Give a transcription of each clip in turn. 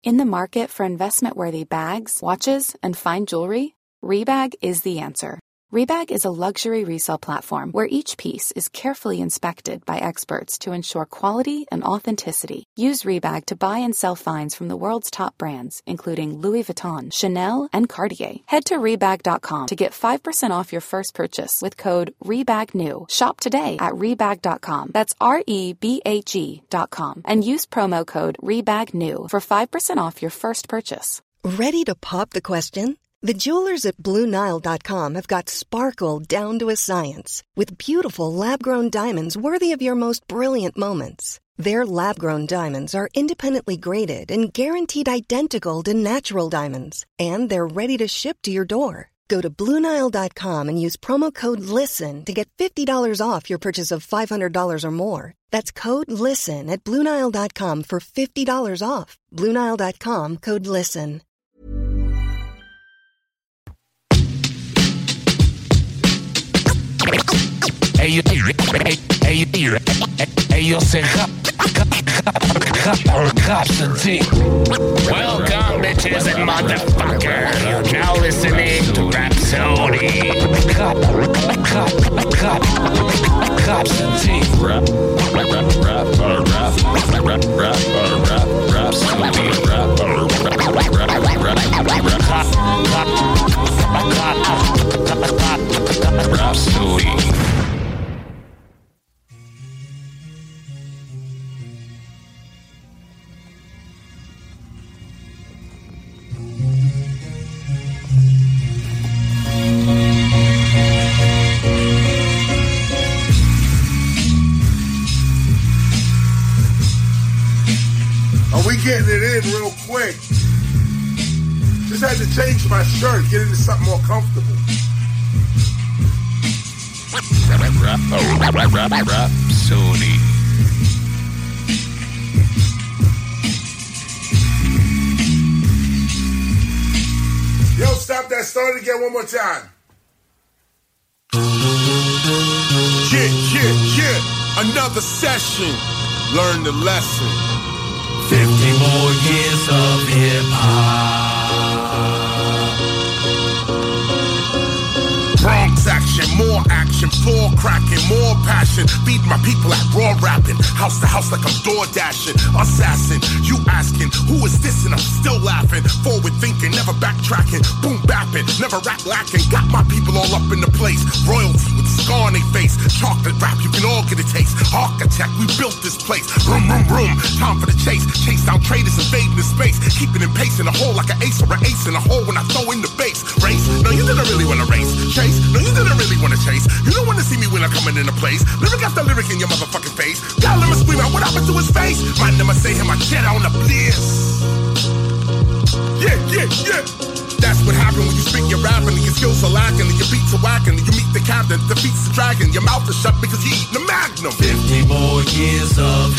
In the market for investment-worthy bags, watches, and fine jewelry, Rebag is the answer. Rebag is a luxury resale platform where each piece is carefully inspected by experts to ensure quality and authenticity. Use Rebag to buy and sell finds from the world's top brands, including Louis Vuitton, Chanel, and Cartier. Head to Rebag.com to get 5% off your first purchase with code REBAGNEW. Shop today at Rebag.com. That's REBAG.com. And use promo code REBAGNEW for 5% off your first purchase. Ready to pop the question? The jewelers at BlueNile.com have got sparkle down to a science with beautiful lab-grown diamonds worthy of your most brilliant moments. Their lab-grown diamonds are independently graded and guaranteed identical to natural diamonds, and they're ready to ship to your door. Go to BlueNile.com and use promo code LISTEN to get $50 off your purchase of $500 or more. That's code LISTEN at BlueNile.com for $50 off. BlueNile.com, code LISTEN. Yo sé Capsity. Welcome, bitches and motherfuckers. You're now listening to Rhapsody. Capsity. Rhapsody. We getting it in real quick. Just had to change my shirt, get into something more comfortable. Rhapsody. Yo, stop that. Start it again one more time. Yeah. Another session. Learn the lesson. 50 more years of hip-hop. Bronx action, more action, floor cracking, more passion. Feed my people at raw rapping. House to house like I'm door dashing. Assassin, you asking, who is this? And I'm still laughing. Forward thinking, never backtracking. Boom bapping, never rap lacking. Got my people all up in the place. Royalty with scar on their face. Chocolate rap, you can all get a taste. Architect, we built this place. Room. Time for the chase. Chase down traders invading the space. Keeping in pace in a hole like an ace or an ace in a hole when I throw in the base. Race? No, you didn't really want to race. Chase? No, you didn't really want to chase. You don't want to see me when I'm coming into place. Lyric after lyric in your motherfucking face. Y'all let me scream out what happened to his face. Man, never say him, I jet on the bliss. Yeah. That's what happened when you speak your rapping and your skills are lacking and your beats are whacking and you meet the captain, defeats the dragon. Your mouth is shut because you eating the magnum. 50 more years of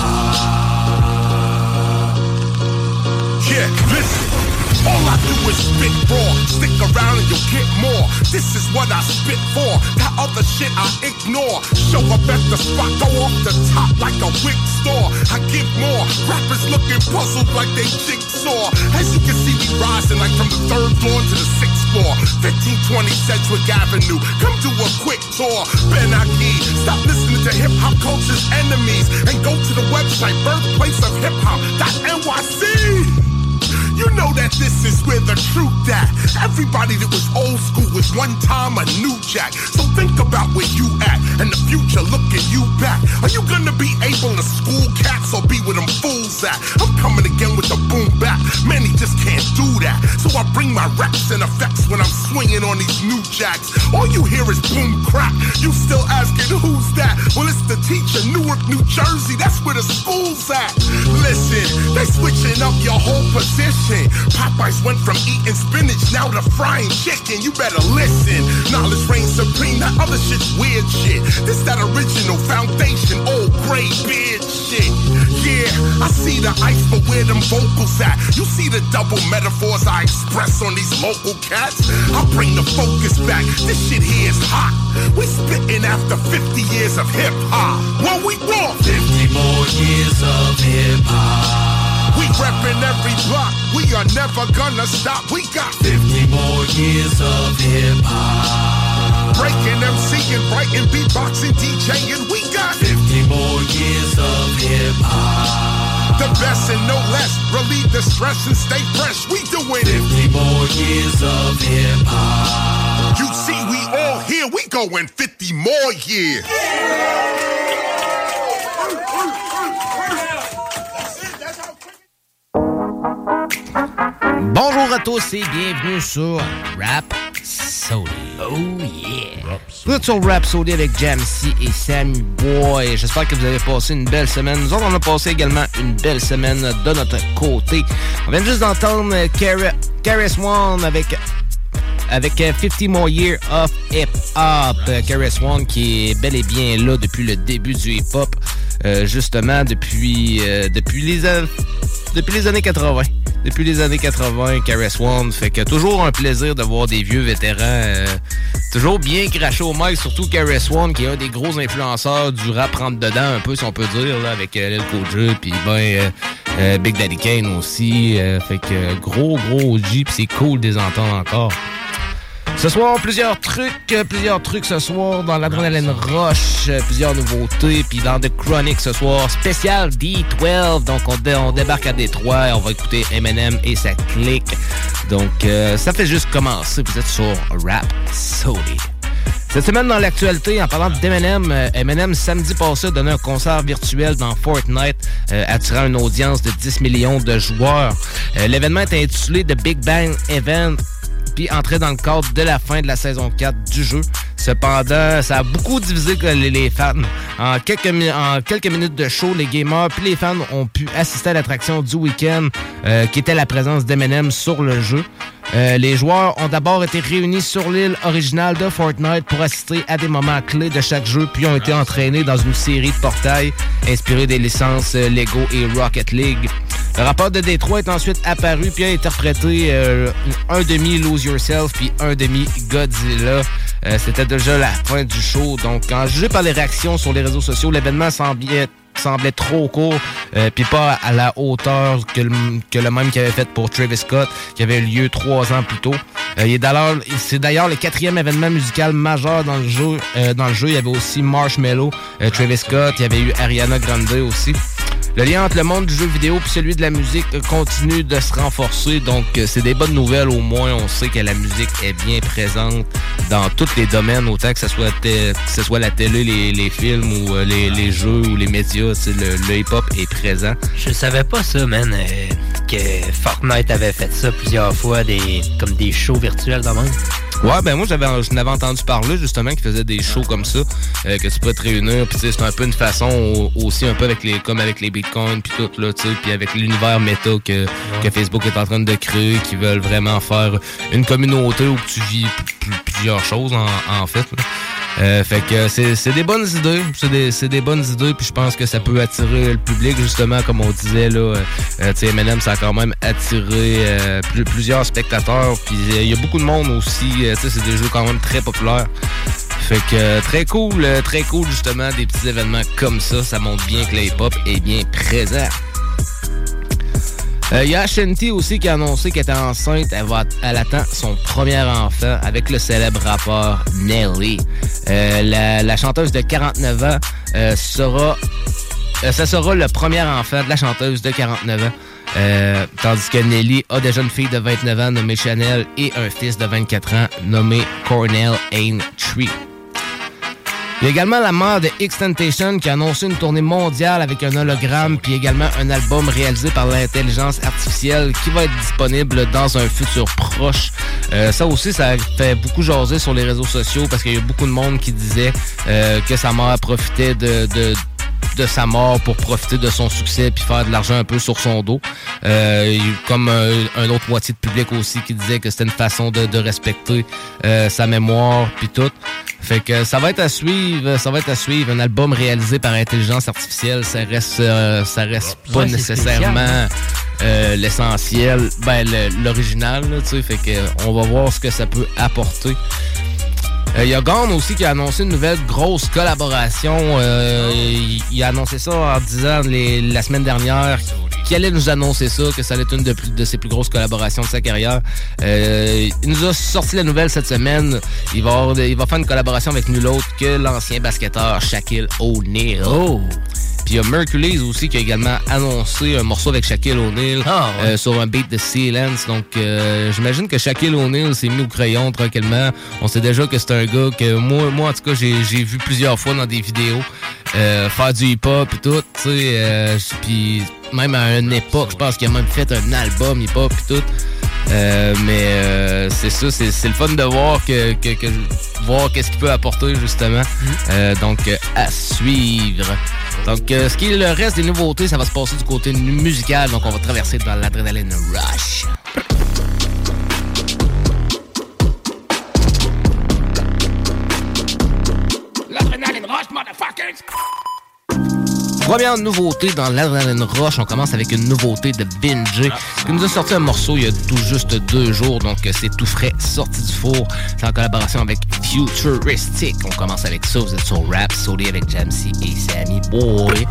hip-hop. Yeah, listen. All I do is spit raw. Stick around and you'll get more. This is what I spit for. That other shit I ignore. Show up at the spot, go off the top like a wig store. I give more. Rappers looking puzzled like they jigsaw. As you can see me rising like from the 3rd floor to the 6th floor. 1520 Sedgwick Avenue. Come do a quick tour. Ben Aki, stop listening to hip hop culture's enemies and go to the website birthplace of hip hop.nyc. You know that this is where the truth at. Everybody that was old school was one time a new jack. So think about where you at and the future looking you back. Are you gonna be able to school cats or be with them fools at? I'm coming again with the boom bap. Many just can't do that. So I bring my raps and effects when I'm swinging on these new jacks. All you hear is boom crap. You still asking who's that? Well, it's the teacher, Newark, New Jersey. That's where the school's at. Listen, they switching up your whole position. Popeyes went from eating spinach now to frying chicken. You better listen. Knowledge reigns supreme. That other shit's weird shit. This that original foundation, old gray beard shit. Yeah, I see the ice, but where them vocals at? You see the double metaphors I express on these local cats? I bring the focus back. This shit here is hot. We spitting after 50 years of hip hop. What we want? 50 more years of hip hop. We reppin' every block, we are never gonna stop. We got 50 more years of hip-hop. breaking, MCing, writing, beatboxing, DJing. We got 50 more years of hip-hop. the best and no less. Relieve the stress and stay fresh. We doing it. 50 more years of hip-hop. You see, we all here. We going 50 more years. Bonjour à tous et bienvenue sur Rhapsody. Oh yeah! Vous êtes sur Rhapsody avec Jamsey et Sammy Boy. J'espère que vous avez passé une belle semaine. Nous autres, on a passé également une belle semaine de notre côté. On vient juste d'entendre KRS-One avec 50 More Years of Hip-Hop. KRS-One qui est bel et bien là depuis le début du hip-hop. Justement, depuis les années 80. Depuis les années 80, KRS-One, fait que toujours un plaisir de voir des vieux vétérans toujours bien crachés au mic, surtout KRS-One qui est un des gros influenceurs du rap rentre dedans un peu si on peut dire là, avec Lil Kojo puis Big Daddy Kane aussi, fait que gros OG puis c'est cool de les entendre encore. Ce soir, plusieurs trucs ce soir dans l'Adrenaline Rush, plusieurs nouveautés, puis dans The Chronic ce soir, spécial D12, donc on débarque à Détroit, on va écouter Eminem et sa clique, donc ça fait juste commencer, vous êtes sur Rhapsody. Cette semaine dans l'actualité, en parlant d'Eminem, Eminem samedi passé a donné un concert virtuel dans Fortnite, attirant une audience de 10 millions de joueurs. L'événement est intitulé The Big Bang Event, puis entrer dans le cadre de la fin de la saison 4 du jeu. Cependant, ça a beaucoup divisé les fans. En quelques minutes de show, les gamers puis les fans ont pu assister à l'attraction du week-end, qui était la présence d'Eminem sur le jeu. Les joueurs ont d'abord été réunis sur l'île originale de Fortnite pour assister à des moments clés de chaque jeu, puis ont été entraînés dans une série de portails inspirés des licences Lego et Rocket League. Le rappeur de Détroit est ensuite apparu puis a interprété un demi Lose Yourself puis un demi Godzilla. C'était déjà la fin du show. Donc, en jugé par les réactions sur les réseaux sociaux, l'événement semblait trop court puis pas à la hauteur que le même qu'il avait fait pour Travis Scott, qui avait eu lieu 3 ans plus tôt. C'est d'ailleurs le 4e événement musical majeur dans le jeu. Il y avait aussi Marshmello, Travis Scott, il y avait eu Ariana Grande aussi. Le lien entre le monde du jeu vidéo et celui de la musique continue de se renforcer, donc c'est des bonnes nouvelles. Au moins, on sait que la musique est bien présente dans tous les domaines, autant que ce soit la télé, les films ou les jeux ou les médias. Le hip-hop est présent. Je savais pas ça, man, que Fortnite avait fait ça plusieurs fois, comme des shows virtuels de même. Ouais, ben moi je n'avais entendu parler justement qu'ils faisaient des shows comme ça, que tu peux te réunir, puis c'est un peu une façon aussi un peu avec les bitcoins puis tout là, tu sais, puis avec l'univers méta que Facebook est en train de créer, qui veulent vraiment faire une communauté où tu vis plusieurs choses en fait. Fait que c'est des bonnes idées, c'est des bonnes idées, puis je pense que ça peut attirer le public justement, comme on disait là. Tu sais, Eminem, ça a quand même attiré plusieurs spectateurs, puis il y a beaucoup de monde aussi. Tu sais, c'est des jeux quand même très populaires. Fait que très cool justement des petits événements comme ça. Ça montre bien que le hip-hop est bien présent. Il y a Ashanti aussi qui a annoncé qu'elle était enceinte. Elle attend son premier enfant avec le célèbre rappeur Nelly. La chanteuse de 49 ans ça sera le premier enfant de la chanteuse de 49 ans. Tandis que Nelly a déjà une fille de 29 ans nommée Chanel et un fils de 24 ans nommé Cornell Aintree. Il y a également la mère de XXXTentacion qui a annoncé une tournée mondiale avec un hologramme puis également un album réalisé par l'intelligence artificielle qui va être disponible dans un futur proche. Ça aussi, ça fait beaucoup jaser sur les réseaux sociaux parce qu'il y a beaucoup de monde qui disait que sa mère profitait de sa mort pour profiter de son succès puis faire de l'argent un peu sur son dos. Comme un autre moitié de public aussi qui disait que c'était une façon de respecter sa mémoire puis tout. Fait que ça va être à suivre. Un album réalisé par intelligence artificielle, ça reste pas nécessairement l'essentiel, l'original, tu sais. Fait que on va voir ce que ça peut apporter. Il y a Gone aussi qui a annoncé une nouvelle grosse collaboration. Il a annoncé ça en disant la semaine dernière qui allait nous annoncer ça, que ça allait être une de ses plus grosses collaborations de sa carrière. Il nous a sorti la nouvelle cette semaine. Il va faire une collaboration avec nul autre que l'ancien basketteur Shaquille O'Neal. Oh! Puis il y a Mercules aussi qui a également annoncé un morceau avec Shaquille O'Neal sur un beat de Silence. Donc j'imagine que Shaquille O'Neal s'est mis au crayon tranquillement. On sait déjà que c'est un gars que moi en tout cas j'ai vu plusieurs fois dans des vidéos faire du hip-hop et tout, tu sais. Puis même à une époque, je pense qu'il a même fait un album hip-hop et tout. Mais c'est ça, c'est le fun de voir voir qu'est-ce qu'il peut apporter justement. Donc à suivre. Donc ce qui est le reste des nouveautés, ça va se passer du côté musical. Donc on va traverser dans l'Adrenaline Rush. L'Adrenaline Rush, motherfuckers! Première nouveauté dans l'Adrenaline Rush, on commence avec une nouveauté de Vinjay qui nous a sorti un morceau il y a tout juste 2 jours, donc c'est tout frais, sorti du four. C'est en collaboration avec Futuristic. On commence avec ça, vous êtes sur Rap Sody avec Jamsey et Sammy Boy.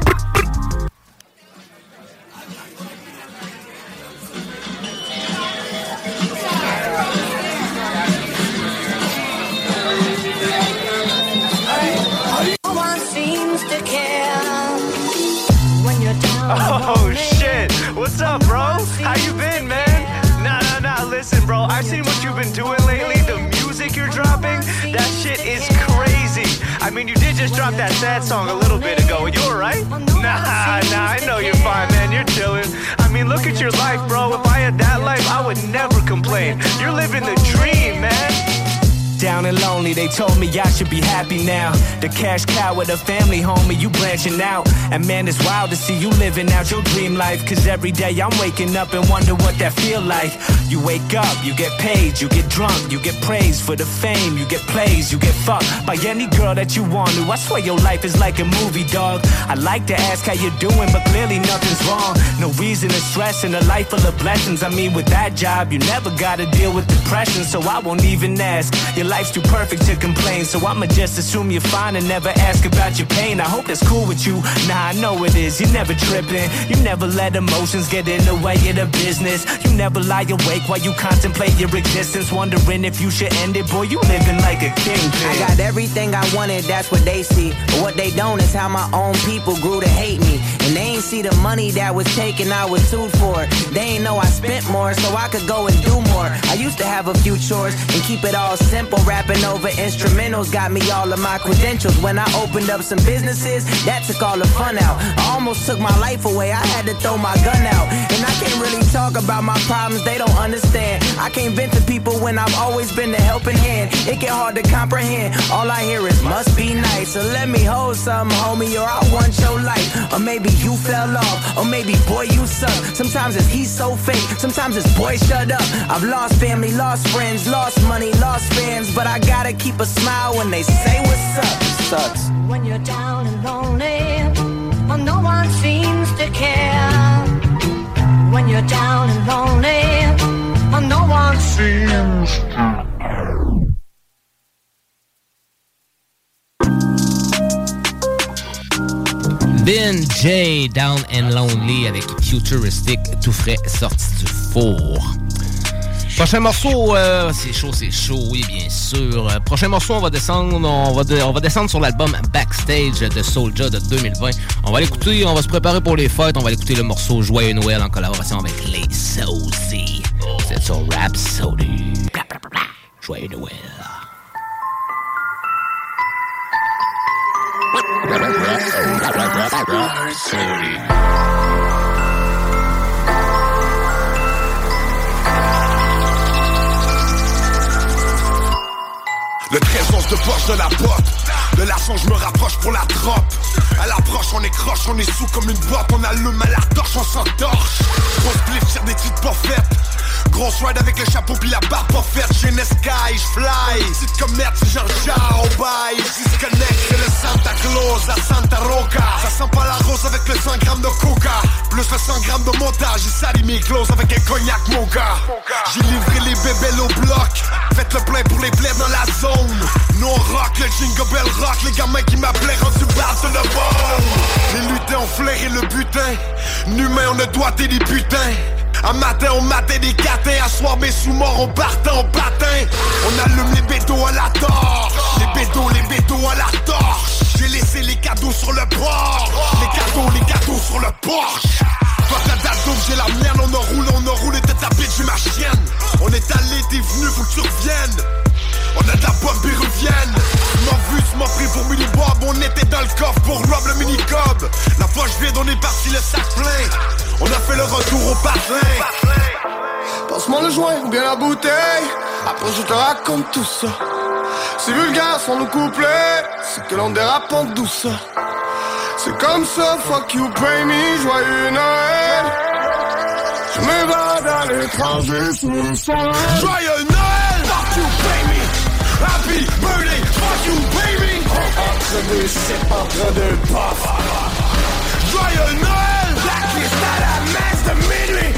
Oh shit, what's up, bro? How you been, man? Nah, listen, bro, I've seen what you've been doing lately. The music you're dropping, that shit is crazy. I mean, you did just drop that sad song a little bit ago. You alright? Nah, I know you're fine, man, you're chilling. I mean, look at your life, bro. If I had that life, I would never complain. You're living the dream, man. Down and lonely, they told me I should be happy now. The cash cow with a family, homie, you branching out. And man, it's wild to see you living out your dream life. Cause every day I'm waking up and wonder what that feel like. You wake up, you get paid, you get drunk, you get praised for the fame, you get plays, you get fucked by any girl that you want to. I swear your life is like a movie, dog. I like to ask how you're doing, but clearly nothing's wrong. No reason to stress in a life full of blessings. I mean, with that job, you never gotta deal with depression, so I won't even ask. Your life's too perfect to complain, so I'ma just assume you're fine and never ask about your pain. I hope that's cool with you. Nah, I know it is. You never tripping. You never let emotions get in the way of the business. You never lie awake while you contemplate your existence, wondering if you should end it. Boy, you living like a kingpin. I got everything I wanted, that's what they see. But what they don't is how my own people grew to hate me. And they ain't see the money that was taken, I was sued for it. They ain't know I spent more, so I could go and do more. I used to have a few chores and keep it all simple. Rapping over instrumentals got me all of my credentials. When I opened up some businesses, that took all the fun out. I almost took my life away, I had to throw my gun out. And I can't really talk about my problems, they don't understand. I can't vent to people when I've always been the helping hand. It get hard to comprehend, all I hear is must be nice. So let me hold something, homie, or I want your life. Or maybe you fell off, or maybe boy you suck. Sometimes it's he's so fake, sometimes it's boy shut up. I've lost family, lost friends, lost money, lost fans, but I gotta keep a smile when they say what's up. It sucks. When you're down and lonely, well, no one seems to care. When you're down and lonely, well, no one seems to care. Vinjay, Down and Lonely avec Futuristic, tout frais, sorti du four. Prochain morceau, c'est chaud, oui, bien sûr. Prochain morceau, on va descendre sur l'album Backstage de Soulja de 2020. On va l'écouter, on va se préparer pour les fêtes. On va écouter le morceau Joyeux Noël en collaboration avec les Sozy. C'est sur Rap Sody. Joyeux Noël. Le trésor de poche de la botte. De l'argent je me rapproche pour la drop. À l'approche on est croche, on est sous comme une botte. On allume à la torche, on s'entorche. Grosse blitz, tire des titres pas faites. grosse ride avec le chapeau pis la barbe pas faite. J'ai une sky, j'fly. Petite comme merde, c'est genre ciao, bye. Disconnect, c'est le Santa Claus, la Santa Roca. Ça sent pas la rose avec le 100 grammes de coca. Plus le 100 grammes de montage, j'ai sali mes closes avec un cognac, mon gars. J'ai livré les bébés au bloc. Faites le plein pour les plaies dans la zone. Nous on rock, le jingle bell rock. Les gamins qui m'appelaient rendu base de le bon. Les lutins ont flairé le butin. N'humain, on a doigté des putains. Un matin, on matait des catins. À soir, mes sous-morts, on partait en patin. On allume les bédos à la torche. Les bédos à la torche. J'ai laissé les cadeaux sur le port. Les cadeaux sur le Porsche. Toi t'as date d'ouvre, j'ai la mienne. On a roulé, t'es ta bitch, j'ai ma chienne. On est allé, t'es venu, faut que tu reviennes. On a de la bombe péruvienne. Tu m'as pris pour Mini Bob. On était dans le coffre pour rob le mini cob. La poche vide, on est parti le sac plein. On a fait le retour au patin. Passe-moi le joint ou bien la bouteille. Après je te raconte tout ça. C'est vulgaire sans nos couplets. C'est que l'on dérape en douce. C'est comme ça, fuck you, pay me, joyeux Noël. Je m'évade à l'étranger sous le soleil. Joyeux Noël, fuck you, pay me. Happy birthday, fuck you, baby. Entre deux, c'est entre deux puffs. Joyeux Noël, blacklist à la messe de minuit.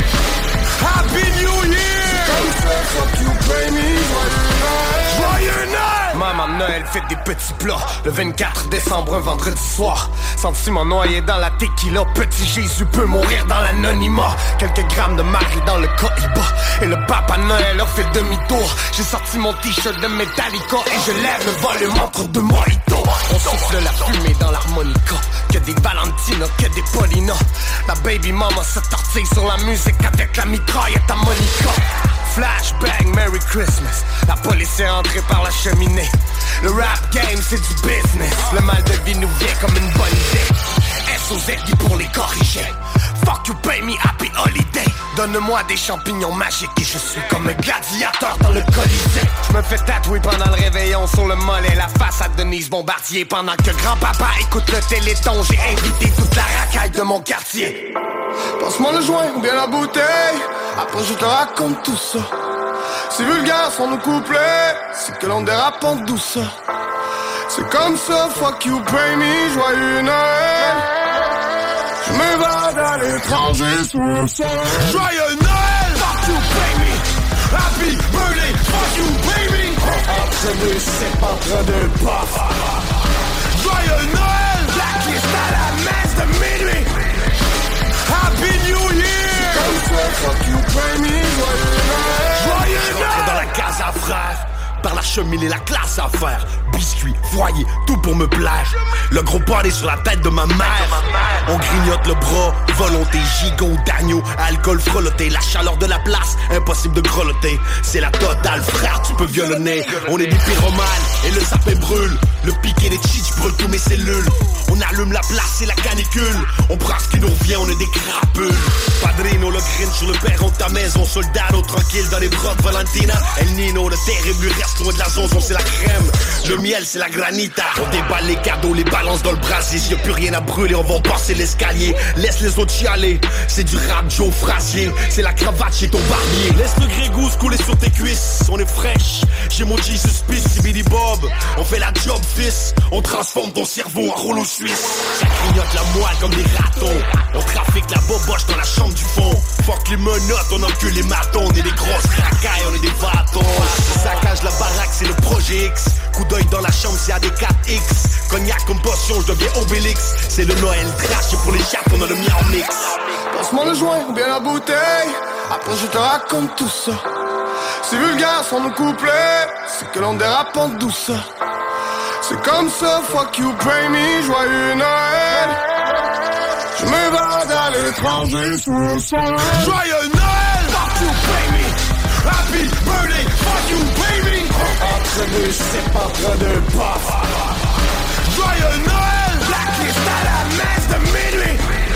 Happy New Year. Comme ça, fuck you, pay me, joyeux Noël. Joyeux Noël. Maman Noël fait des petits plats. Le 24 décembre, un vendredi soir. Sentiment noyé dans la tequila. Petit Jésus peut mourir dans l'anonymat. Quelques grammes de Marie dans le cohiba. Et le papa Noël leur fait demi-tour. J'ai sorti mon t-shirt de Metallica. Et je lève le volume entre deux mojitos. On souffle la fumée dans l'harmonica. Que des Valentina, que des Paulina. La baby mama se tortille sur la musique avec la mitraillette à Monica. Flashbang, Merry Christmas. La police est entrée par la cheminée. Le rap game c'est du business. Le mal de vie nous vient comme une bonne idée. SOZ pour les corriger. Fuck you, pay me, happy holiday. Donne-moi des champignons magiques et je suis comme un gladiateur dans le Colisée. Je me fais tatouer pendant le réveillon sur le mollet la face à Denise Bombardier. Pendant que grand-papa écoute le téléthon, j'ai invité toute la racaille de mon quartier. Passe-moi le joint ou bien la bouteille. Après je te raconte tout ça. C'est vulgaire sans nos couplets. C'est que l'on dérape en douce. C'est comme ça, fuck you, pay me, joyeux Noël. Je m'évade à l'étranger sous le soleil. Joyeux Noël, fuck you, pay me. Happy birthday, fuck you, baby. Entre deux, c'est entre deux puffs. Joyeux Noël, blacklist à la messe de minuit. Happy New Year. Comme ça, fuck you, pay me, joyeux Noël. Joyeux Noël. Dans la case à frère. Par la cheminée, la classe à faire. Biscuits, foyer, tout pour me plaire. Le gros party sur la tête de ma mère. On grignote le bras, volonté, gigot d'agneau. Alcool frelotté, la chaleur de la place. Impossible de grelotter, c'est la totale, frère, tu peux violonner. On est des pyromanes, et le sapin brûle. Le piqué des cheats brûle tous mes cellules. On allume la place, c'est la canicule. On prend ce qui nous revient, on est des crapules. Padrino, le grin sur le perron de ta maison. Soldado, tranquille dans les bras de Valentina. El Nino, le terrible reste loin de la zone, c'est la crème. Le miel, c'est la granita. On déballe les cadeaux, les balances dans le brasier. S'il y a plus rien à brûler, on va passer l'escalier. Laisse les autres chialer. C'est du rap Joe Frazier. C'est la cravate chez ton barbier. Laisse le grégousse couler sur tes cuisses. On est fraîche. Chez mon Jesus Peace, c'est Billy Bob. On fait la job, fils. On transforme ton cerveau en rouleau suisse. Ça grignote la moelle comme des ratons. On trafique la boboche dans la chambre du fond. Fuck les menottes, on encule les matons. On est des grosses racailles, on est des bâtons. Saccage la baraque, c'est le projet X. Coup d'œil dans la chambre, c'est AD4X. Cognac comme potion, je deviens Obélix. C'est le Noël trash, et pour les chattes, on a le mien en mix. Passe-moi le joint ou bien la bouteille. Après je te raconte tout ça. C'est vulgaire sans nos couplets. C'est que l'on dérape en douce. C'est comme ça, fuck you, pay me, joyeux Noël. Je m'évade à l'étranger sous le soleil. Joyeux Noël, fuck you, pay me. Happy birthday, fuck you, baby. Entre deux, c'est entre deux puffs. Joyeux Noël, blacklist à la messe de minuit.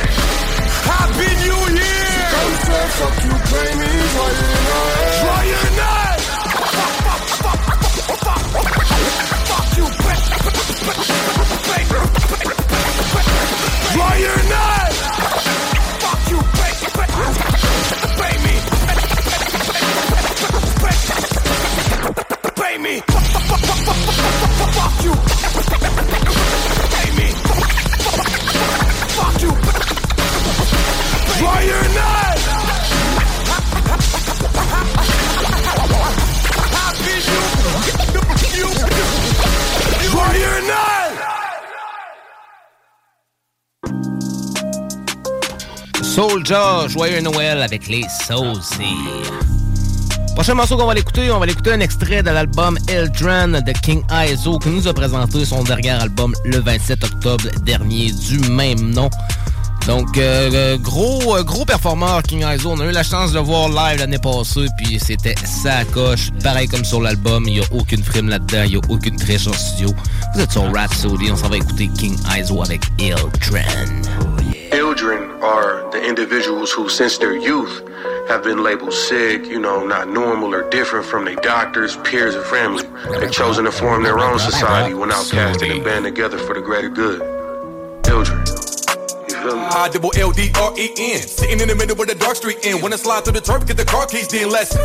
Happy New Year. Comme ça, fuck you, pay me, joyeux Noël. Joyeux Noël. Fuck you, joyeux Noël. Fuck you, pay me. Amen. Fuck you. Try your nut. Try your nut. Soulja, Joyeux Noël avec les Saucy. Prochain morceau qu'on va l'écouter, un extrait de l'album Eldran de King Izo qui nous a présenté son dernier album le 27 octobre dernier du même nom. Donc, gros performeur King Izo. On a eu la chance de le voir live l'année passée, puis c'était sa coche. Pareil comme sur l'album, il n'y a aucune frime là-dedans, il n'y a aucune triche en studio. Vous êtes sur Rhapsody, on s'en va écouter King Izo avec Eldran. Children are the individuals who, since their youth, have been labeled sick, not normal or different from their doctors, peers, and family. They've chosen to form their own society when outcasted and band together for the greater good. Children. I-double-L-D-R-E-N. Sitting in the middle of the dark street end. When I slide through the turf, get the car keys, then let's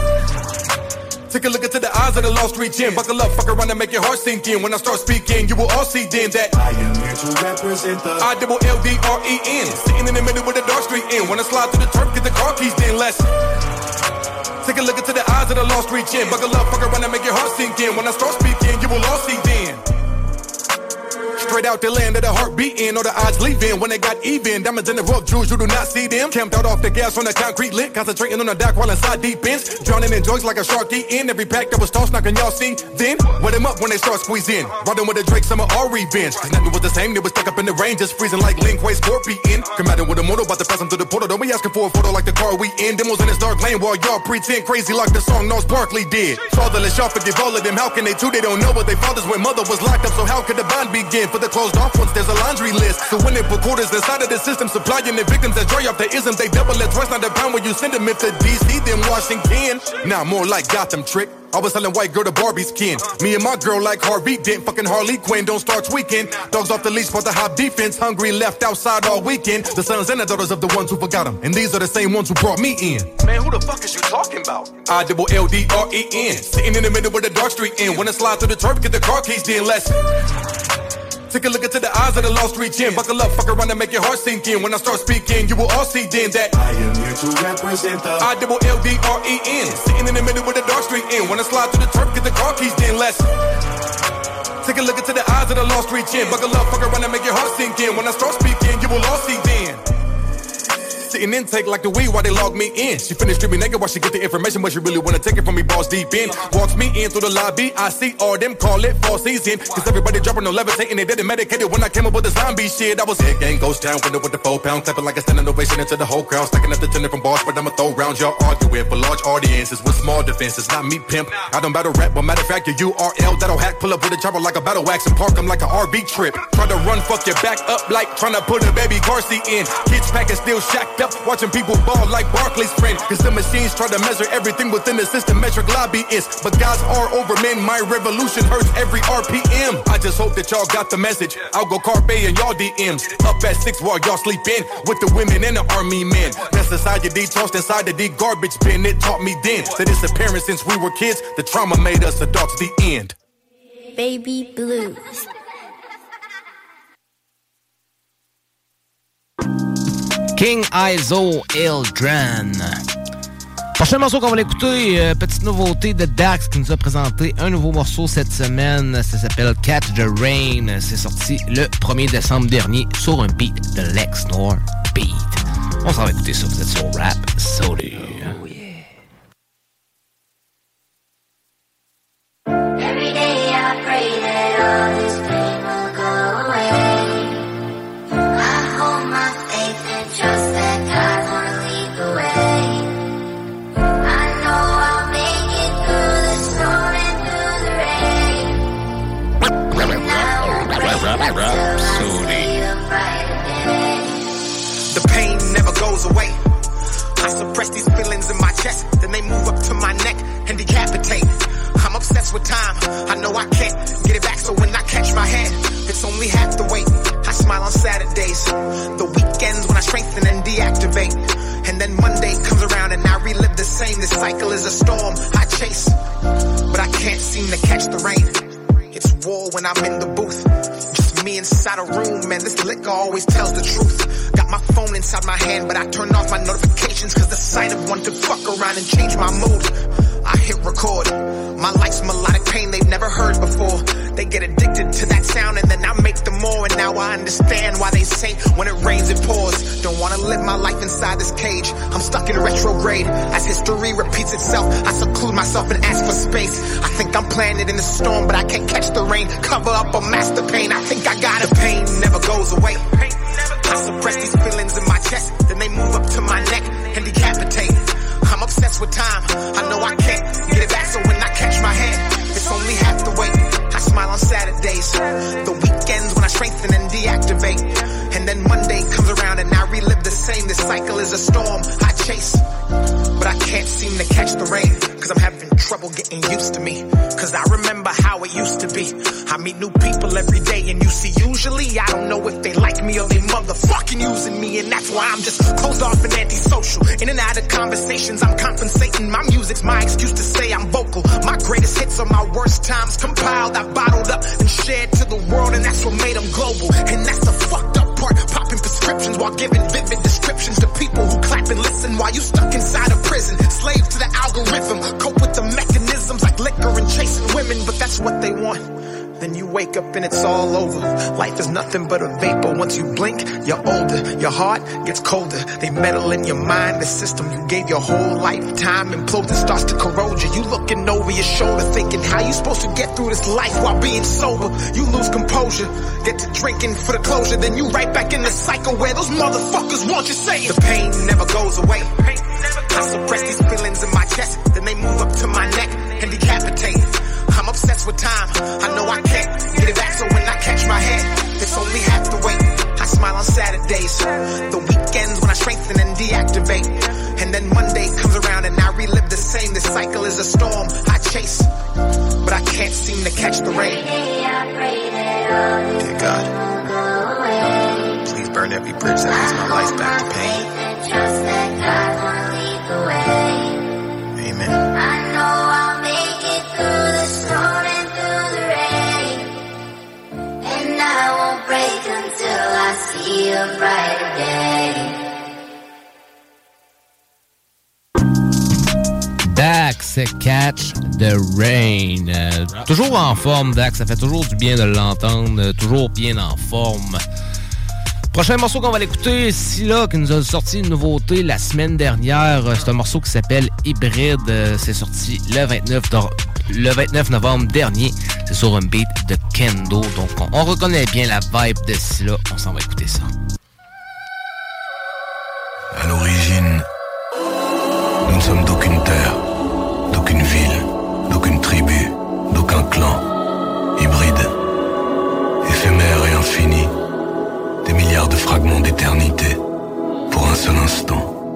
take a look into the eyes of the lost street gym. Buckle up, fuck around and make your heart sink in. When I start speaking, you will all see then that I am here to represent the I-double-L-D-R-E-N. Sitting in the middle of the dark street end. When I slide through the turf, get the car keys, then let's take a look into the eyes of the lost street gym. Buckle up, fuck around and make your heart sink in. When I start speaking, you will all see then. Straight out the land of the heart beating, or the odds leaving when they got even. Diamonds in the rough, jewels, you do not see them. Camped out off the gas on the concrete lit, concentrating on the dock while inside deep ends. Drowning in joints like a shark eating. Every pack that was tossed, knocking y'all see. Then, wet them up when they start squeezing. Riding with the Drake, summer all revenge. Cause nothing was the same, they was stuck up in the rain, just freezing like Lin Kuei Scorpion. Combating with a motor, about to pass them through the portal. Don't be asking for a photo like the car we in. Demos in this dark lane while y'all pretend crazy like the song Gnarls Barkley did. Fatherless, y'all forgive all of them. How can they too? They don't know what they fathers when mother was locked up. So how could the bond begin? For the closed off ones, there's a laundry list. So when they put quarters inside of the system, supplying the victims that dry off the isms, they double it twice, not the pound when you send them. If the DC, then Washington. Now more like Gotham trick. I was selling white girl to Barbie's kin. Me and my girl like Harvey Dent, fucking Harley Quinn, don't start tweaking. Dogs off the leash, but the hot defense, hungry left outside all weekend. The sons and the daughters of the ones who forgot them, and these are the same ones who brought me in. Man, who the fuck is you talking about? I-double-L-D-R-E-N. Sitting in the middle of the dark street end. When I slide through the turf, get the car keys, then let's take a look into the eyes of the lost street gym. Buckle up, fuck around and make your heart sink in. When I start speaking, you will all see then that I am here to represent the I-double-L-D-R-E-N. Sitting in the middle of the dark street end. When I slide through the turf, get the car keys, then let's take a look into the eyes of the lost street gym. Buckle up, fuck around and make your heart sink in. When I start speaking, you will all see then. Sitting intake like the weed while they log me in. She finished stripping naked while she get the information, but she really wanna take it from me, balls deep in. Walks me in through the lobby, I see all them call it fall season. Cause everybody dropping no levitating, they didn't medicated when I came up with the zombie shit. I was head gang, ghost town, window with the 4 pound, clapping like a standing ovation into the whole crowd. Stacking up the tender from bars, but I'ma throw rounds. Y'all arguing for large audiences with small defenses, not me pimp. I don't battle rap, but matter of fact, your URL that'll hack. Pull up with a chopper like a battle wax and park them like an RV trip. Try to run, fuck your back up like trying to put a baby car seat in. Kids packing still shacked up, watching people ball like Barkley's friend. Cause the machines try to measure everything within the system, metric lobbyists. But guys are over men, my revolution hurts every RPM. I just hope that y'all got the message. I'll go carpe and y'all DMs. Up at 6 while y'all sleep in with the women and the army men. That society tossed inside the D garbage bin. It taught me then that it's apparent since we were kids. The trauma made us adults, the end. Baby Blues. King Izo, Eldran. Prochain morceau qu'on va l'écouter, petite nouveauté de Dax qui nous a présenté un nouveau morceau cette semaine. Ça s'appelle Catch the Rain. C'est sorti le 1er décembre dernier sur un beat de Lex Nor Beat. On s'en va écouter ça, vous êtes sur Rhapsody. Every day I pray that all this pain will go away. I hold my faith and trust that God won't lead the way. I know I'll make it through the storm and through the rain. And I won't break until I see the brighter day. The pain never goes away. I suppress these feelings in my chest, then they move up to my neck and decapitate. I'm obsessed with time, I know I can't get it back, so when I catch my hand, it's only half the weight. I smile on Saturdays, the weekends when I strengthen and deactivate. And then Monday comes around and I relive the same. This cycle is a storm I chase, but I can't seem to catch the rain. It's war when I'm in the booth. Just me inside a room, man, this liquor always tells the truth. Got my phone inside my hand, but I turn off my notifications, cause the sight of one could fuck around and change my mood. I hit record. My life's melodic pain they've never heard before. They get addicted to that sound and then I make them more. And now I understand why they say when it rains it pours. Don't wanna live my life inside this cage. I'm stuck in retrograde. As history repeats itself, I seclude myself and ask for space. I think I'm planted in the storm, but I can't catch the rain. Cover up or mask the pain. I think I got it. The pain never goes away. I suppress these feelings in my chest, then they move up to my neck and decapitate. I'm obsessed with time. I know I can't get it back, so when I catch my hand, it's only half the weight. I smile on Saturdays, the weekends when I strengthen and deactivate. And then Monday comes around and I relive the same. This cycle is a storm I chase, but I can't seem to catch the rain, cause I'm having trouble getting used to me. Cause I remember how it used to be. I meet new people every day and you see usually I don't know if they like me or they motherfucking using me. And that's why I'm just closed off and antisocial. In and out of conversations I'm compensating. My music's my excuse to say I'm vocal. My greatest hits are my worst times compiled. I bottled up and shared to the world, and that's what made them global. And that's the fucked up part, popping prescriptions while giving vivid descriptions to people who clap and listen while you stuck inside a prison. Slave to the algorithm, cope with the mechanisms like liquor and chasing women, but that's what they want. Then you wake up and it's all over. Life is nothing but a vapor. Once you blink, you're older. Your heart gets colder. They meddle in your mind, the system you gave your whole lifetime implodes and starts to corrode you. You looking over your shoulder thinking how you supposed to get through this life while being sober. You lose composure, get to drinking for the closure, then you right back in the cycle where those motherfuckers want you saying the pain never goes away. I suppress these feelings in my chest, then they move up to my neck and decapitate. I'm obsessed with time. I know I can't get it back, so when I catch my head, it's only half the weight. I smile on Saturdays, the weekends when I strengthen and deactivate. And then Monday comes around and I relive the same. This cycle is a storm I chase, but I can't seem to catch the rain. Dear God, please burn every bridge that leads my life back to pain. Amen. I know I'll make it through the storm and through the rain, and I won't break until I see a brighter day. Dax, Catch the Rain. Toujours en forme, Dax. Ça fait toujours du bien de l'entendre. Toujours bien en forme. Prochain morceau qu'on va l'écouter, Scylla, qui nous a sorti une nouveauté la semaine dernière. C'est un morceau qui s'appelle Hybride. C'est sorti le 29 novembre dernier. C'est sur un beat de Kendo. Donc on reconnaît bien la vibe de Scylla. On s'en va écouter ça. À l'origine, nous ne sommes d'aucune terre, d'aucune ville, d'aucune tribu, d'aucun clan. Hybride, éphémère et infini. Des milliards de fragments d'éternité pour un seul instant.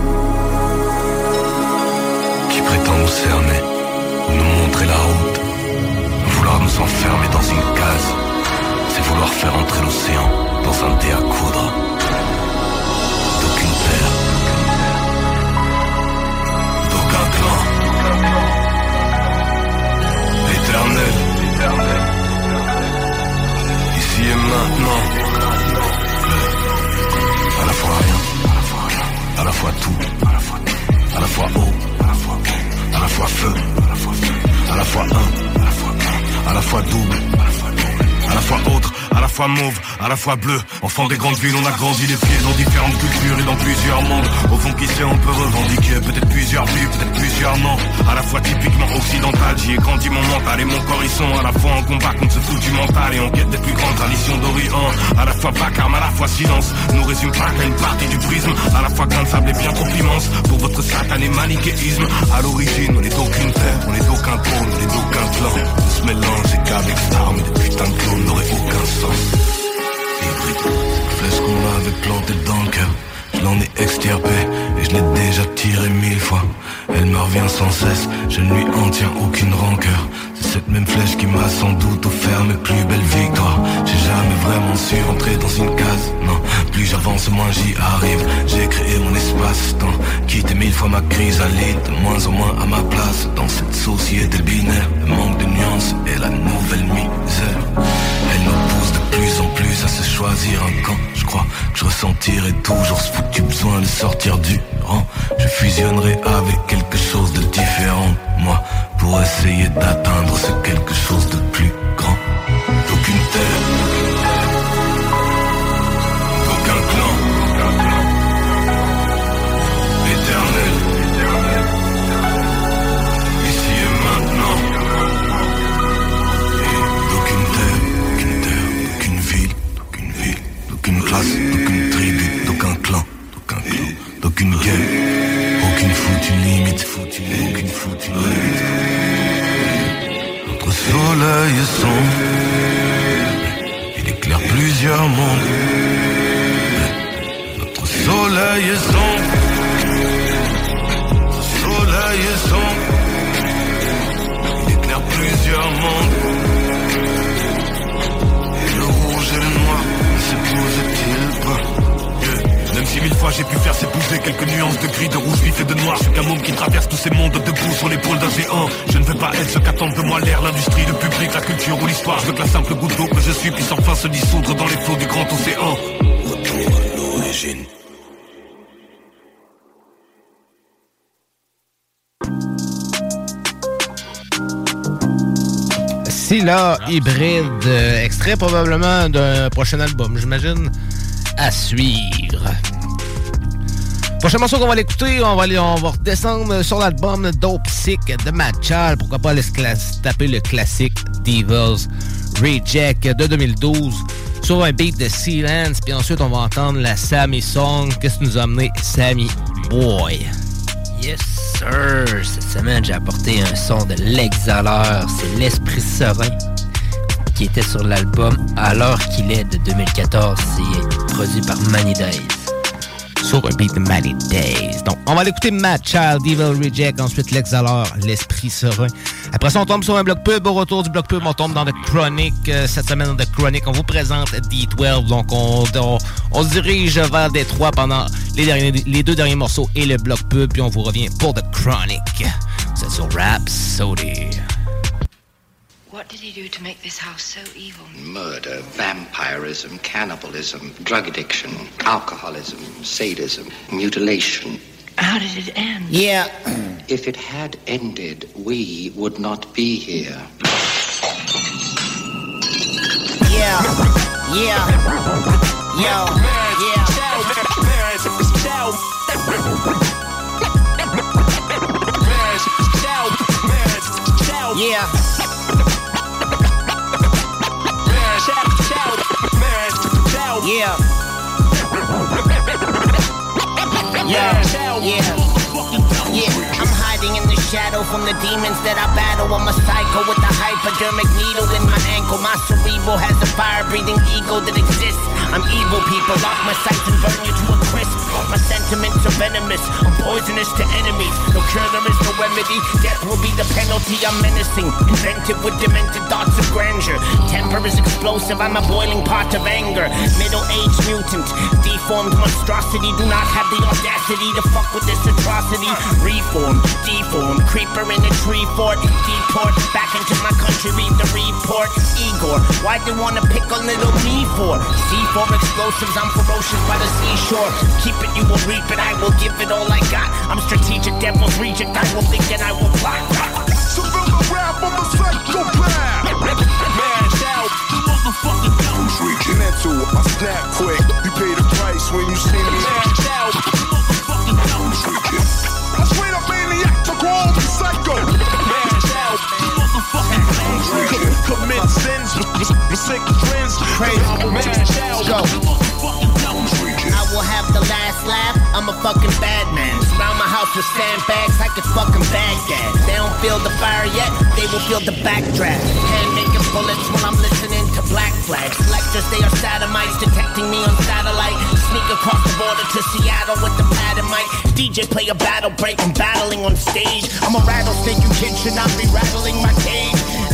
Qui prétend nous cerner ou nous montrer la route. Vouloir nous enfermer dans une case, c'est vouloir faire entrer l'océan dans un dé à coudre. D'aucune terre, d'aucun clan. Éternel, ici et maintenant. À la fois rien, à la fois tout, à la fois eau, à la fois feu, à la fois un, à la fois double, à la fois autre, à la fois mauve, à la fois bleu. Enfant des grandes villes, on a grandi les pieds dans différentes cultures et dans plusieurs mondes. Au fond, qui sait, on peut revendiquer peut-être plusieurs vies, peut-être plusieurs noms. À la fois typiquement occidental, j'y ai grandi mon mental et mon corps, ils sont à la fois en combat contre ce fou du mental et en quête des plus grandes traditions d'Orient. À la fois vacarme, à la fois silence, nous résume pas qu'à une partie du prisme. À la fois grain de sable et bien trop immense pour votre satané manichéisme. À l'origine, on est d'aucune terre, on est d'aucun trône, on est d'aucun clan. On se mélange et qu'avec cette arme, des putains de clones n'auraient aucun sens. Hybride, flèche qu'on m'avait plantée dans le cœur, je l'en ai extirpé et je l'ai déjà tiré 1000 fois. Elle me revient sans cesse, je ne lui en tiens aucune rancœur. C'est Cette même flèche qui m'a sans doute offert mes plus belles victoires. J'ai jamais vraiment su rentrer dans une case, non. Plus j'avance, moins j'y arrive. J'ai créé mon espace-temps, quitté 1000 fois ma chrysalide. De moins en moins à ma place dans cette société binaire. Le manque de nuances et la nouvelle misère. Elle nous pousse de plus en plus à se choisir un camp. Je crois que je ressentirai toujours ce foutu besoin de sortir du rang. Je fusionnerai avec quelque chose de différent, moi, pour essayer d'atteindre ce quelque chose de plus grand. D'aucune terre, d'aucun clan, éternel, ici et maintenant. Et d'aucune terre, d'aucune ville, d'aucune classe, d'aucune tribu, d'aucun clan, d'aucune guerre, aucune foutue limite, aucune foutue limite. Notre soleil est sombre, il éclaire plusieurs mondes. Notre soleil est sombre, notre soleil est sombre, il éclaire plusieurs mondes. Et le rouge et le noir ne s'épousent-ils pas? Même si 1000 fois j'ai pu faire s'épouser quelques nuances de gris, de rouge vif et de noir. Je suis qu'un môme qui traverse tous ces mondes debout sur l'épaule d'un géant. Je ne veux pas être ce qu'attendent de moi l'air, l'industrie, le public, la culture ou l'histoire. Je veux que la simple goutte d'eau que je suis puisse enfin se dissoudre dans les flots du grand océan. Retour à l'origine. Scylla hybride, extrait probablement d'un prochain album, j'imagine, à suivre. Prochain morceau qu'on va l'écouter, on va redescendre sur l'album Dope Sick de Madchal. Pourquoi pas aller se taper le classique Devil's Reject de 2012 sur un beat de Sealance. Puis ensuite, on va entendre la Sammy Song. Qu'est-ce que nous a amené Sammy Boy? Yes, sir! Cette semaine, j'ai apporté un son de l'Exhaleur. C'est l'Esprit Serein qui était sur l'album À l'heure qu'il est de 2014. C'est produit par Many Days. Sur un beat de Many Days. Donc, on va l'écouter Madchild, Devil Reject, ensuite L'Exhaleur, L'Esprit Serein. Après ça, on tombe sur un bloc pub. Au retour du bloc pub, on tombe dans The Chronic. Cette semaine, dans The Chronic, on vous présente D12. Donc, on se dirige vers Détroit pendant les deux derniers morceaux et le bloc pub. Puis on vous revient pour The Chronic. C'est sur Rhapsody. What did he do to make this house so evil? Murder, vampirism, cannibalism, drug addiction, alcoholism, sadism, mutilation. How did it end? Yeah. If it had ended, we would not be here. Yeah. Yeah. Yo. Yeah. Yeah. Yeah. Yeah. I'm hiding in the shadow from the demons that I battle. I'm a psycho with a hypodermic needle in my ankle. My cerebral has a fire-breathing ego that exists. I'm evil, people. Lock my sights and burn you to a crisp. My sentiments are venomous. I'm poisonous to enemies. No cure, there is no remedy. Death will be the penalty. I'm menacing. Inventive with demented thoughts of grandeur. Temper is explosive. I'm a boiling pot of anger. Middle-aged mutant. Deformed monstrosity. Do not have the audacity to fuck with this atrocity. Reform, deform. Creeper in a tree fort. Deport. Back into my country. Read the report. Igor. Why'd they wanna pick on little me for? C4 explosives. I'm ferocious by the seashore. Keep it, you will reap it. I will give it all I got. I'm strategic, devil's reject. I will think and I will plot. So build a rap, I'm a psychopath. Man, shout, motherfucking guns reaching into. I snap quick. You pay the price when you see me. Man, shout, motherfucking guns reaching. I straight up maniac to call me psycho. Man, shout, motherfucking guns reaching. Commit sins, sick friends. Crazy. Man, shout, motherfucking guns reaching. I will have the last laugh. I'm a fucking bad man. Surround my house with sandbags like it's fucking Baghdad. They don't feel the fire yet, they will feel the backdraft. Hand making bullets while I'm listening to Black Flag. Selectors, they are satellites detecting me on satellite. Sneak across the border to Seattle with the pad and mic. DJ play a battle break, I'm battling on stage. I'm a rattlesnake, you kids should not be rattling my cage. And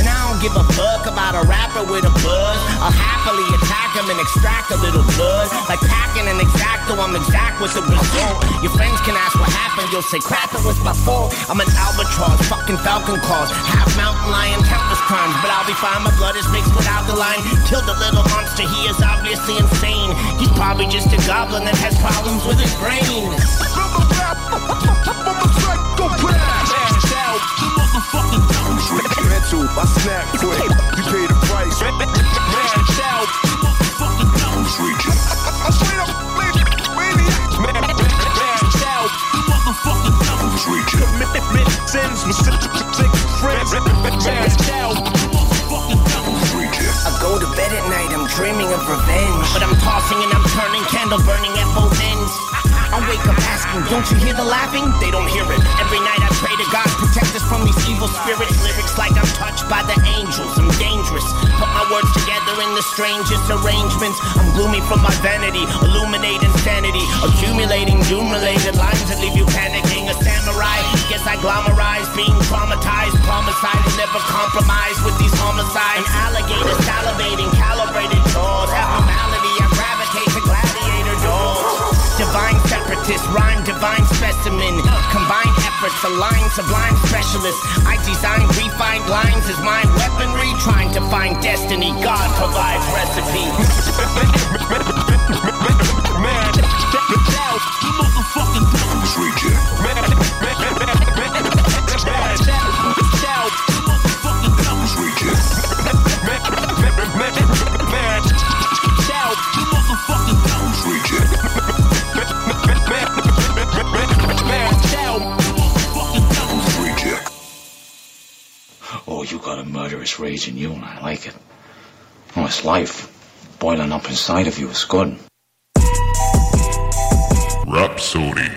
give a fuck about a rapper with a buzz. I'll happily attack him and extract a little blood. Like packing an exacto, I'm exact with the result. Your friends can ask what happened, you'll say crap, it was my fault. I'm an albatross, fucking falcon claws. Half mountain lion, countless crimes, but I'll be fine, my blood is mixed with alkaline. Killed a little monster, he is obviously insane. He's probably just a goblin that has problems with his brain. Mental, I snap quick. You pay the price. I straight up I go to bed at night, I'm dreaming of revenge. But I'm tossing and I'm turning, candle burning at both ends. I wake up asking, don't you hear the laughing? They don't hear it. Every night I pray to God, protect us from these evil spirits. Lyrics like I'm touched by the angels, I'm dangerous. Put my words together in the strangest arrangements. I'm gloomy from my vanity, illuminate insanity. Accumulating doom-related lines that leave you panicking. A samurai, guess I glamorize, being traumatized. Promise I will never compromise with these homicides. An alligator salivating, calibrated jaws. Abnormality, I gravitate to gladiator dogs. Divine separatist, rhyme divine specimen. Combined efforts, align sublime specialist. I design refined lines as my weaponry. Trying to find destiny, God provides recipe. Man, out, you motherfucking dumb creature. Oh, you got a murderous rage in you, and I like it. Oh, it's life. Boiling up inside of you is good. Rhapsody.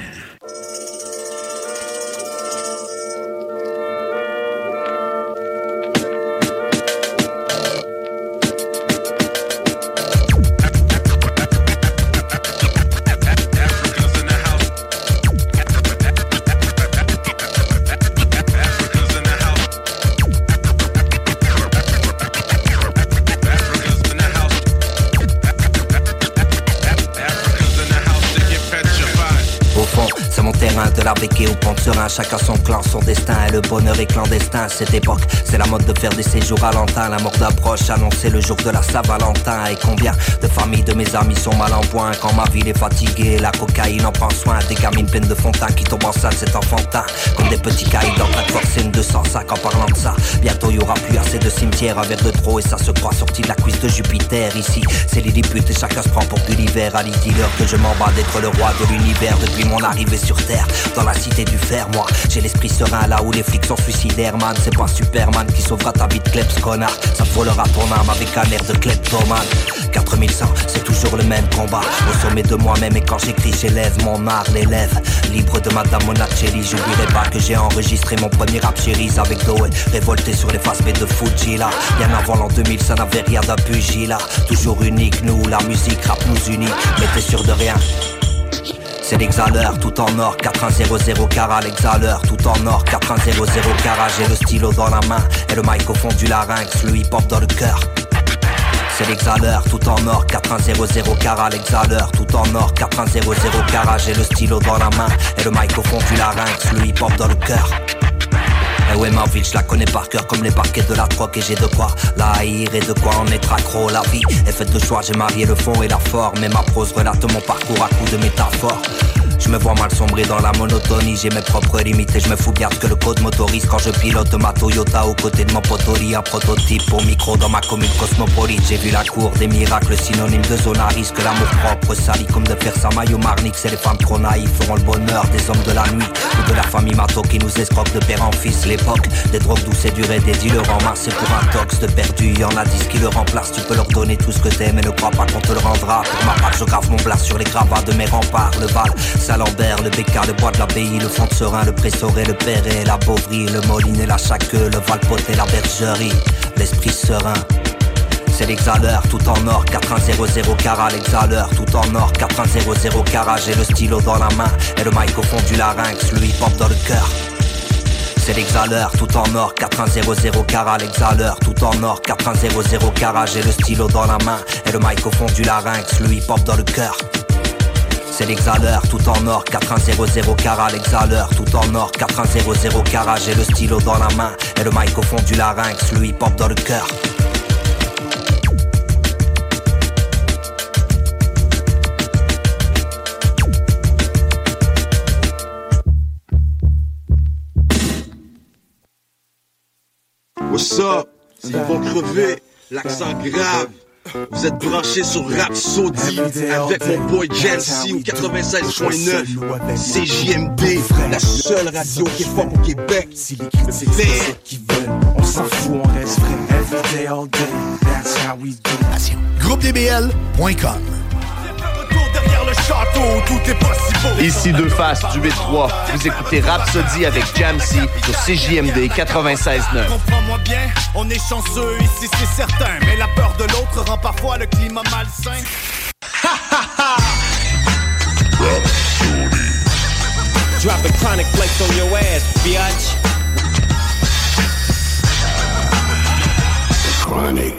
De la béquille au pont de serein, chacun son clan, son destin. Et le bonheur est clandestin à cette époque. C'est la mode de faire des séjours à l'antin. La mort d'approche, annoncer le jour de la Saint-Valentin. Et combien de familles de mes amis sont mal en point. Quand ma ville est fatiguée, la cocaïne en prend soin. Des gamines pleines de fond de teint qui tombent enceinte, c'est enfantin. Comme des petits caïds en train de forcer une 205. En parlant de ça, bientôt y aura plus assez de cimetières. Un verre de trop et ça se croit sorti de la cuisse de Jupiter. Ici, c'est Lilliput et chacun se prend pour Gulliver. À l'heure que je m'en bats d'être le roi de l'univers depuis mon arrivée sur Terre. Dans la cité du fer, moi j'ai l'esprit serein là où les flics sont suicidaires, man. C'est pas Superman qui sauvera ta vie de kleps, connard. Ça te volera ton âme avec un air de kleptomane. 4100, c'est toujours le même combat. Au sommet de moi-même et quand j'écris j'élève mon art, l'élève. Libre de Madame Monacelli, j'oublierai pas que j'ai enregistré mon premier rap chéris avec Doe. Révolté sur les faces B de Fuji là. Bien avant l'an 2000 ça n'avait rien d'un pugilat. Toujours unique, nous, la musique rap nous unit. Mais t'es sûr de rien? C'est l'exhaleur, tout en or, 4100 carat, l'exhaleur, tout en or, 4100 carat. J'ai le stylo dans la main et le mic au fond du larynx, le hip-hop dans le cœur. C'est l'exhaleur, tout en or, 4100 carat, l'exhaleur, tout en or, 4100 carat. J'ai le stylo dans la main et le mic au fond du larynx, le hip-hop dans le cœur. Et ouais, ma ville, je la connais par cœur comme les parquets de la troque. Et j'ai de quoi la haïr et de quoi en être accro. La vie est faite de choix, j'ai marié le fond et la forme. Et ma prose relate mon parcours à coups de métaphores. Je me vois mal sombrer dans la monotonie. J'ai mes propres limites et je me fous bien ce que le code m'autorise. Quand je pilote ma Toyota aux côtés de mon potori. Un prototype au micro dans ma commune cosmopolite. J'ai vu la cour des miracles, synonyme de zone à risque. L'amour propre sali comme de faire sa maille au Marnix. Et les femmes trop naïves feront le bonheur des hommes de la nuit ou de la famille Mato qui nous escroque de père en fils. L'époque des drogues douces et dures et des dealers en masse. C'est pour un tox de perdu, y'en a 10 qui le remplacent. Tu peux leur donner tout ce que t'aimes et ne crois pas qu'on te le rendra. Pour ma part je grave mon blast sur les gravats de mes remparts. Le Val, Saint-Lambert, le Bécard, le Bois de l'Abbaye, le Fond de Serein, le Pressoret, le Perret, la Beauvry, le Moline et la Chaqueux, le Valpoté, la Bergerie, l'esprit serein. C'est l'exhaleur, tout en or, 4100 carat, l'exhaleur, tout en or, 4100 carat. J'ai le stylo dans la main et le mic au fond du larynx, le hip-hop dans le cœur. C'est l'exhaleur tout en or, 4100 carats. L'exhaleur tout en or, 4100 carats. J'ai le stylo dans la main et le mic au fond du larynx, le hip-hop dans le cœur. C'est l'exhaleur tout en or, 4100 carats. L'exhaleur tout en or, 4100 carats. J'ai le stylo dans la main et le mic au fond du larynx, le hip-hop dans le cœur. What's up? Ils vont crever, l'accent grave. Vous êtes branchés sur Rhapsody avec mon boy Jancy au 96.9 CJMD, la seule radio qui est forte au Québec. Si les critiques c'est ceux qui veulent, on s'en fout, on reste vrai. Every day, all day, that's how we do. GroupeDBL.com. Le château, tout est possible. Ici Deux Faces du 8-3. Vous écoutez Rhapsody avec Jamsey sur CJMD 96.9. Comprends-moi bien, on est chanceux ici, c'est certain. Mais la peur de l'autre rend parfois le climat malsain. Drop a chronic flex on your ass, biatch. Chronic.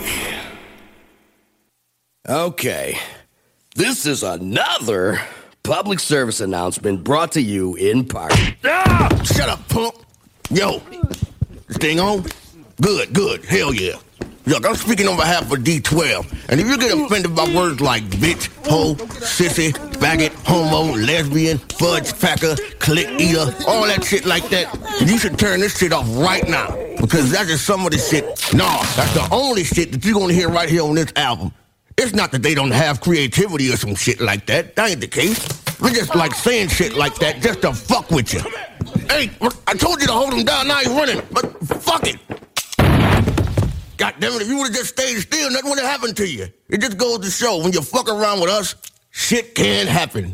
Okay. This is another public service announcement brought to you in part. Ah! Shut up, punk! Yo, this thing on? Good, good, hell yeah. Look, I'm speaking on behalf of D12, and if you get offended by words like bitch, hoe, sissy, faggot, homo, lesbian, fudge packer, click eater, all that shit like that, you should turn this shit off right now, because that's just some of the shit. Nah, that's the only shit that you're gonna hear right here on this album. It's not that they don't have creativity or some shit like that. That ain't the case. We're just like saying shit like that just to fuck with you. Hey, I told you to hold him down, now he's running. But fuck it. God damn it, if you would've just stayed still, nothing would've happened to you. It just goes to show, when you fuck around with us, shit can happen.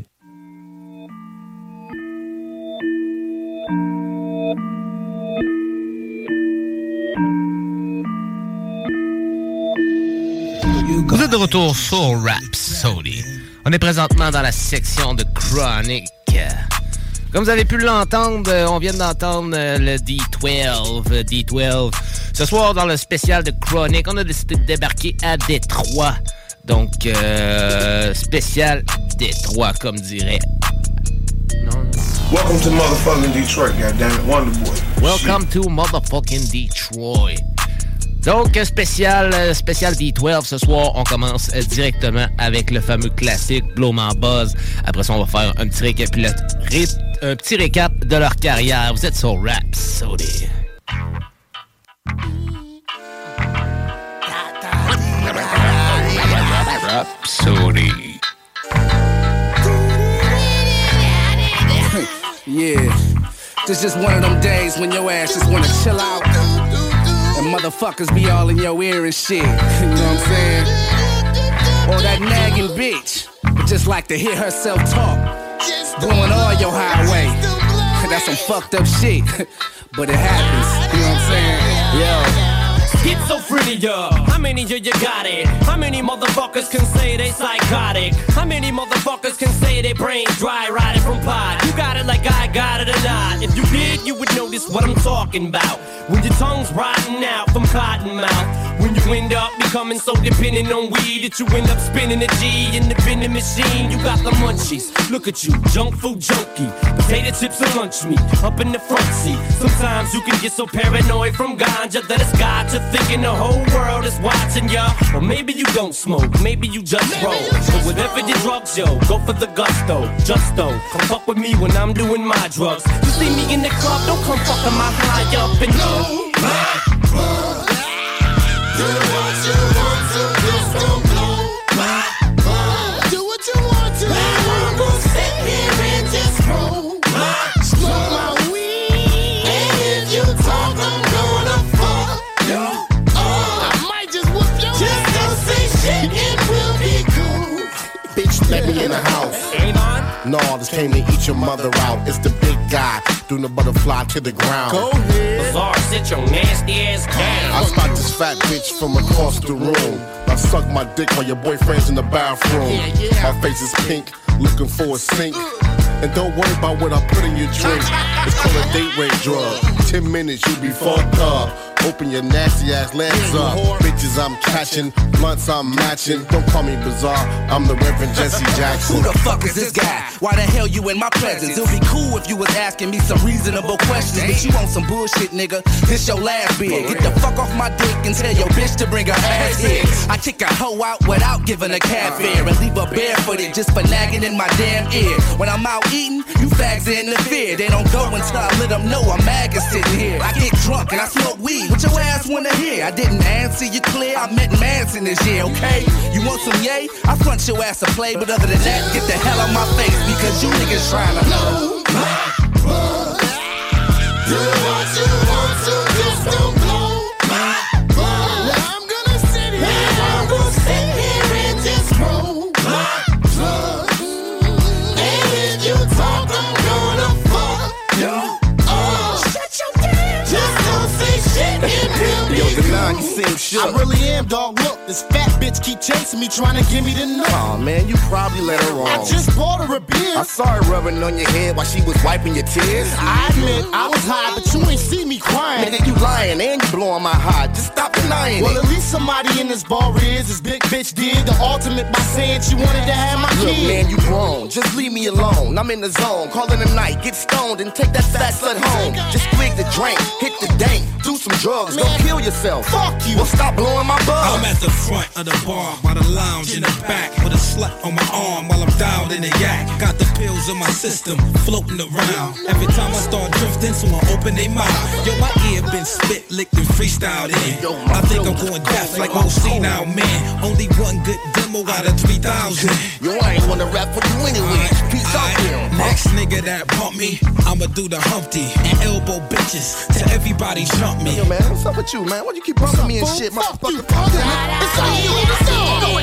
Vous êtes de retour sur Rhapsody. On est présentement dans la section de Chronic. Comme vous avez pu l'entendre, on vient d'entendre le D12. D12. Ce soir, dans le spécial de Chronic, on a décidé de débarquer à Détroit. Donc, spécial Détroit, comme dirait. Welcome to motherfucking Detroit, goddammit, Wonderboy. Welcome to motherfucking Detroit. Donc, spécial D12 ce soir, on commence directement avec le fameux classique Blow My Buzz. Après ça, on va faire un petit récap de leur carrière. Vous êtes sur Rhapsody. Rhapsody. Yeah, this just one of them days when your ass just wanna chill out. And motherfuckers be all in your ear and shit. You know what I'm saying? Or that nagging bitch would just like to hear herself talk. Blowing all your highway. That's some fucked up shit. But it happens. You know what I'm saying? Yo. Schizophrenia, how many of you got it? How many motherfuckers can say they psychotic? How many motherfuckers can say they brains dry riding from pot? You got it like I got it or not. If you did, you would notice what I'm talking about. When your tongue's rotting out from cotton mouth. When you end up becoming so dependent on weed that you end up spinning a G in the vending machine. You got the munchies, look at you, junk food junkie. Potato chips and lunch meat, up in the front seat. Sometimes you can get so paranoid from ganja that it's got you thinking the whole world is watching ya. Or maybe you don't smoke, maybe you just roll. But whatever your drugs, yo, go for the gusto. Just don't come fuck with me when I'm doing my drugs. You see me in the club, don't come fucking my high up and blow my buzz. Do what you want to, just don't blow my buzz. Do what you want to, I'm gonna sit here and just roll my weed. And if you talk, I'm gonna fuck you up. I might just whoop your ass. Just don't say shit and we'll be cool. Bitch, let me in the house. No, this came to eat your mother out. It's the big guy, doing the butterfly to the ground. Go ahead. Bizarre, sit your nasty ass down. I spot this fat bitch from across the room. I suck my dick while your boyfriend's in the bathroom. My face is pink, looking for a sink. And don't worry about what I put in your drink. It's called a date rape drug. 10 minutes, you'll be fucked up. Open your nasty ass legs up. Bitches I'm catching, blunts I'm matching. Don't call me bizarre, I'm the Reverend Jesse Jackson. Who the fuck is this guy? Why the hell you in my presence? It'll be cool if you was asking me some reasonable questions. But you want some bullshit, nigga. This your last bid. Get the fuck off my dick and tell your bitch to bring her ass here. I kick a hoe out without giving a cat fare. And leave her barefooted just for nagging in my damn ear. When I'm out eating, you fags interfere. They don't go until I let them know I'm maggot sitting here. I get drunk and I smoke weed. What your ass wanna hear? I didn't answer you clear. I met Manson this year, okay? You want some yay? I front your ass to play, but other than that, get the hell out my face because you niggas trying to know my buzz. Do what you want to, just don't blow my buzz. I'm gonna sit here, I'm gonna sit here and just roll my buzz. And if you talk, I'm gonna fuck you up. Shut your damn mouth. Just don't say shit and we'll be You seem shook. I really am, dog. Look, this fat bitch keep chasing me, trying to give me the nut. Aw, man, you probably let her wrong. I just bought her a beer. I saw her rubbing on your head while she was wiping your tears. I admit, I was high, but you ain't see me crying. Nigga, you lying and you blowing my high. Just stop denying well, it. At least somebody in this bar is. This big bitch did the ultimate by saying she wanted to have my Look, kid. man, you grown. Just leave me alone. I'm in the zone. Call it a night. Get stoned and take that fat slut home. Just twig the drink. Hit the dank. Do some drugs. Don't kill yourself. Fuck you. Well, stop blowing my buzz. I'm at the front of the bar, by the lounge in the back, with a slut on my arm while I'm down in the yak. Got the pills in my system, floating around. Every time I start drifting, someone open their mouth. Yo, my ear been spit, licked, and freestyled in. I think I'm going deaf like old senile man. Only one good demo out of 3,000. Yo, I ain't wanna rap for you anyway. Peace out here. Next nigga that bump me, I'ma do the Humpty and elbow bitches till everybody jump me. Yo, man, what's up with you, man? Why you keep bumping me and shit, motherfucker? It's on you, it's on you.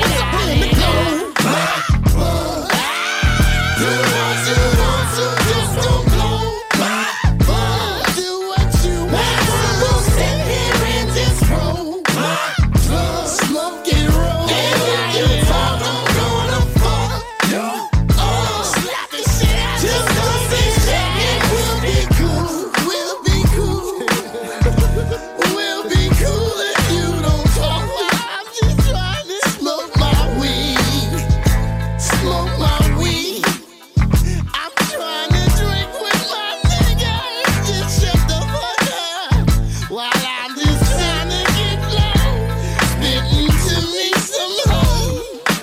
Do what you want to, just don't blow my buzz. Do what you want to, go sit here and just roll my buzz. Smoke and roll, and when you talk, I'm gonna fuck you up. Slap the shit out, just don't say shit and we'll be cool. We'll be cool. We'll be cool if you don't talk. I'm just trying to smoke my weed. Smoke my weed. I'm trying to drink with my nigga. Just shut the fuck up. While I'm just trying to get low. Spitting to me some hoes.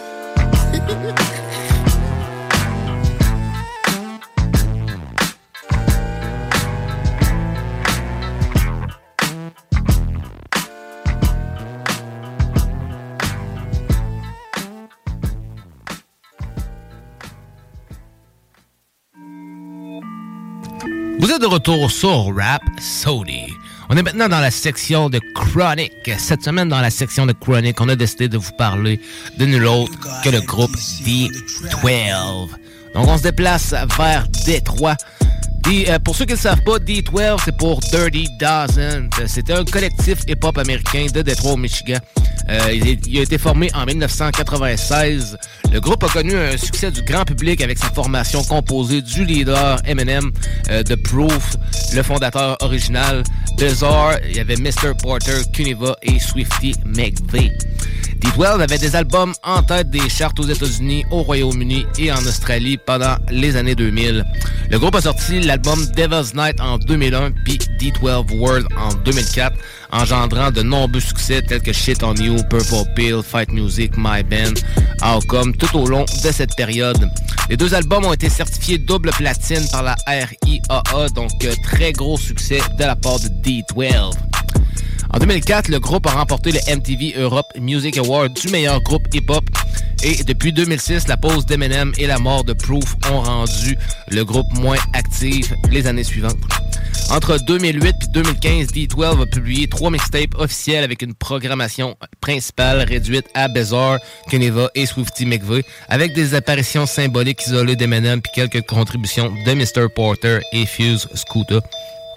Vous êtes de retour sur Rap Sody. On est maintenant dans la section de Chronic. Cette semaine, dans la section de Chronic, on a décidé de vous parler de nul autre que le groupe D12. Donc, on se déplace vers Détroit. Pour ceux qui ne le savent pas, D12, c'est pour Dirty Dozen. C'était un collectif hip-hop américain de Détroit au Michigan. Il a été formé en 1996. Le groupe a connu un succès du grand public avec sa formation composée du leader Eminem, de Proof, le fondateur original, Bizarre, il y avait Mr. Porter, Kuniva et Swifty McVeigh. D12 avait des albums en tête des charts aux États-Unis, au Royaume-Uni et en Australie pendant les années 2000. Le groupe a sorti l'album Devil's Night en 2001 puis D12 World en 2004, engendrant de nombreux succès tels que Shit on You, Purple Pill, Fight Music, My Band, Outcome, tout au long de cette période. Les deux albums ont été certifiés double platine par la RIAA, donc très gros succès de la part de D12. En 2004, le groupe a remporté le MTV Europe Music Award du meilleur groupe hip-hop. Et depuis 2006, la pause d'Eminem et la mort de Proof ont rendu le groupe moins actif les années suivantes. Entre 2008 et 2015, D12 a publié 3 mixtapes officiels avec une programmation principale réduite à Bizarre, Kuniva et Swifty McVeigh, avec des apparitions symboliques isolées d'Eminem puis quelques contributions de Mr. Porter et Fuse Scooter.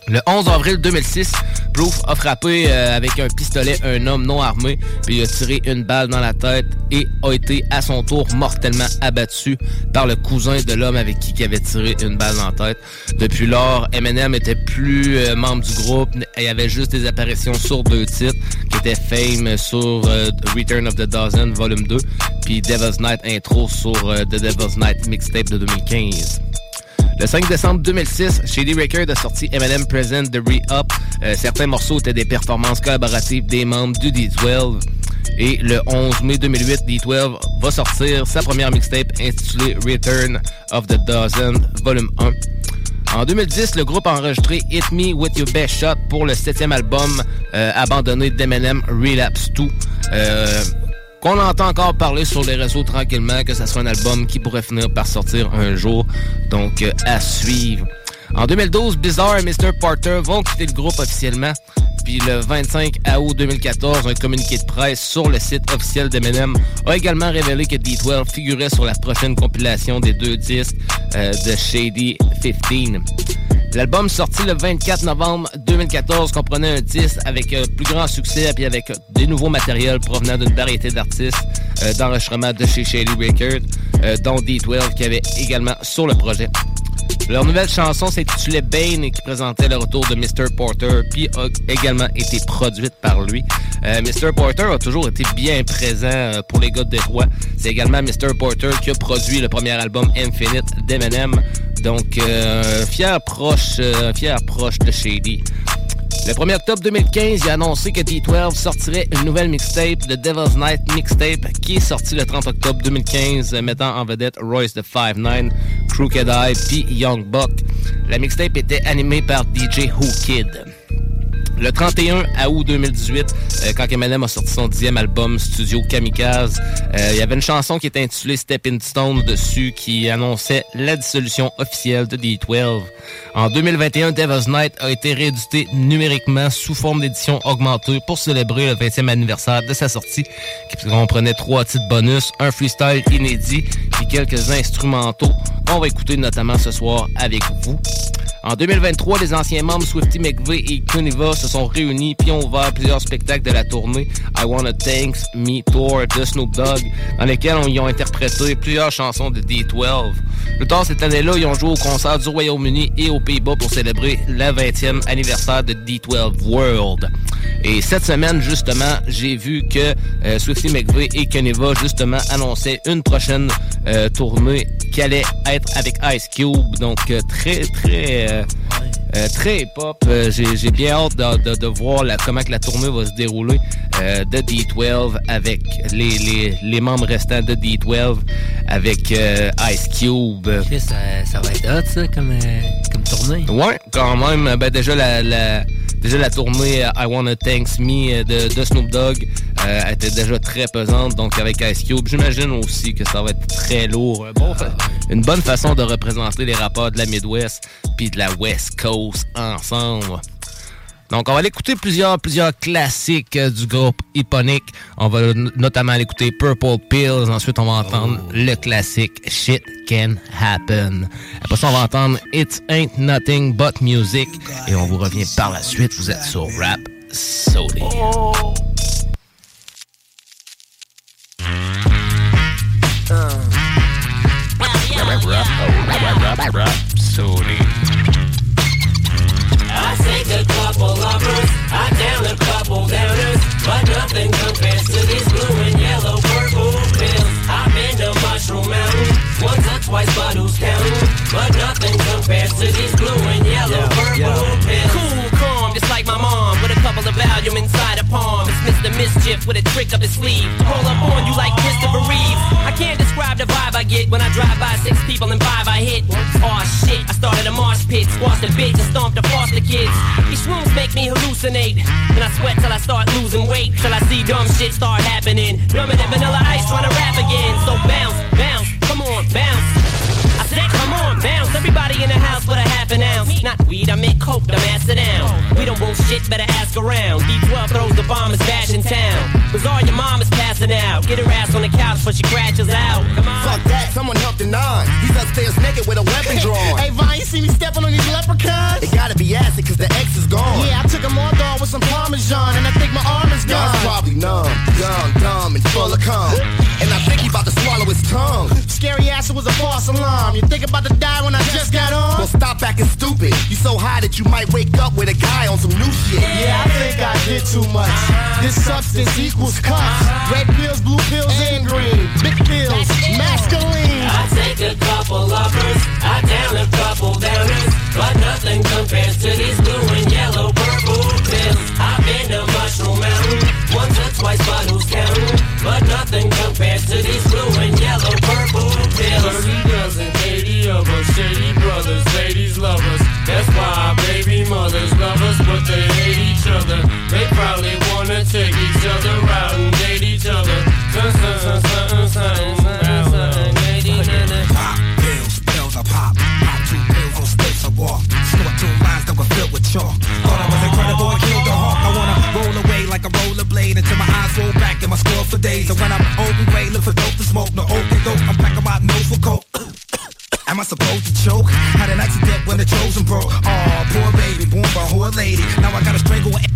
Le 11 avril 2006, Proof a frappé avec un pistolet un homme non armé, puis il a tiré une balle dans la tête et a été à son tour mortellement abattu par le cousin de l'homme avec qui il avait tiré une balle dans la tête. Depuis lors, Eminem était plus membre du groupe, il y avait juste des apparitions sur 2 titres, qui étaient Fame sur Return of the Dozen Volume 2, puis Devil's Night Intro sur The Devil's Night Mixtape de 2015. Le 5 décembre 2006, Shady Records a sorti Eminem Present The Re-Up. Certains morceaux étaient des performances collaboratives des membres du D12. Et le 11 mai 2008, D12 va sortir sa première mixtape intitulée Return of the Dozen Volume 1. En 2010, le groupe a enregistré Hit Me With Your Best Shot pour le 7e album abandonné d'Eminem, Relapse 2. Qu'on entend encore parler sur les réseaux tranquillement, que ça soit un album qui pourrait finir par sortir un jour. Donc, à suivre. En 2012, Bizarre et Mr. Porter vont quitter le groupe officiellement. Puis le 25 août 2014, un communiqué de presse sur le site officiel d'Eminem a également révélé que D12 figurait sur la prochaine compilation des 2 disques de Shady 15. L'album sorti le 24 novembre 2014 comprenait un disque avec plus grand succès puis avec des nouveaux matériels provenant d'une variété d'artistes d'enregistrement de chez Shady Records, dont D12 qui avait également sur le projet. Leur nouvelle chanson s'intitulait Bane et qui présentait le retour de Mr. Porter puis a également été produite par lui. Mr. Porter a toujours été bien présent pour les gars de Détroit. C'est également Mr. Porter qui a produit le premier album Infinite d'Eminem. Donc, fier proche de Shady. Le 1er octobre 2015, il a annoncé que D12 sortirait une nouvelle mixtape, The Devil's Night Mixtape, qui est sortie le 30 octobre 2015, mettant en vedette Royce the 5'9", Crooked Eye puis Young Buck. La mixtape était animée par DJ Who Kid. Le 31 août 2018, quand Eminem a sorti son 10e album Studio Kamikaze, il y avait une chanson qui était intitulée Stepping Stone dessus qui annonçait la dissolution officielle de D12. En 2021, Devil's Night a été réédité numériquement sous forme d'édition augmentée pour célébrer le 20e anniversaire de sa sortie, qui comprenait 3 titres bonus, un freestyle inédit et quelques instrumentaux qu'on va écouter notamment ce soir avec vous. En 2023, les anciens membres Swifty McVeigh et Kuniva se sont réunis puis ont ouvert plusieurs spectacles de la tournée I Wanna Thanks Me Tour de Snoop Dogg, dans lesquels ils ont interprété plusieurs chansons de D12. Plus tard cette année-là, ils ont joué au concert du Royaume-Uni et aux Pays-Bas pour célébrer le 20e anniversaire de D12 World. Et cette semaine, justement, j'ai vu que Swifty McVeigh et Kuniva, justement, annonçaient une prochaine tournée qui allait être avec Ice Cube. Donc, très hip-hop. J'ai bien hâte de voir comment que la tournée va se dérouler de D12 avec les membres restants de D12 avec Ice Cube. Ça va être hot, ça, comme tournée. Ouais, quand même. Ben, déjà la tournée I Wanna Thanks Me de Snoop Dogg était déjà très pesante, donc avec Ice Cube, j'imagine aussi que ça va être très lourd. Une bonne façon de représenter les rappeurs de la Midwest puis de la West Coast ensemble. Donc, on va aller écouter plusieurs classiques du groupe Eponic. On va notamment aller écouter Purple Pills. Ensuite, on va entendre le classique Shit Can Happen. Après ça, on va entendre It Ain't Nothing But Music. Et on vous revient par la suite. Vous êtes sur Rap Sody. Rap Sody. I take a couple lovers, I down a couple downers, but nothing compares to these blue and yellow purple pills. I've been to Mushroom Mountain once or twice, but who's counting? But nothing compares to these blue and yellow purple pills. Cool, calm, just like my mom, with a couple of Valium inside a palm. It's Mr. Mischief with a trick up his sleeve. Roll up on you like Christopher Reeves. I can't describe the vibe I get when I drive by 6 people and 5 I hit. Aw shit, I started a mosh pit, squashed a bitch and stomped the foster kids. These shrooms make me hallucinate, and I sweat till I start losing weight, till I see dumb shit start happening. Dumber than Vanilla Ice trying to rap again. So bounce, bounce, come on, bounce. I said, come on, bounce. Everybody in the house with a half an ounce. Not weed, I meant coke, I'm acid down. We don't bullshit, better ask around. D12 throws the bomb, is bash in town. Bizarre, your mom is passing out. Get her ass on the couch before she crashes out. Come on. Fuck that, someone helped the nine. He's upstairs naked with a weapon drawn. Hey, Vine, you see me stepping on these leprechauns? It gotta be acid, cause the X is gone. Yeah, I took a more dog with some Parmesan, and I think my arm is gone. Y'all's probably numb, young, dumb, and full of cum. And I think he about to swallow his tongue. Scary ass, it was a false alarm. You think about to die when I just got on? Well, stop acting stupid. You so high that you might wake up with a guy on some new shit. Yeah, I think I did too much. This substance equals cups. Red pills, blue pills, and green. Big pills, masculine. I take a couple uppers, I down a couple downers, but nothing compares to these blue and yellow purple pills. I've been to Mushroom Mountain once or twice, but who's counting? But nothing compares to these blue and yellow purple pills. 30 dozen, 80 of us, shady brothers, ladies love us. That's why our baby mothers love us, but they hate each other. They probably wanna take each other out and date each other. Pop pills, pills I pop. Pop 2 pills on sticks I walk. Snort 2 lines that were filled with chalk. Thought I was incredible, I killed the hawk. I wanna roll away like a rollerblade until my eyes roll back and my score for days. And when I'm open way, look for dope to smoke. No open dope, I'm packing my nose for coke. Am I supposed to choke? Had an accident when the chosen broke. Aw, poor baby, born by a whore lady. Now I gotta strangle her.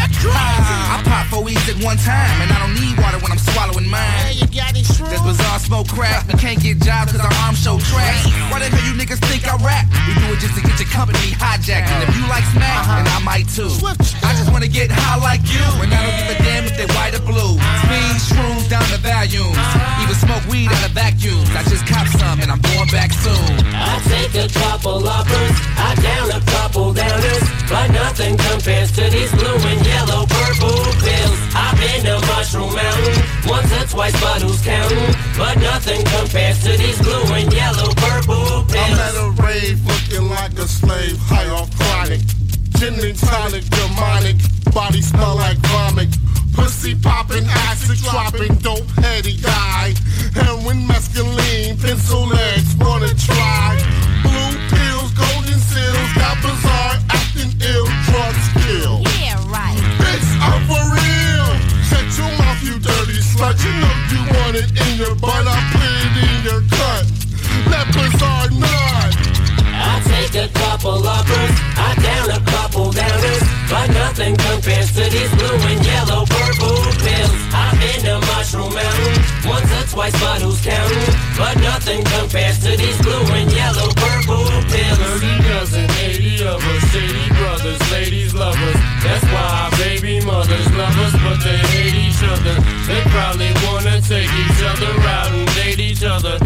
I pop 4 weeks at one time, and I don't need water when I'm swallowing mine. Hey, you got it true. This bizarre smoke crack. We can't get jobs cause our arms show trash. Why the hell you niggas think I rap? We do it just to get your company hijacked. And if you like smack, then I might too. I just wanna get high like you, and I don't give a damn if they white or blue. Speed, shrooms down to volumes. Even smoke weed out of vacuums. I just cop some and I'm going back soon. I take a couple uppers, I down a couple downers, but nothing compares to these blue and yellow purple pills. I've been to Mushroom Mountain once or twice, but who's counting? But nothing compares to these blue and yellow purple pills. I'm at a rave looking like a slave, high off chronic. Gin and tonic, demonic, body smell like vomit. Pussy popping, acid dropping, dope heady guy. Heroin, mescaline, pencil legs, wanna try. Blue pills, golden seals, got bizarre, acting ill, drugs kill. Yeah, right. Bitch, I'm for real. Shut your mouth, you dirty slut. You know you want it in your butt, I put it in your cut. Let bizarre nut. I take a couple uppers, I down a couple downers, but nothing compares to these blue and yellow purple pills. I've been to Mushroom Mountain once or twice, but who's counting? But nothing compares to these blue and yellow purple pills. 30 dozen, 80 of us, shady brothers, ladies love us. That's why our baby mothers love us, but they hate each other. They probably wanna take each other out and date each other.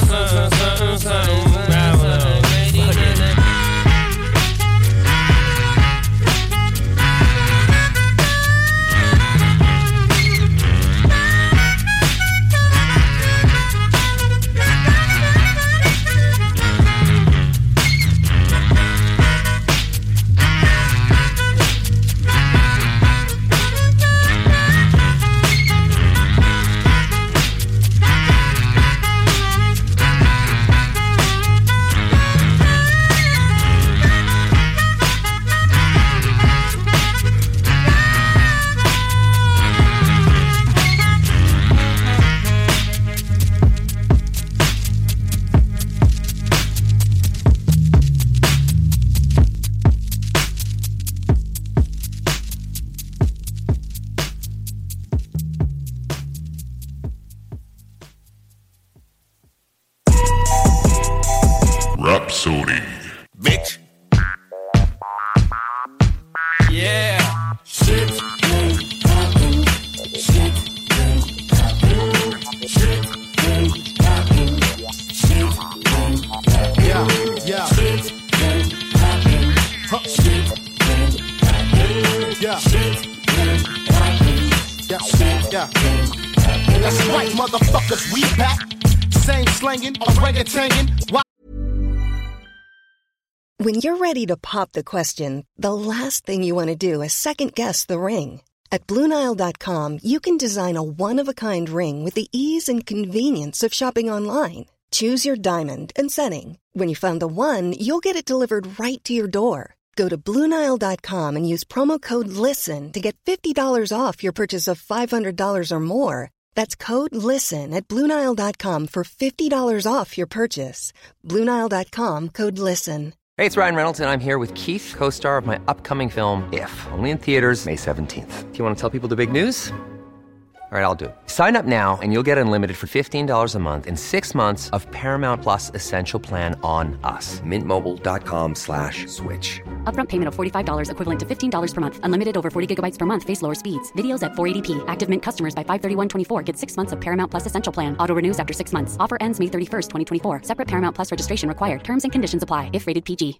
Rhapsody. Bitch. Yeah. Shit ain't poppin'. Shit ain't poppin'. Shit ain't poppin'. Shit ain't poppin'. Yeah. Shit ain't poppin'. Shit ain't poppin'. Yeah. Shit ain't poppin'. Yeah. That's right, motherfuckers. We back. Same slangin', orangutangin'. When you're ready to pop the question, the last thing you want to do is second-guess the ring. At BlueNile.com, you can design a one-of-a-kind ring with the ease and convenience of shopping online. Choose your diamond and setting. When you find the one, you'll get it delivered right to your door. Go to BlueNile.com and use promo code LISTEN to get $50 off your purchase of $500 or more. That's code LISTEN at BlueNile.com for $50 off your purchase. BlueNile.com, code LISTEN. Hey, it's Ryan Reynolds, and I'm here with Keith, co-star of my upcoming film, If, only in theaters May 17th. Do you want to tell people the big news? All right, I'll do it. Sign up now and you'll get unlimited for $15 a month and 6 months of Paramount Plus Essential Plan on us. MintMobile.com/switch. Upfront payment of $45 equivalent to $15 per month. Unlimited over 40 gigabytes per month. Face lower speeds. Videos at 480p. Active Mint customers by 531.24 get 6 months of Paramount Plus Essential Plan. Auto renews after 6 months. Offer ends May 31st, 2024. Separate Paramount Plus registration required. Terms and conditions apply if rated PG.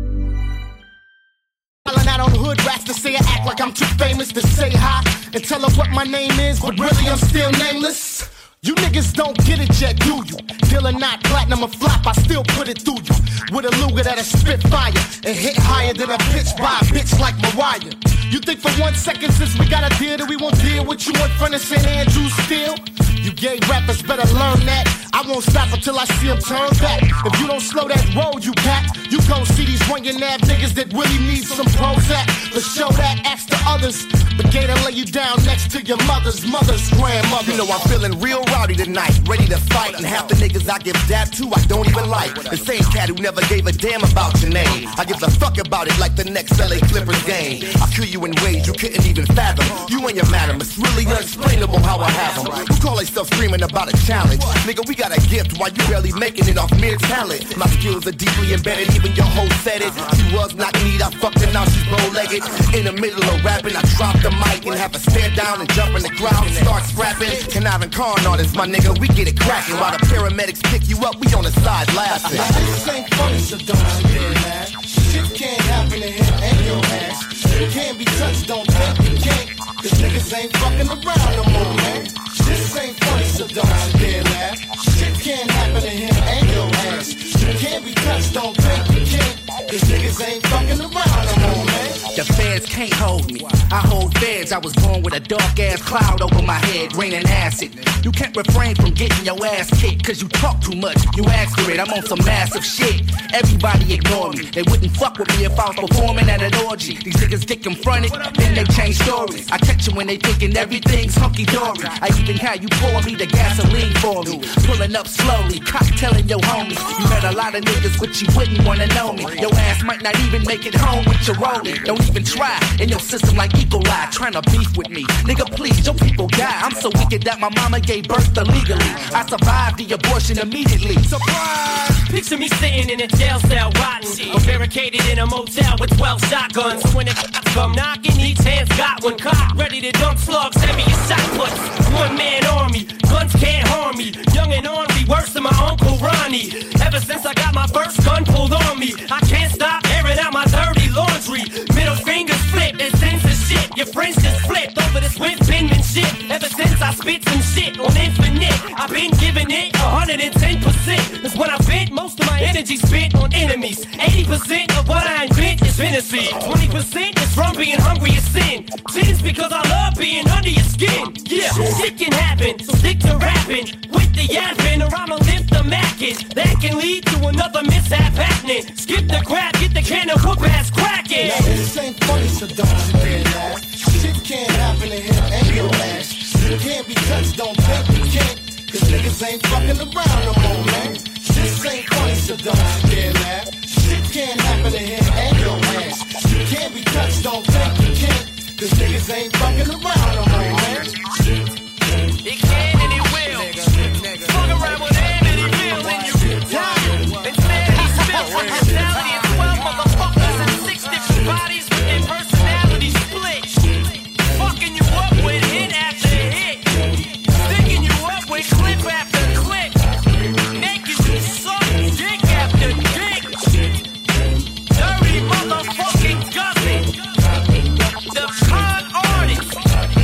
Out on hood rats to say I act like I'm too famous to say hi and tell her what my name is, but really I'm still nameless. You niggas don't get it yet, do you? Deal or not, platinum or flop, I still put it through you. With a Luger that'll spit fire and hit higher than a bitch by a bitch like Mariah. You think for 1 second since we got a deal that we won't deal with you in front of St. Andrews still? You gay rappers better learn that. I won't stop until I see them turn back. If you don't slow that road, you cat, you gon' see these running ab niggas that really need some Prozac. To show that, ask the others. But Gator lay you down next to your mother's grandmother. You know I'm feeling real rowdy tonight, ready to fight. And half the niggas I give dap to, I don't even like. The same cat who never gave a damn about your name. I give a fuck about it like the next LA Clippers game. I'll kill you in ways you couldn't even fathom. You and your madam, it's really unexplainable how I have them. You call yourself screaming about a challenge. Nigga, we got a gift while you barely making it off mere talent. My skills are deeply embedded, even your hoe said it. She was not neat, I fucked her, now she's bow-legged. In the middle of rapping, I drop the mic and have her stare down and jump in the crowd and start scrapping. Conniving con artists, my nigga, we get it cracking. While the paramedics pick you up, we on the side laughing. This ain't funny, so don't you get mad. Shit can't happen to him and your ass. You can't be touched, don't think you can't. Cause niggas ain't fucking around no more, man. This ain't funny, so don't you dare laugh. Shit can't happen to him and your ass. You can't be touched, don't think you can't. Cause niggas ain't fucking around no more, man. The feds can't hold me. I hold feds. I was born with a dark ass cloud over my head, raining acid. You can't refrain from getting your ass kicked cause you talk too much. You ask for it, I'm on some massive shit. Everybody ignore me. They wouldn't fuck with me if I was performing at an orgy. These niggas get confronted, then they change stories. I catch them when they thinking everything's hunky-dory. I even had you pour me the gasoline for me. Pulling up slowly, cocktailing your homies. You met a lot of niggas but you wouldn't wanna know me. Your ass might not even make it home with your rollie. Don't even try in your system like E. coli, trying to beef with me. Nigga, please, your people die. I'm so wicked that my mama gave birth illegally. I survived the abortion immediately. Surprise! Picture me sitting in a jail cell rotten, or barricaded in a motel with 12 shotguns. So when the cops come knocking, each hand's got one cock, ready to dump slugs, heavy as shot puts. One-man army, guns can't harm me. Young and ornery, worse than my Uncle Ronnie. Ever since I got my first gun pulled on me, I can't stop airing out my dirty laundry. Middle fingers flip and censorship. Your friends just flipped over this whip penmanship. Ever since I spit some shit on Infinite, I've been giving it 110%. That's when I vent most of my energy spent on enemies. 80% of what I invent is fantasy. 20% is from being hungry as sin. 10's because I love being under your skin. Yeah, shit can happen, so stick to rapping. With the yapping or I'ma lift the mackin'. That can lead to another mishap happening. Skip the crap, get the can of whoop ass cracking. Now this ain't funny, so don't you dare laugh. Shit can't happen to him and your ass. You can't be touched, don't think you can't. Cause niggas ain't fucking around no more, man. This ain't funny, so don't you dare laugh. Shit can't happen to him and your ass. You can't be touched, don't think you can't. Cause niggas ain't fucking around no more, man. It can and it will. Fuck around with him and he will. And you die. Instead he spills with brutality and 12 motherfuckers and 6 different bodies with their personalities split. Fucking you up with hit after hit. Sticking you up with clip after clip. Making you suck dick after dick. Dirty motherfucking gusset. The con artist.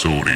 Rhapsody.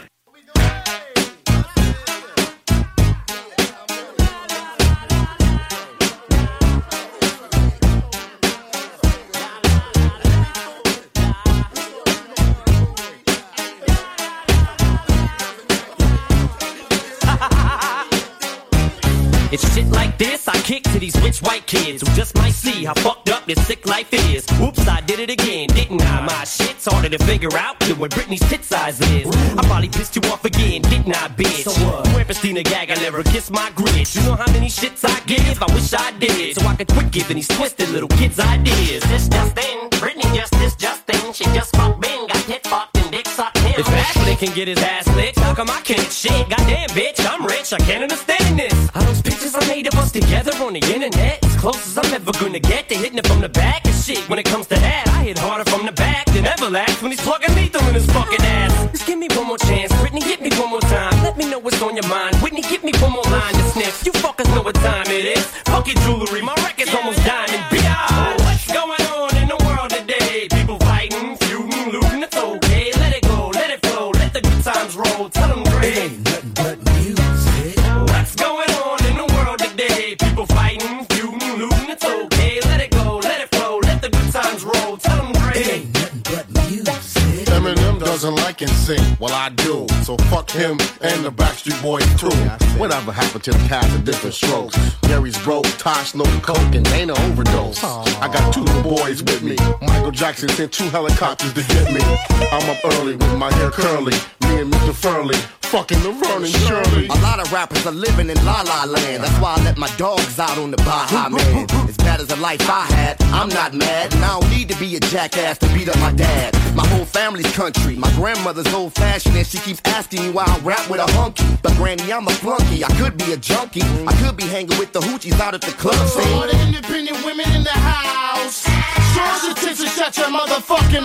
It's shit like this I kick to these rich white kids who just might see how fucked up this sick life is. Whoops, I did it again, didn't I? My shit's harder to figure out than what Britney's tit size is. I probably pissed you off again, didn't I, bitch? So what? Where Christina Gaga never kissed my grits. You know how many shits I give? I wish I did. So I could quit giving these twisted little kids ideas. This just in, Britney just this just in. She just fucked Ben, got tit fucked and dick sucked him. If Ashley can get his ass licked, how come I can't shit? Goddamn bitch, I'm rich, I can't understand this. Are those pictures I made of us together on the internet? As close as I'm ever gonna get to hitting it from the back and shit. When it comes to that, I hit harder from the back than Everlast when he's plugging lethal in his fucking ass. Just give me one more chance, Britney, hit me one more time. Let me know what's on your mind. Whitney, give me one more line to sniff. You fuckers know what time it is. Fuck your jewelry, my record's almost diamond. B.I. What's going on in the world today? People fighting, feuding, looting, it's okay. Let it go, let it flow, let the good times roll. Tell them great. It ain't nothing but music. What's going on in the world today? People fighting, feuding, looting, it's okay. Let it go, let it flow, let the good times roll. Tell them great. It ain't nothing but music. Eminem doesn't like NSYNC, well I do. So fuck him and the Backstreet Boys too. Whatever happened to the cast of different strokes? Gary's broke, Tosh no coke, and Dana overdose. I got two little boys with me. Michael Jackson sent 2 helicopters to get me. I'm up early with my hair curly. Me and Mr. Furley, fucking the Vernon Shirley. A lot of rappers are living in La La Land. That's why I let my dogs out on the Baja Man. As bad as the life I had, I'm not mad. And I don't need to be a jackass to beat up my dad. My whole family's country. My grandmother's old fashioned and she keeps asking me why I rap with a hunky. But granny, I'm a flunky. I could be a junkie. I could be hanging with the hoochies out at the club. For all the independent women in the house, show your tits and shut your motherfucking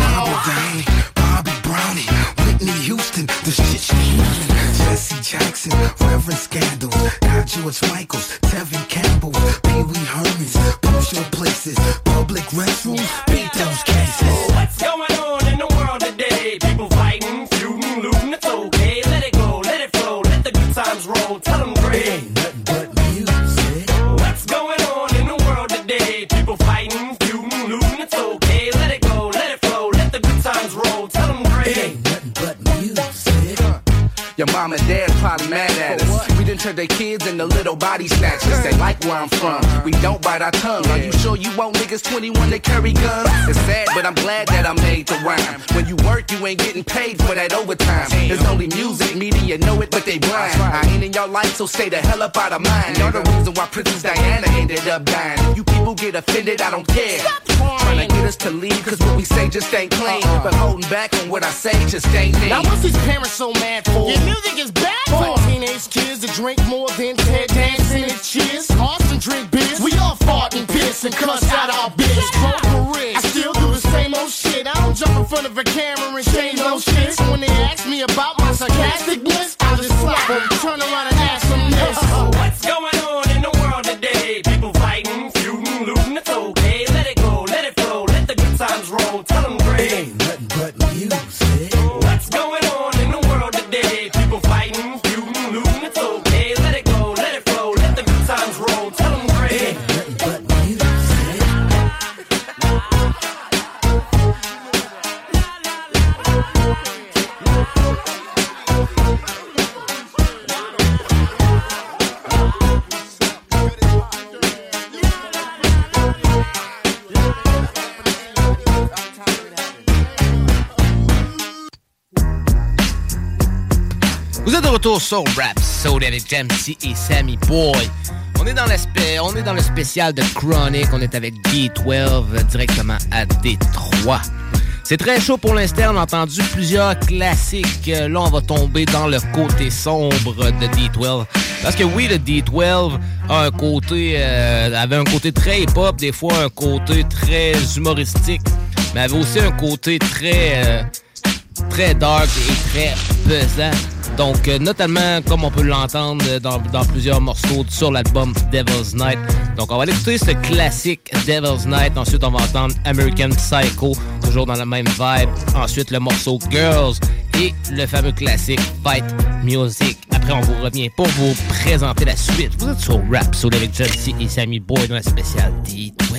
mouth. Bobby Brownie, Whitney Houston, the shit she using. Jesse Jackson, Reverend Scandals, got George Michaels, Tevin Campbell, Pee Wee Hermans, push places, public restrooms, beat those cases. What's going on in the world today? People fighting, feuding, looting, it's okay. Let it go, let it flow, let the good times roll. Tell them great. It ain't nothing but music. What's going on in the world today? People fighting, feuding, looting, it's okay. Let it go, let it flow, let the good times roll. Tell them great. It ain't nothing but music. Your mom and dad probably mad at us. We done turned their kids into little body snatchers. They like where I'm from. We don't bite our tongue. Are you sure you want niggas 21 that carry guns? It's sad, but I'm glad that I made the rhyme. When you work, you ain't getting paid for that overtime. There's only music, media know it, but they blind. I ain't in your life, so stay the hell up out of mine. You're the reason why Princess Diana ended up dying. If you people get offended, I don't care. Trying to get us to leave, cause what we say just ain't clean. But holding back on what I say just ain't me. Now what's these parents so mad for? Your music is bad for teenage kids that drink more than Ted dancing and cheers. Austin drink beers. We all fart and piss and cuss out our bitch. Smoke careers. I still do the same old shit. I don't jump in front of a camera and change no shit. So when they ask me about my sarcasticness, I just slap them, turn around and ask them this. What's going on in the world today? People fighting, feuding, looting, it's okay. Let it go, let it flow, let the good times roll. Tell them great. It ain't nothing but music. What's going on in the world today? People fighting, feuding, looting, it's okay. Let it go, let it flow, let the good times roll. Tell them great. It ain't nothing but music. Vous êtes de retour sur Rhapsody avec Jamsey et Sammy Boy. On est dans le spécial de Chronic. On est avec D12 directement à Détroit. C'est très chaud pour l'instant. On a entendu plusieurs classiques. Là, on va tomber dans le côté sombre de D12. Parce que oui, le D12 a avait un côté très hip-hop, des fois un côté très humoristique, mais avait aussi un côté très dark et très pesant. Donc, notamment, comme on peut l'entendre dans plusieurs morceaux sur l'album Devil's Night. Donc, on va aller écouter ce classique Devil's Night. Ensuite, on va entendre American Psycho, toujours dans la même vibe. Ensuite, le morceau Girls. et le fameux classique Fight Music. Après, on vous revient pour vous présenter la suite. Vous êtes sur Rap Soul avec John-C et Sammy Boy dans la spéciale D12.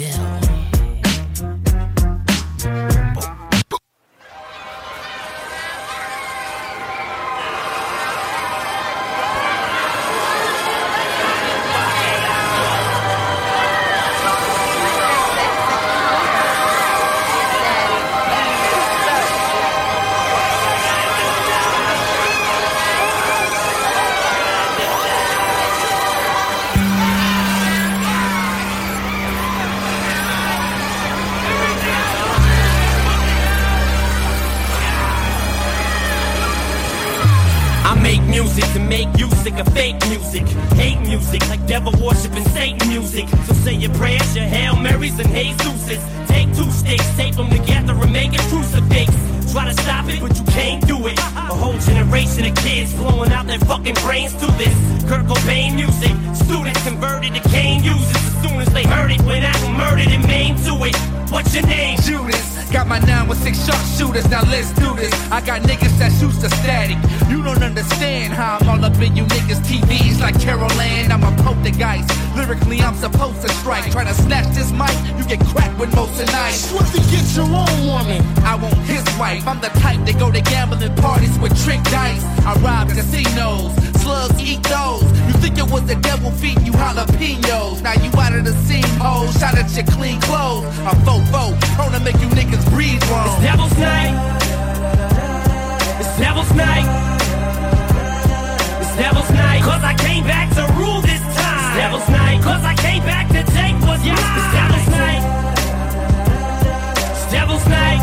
Music to make you sick of fake music. Hate music like devil worshiping Satan music. So say your prayers, your Hail Marys and Jesuses. Take 2 sticks, tape them together and make a crucifix. Try to stop it, but you can't do it. A whole generation of kids blowing out their fucking brains to this Kurt Cobain music. Students converted to cane users as soon as they heard it. Went out and murdered and maimed to it. What's your name? Judas. Got my 916 sharpshooters, now let's do this. I got niggas that shoots the static. You don't understand how I'm all up in you niggas' TVs like Carol Ann. I'm a poltergeist. Lyrically, I'm supposed to strike. Try to snatch this mic, you get cracked with most of night. Swiftly get your own woman. I want his wife. I'm the type that go to gambling parties with trick dice. I rob casinos, slugs eat those. You think it was the devil feeding you jalapenos. Now you out of the scene, ho. Shot at your clean clothes. I'm fofo, prone to make you niggas breathe wrong. It's Devil's Night. It's Devil's Night. It's Devil's Night. Cause I came back to rule this time. It's Devil's Night. Cause I came back to take what's mine. It's Devil's Night. It's Devil's Night.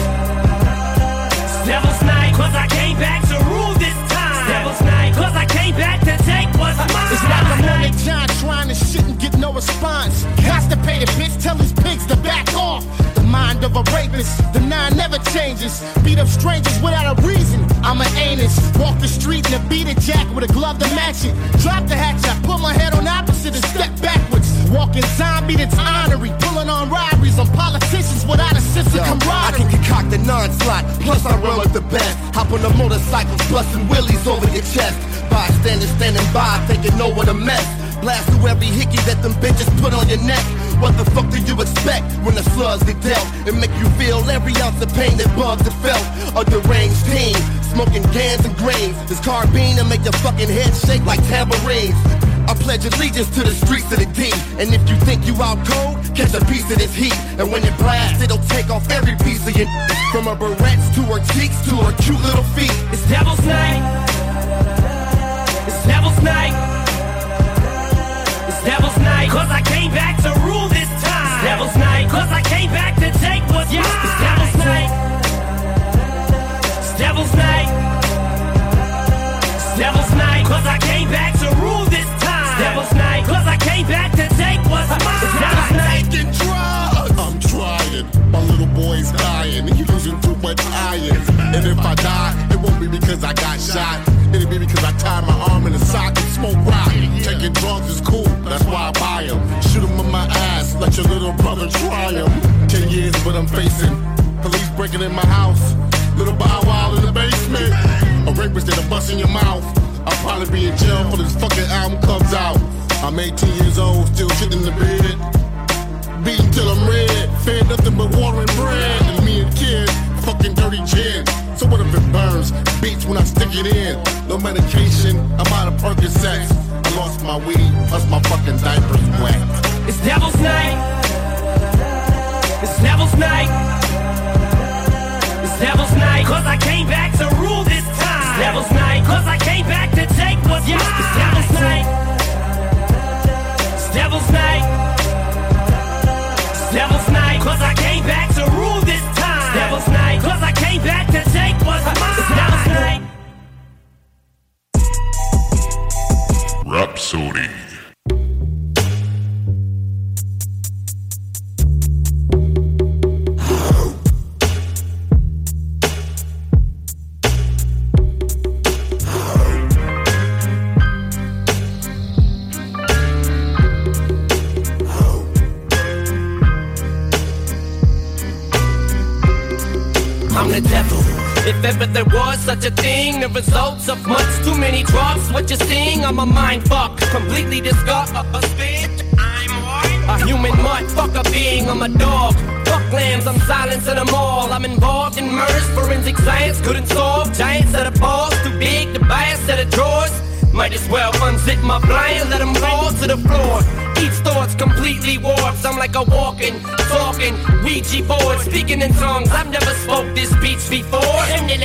It's Devil's Night. Cause I came back to rule this time. It's Devil's Night. Cause I came back to take what's mine. It's like I'm on John trying to shit and get no response. Constipated bitch, tell these pigs to back off. Mind of a rapist, the 9 never changes. Beat up strangers without a reason. I'm an anus. Walk the street in a beaded jacket with a glove to match it. Drop the hatchet, I put my head on opposite and step backwards. Walking zombie that's honorary. Pulling on robberies on politicians without a sense of camaraderie. I can concoct a non-slot, plus I run like the best. Hop on the motorcycles, busting willies over your chest. Bystanders standing by, thinking know what a mess. Blast through every hickey that them bitches put on your neck. What the fuck do you expect when the slugs get dealt? It make you feel every ounce of pain that bugs have felt. A deranged team, smoking cans and grains. This carbine to make your fucking head shake like tambourines. I pledge allegiance to the streets of the D. And if you think you out cold, catch a piece of this heat. And when it blasts, it'll take off every piece of your from her barrettes to her cheeks to her cute little feet. It's Devil's Night. It's Devil's Night. It's Devil's Night. Cause I came back to rule this time. It's Devil's Night. Cause I came back to take what's mine. It's Devil's Night. It's Devil's Night. It's Devil's Night. Cause I came back to rule this time. It's Devil's Night. Cause I came back to take what's mine. It's Devil's Night. Taking drugs. I'm trying. My little boy's dying. He's losing too much iron. And if I die, it won't be because I got shot. It'll be because I tied my arm in a sock and smoke rock. Taking drugs is cool, that's why I buy them. Shoot them in my ass, let your little brother try them. 10 years what I'm facing. Police breaking in my house. Little Bow Wow in the basement. A rapist that'll bust in your mouth. I'll probably be in jail before this fucking album comes out. I'm 18 years old, still sitting in the bed. Beaten till I'm red. Fed nothing but water and bread. And me and kid, fucking dirty gin. So what if it burns? Beats when I stick it in. No medication, I'm out of Percocets. I lost my weed, plus my fucking diaper's wet. It's Devil's Night. It's Devil's Night. It's Devil's Night. Cause I came back to rule this time. It's Devil's Night. Cause I came back to take what's mine. It's Devil's Night. It's Devil's Night. It's Devil's Night. Cause I came back to rule this time. It's Devil's Night. Cause I came back to take what's mine. It's Devil's Night. Rhapsody. I'm the devil. If ever there was such a thing, the results of much too many drugs. What you're seeing, I'm a mind fuck, completely disgusted. A human motherfucker being, I'm a dog. Fuck lambs, I'm silencing them all. I'm involved in murders, forensic science couldn't solve. Giant set of balls, too big to buy a set of drawers. Might as well unzip my blind, let them fall to the floor. Each thought's completely warped. I'm like a walking, talking Ouija board, speaking in tongues. I've never spoke this speech before.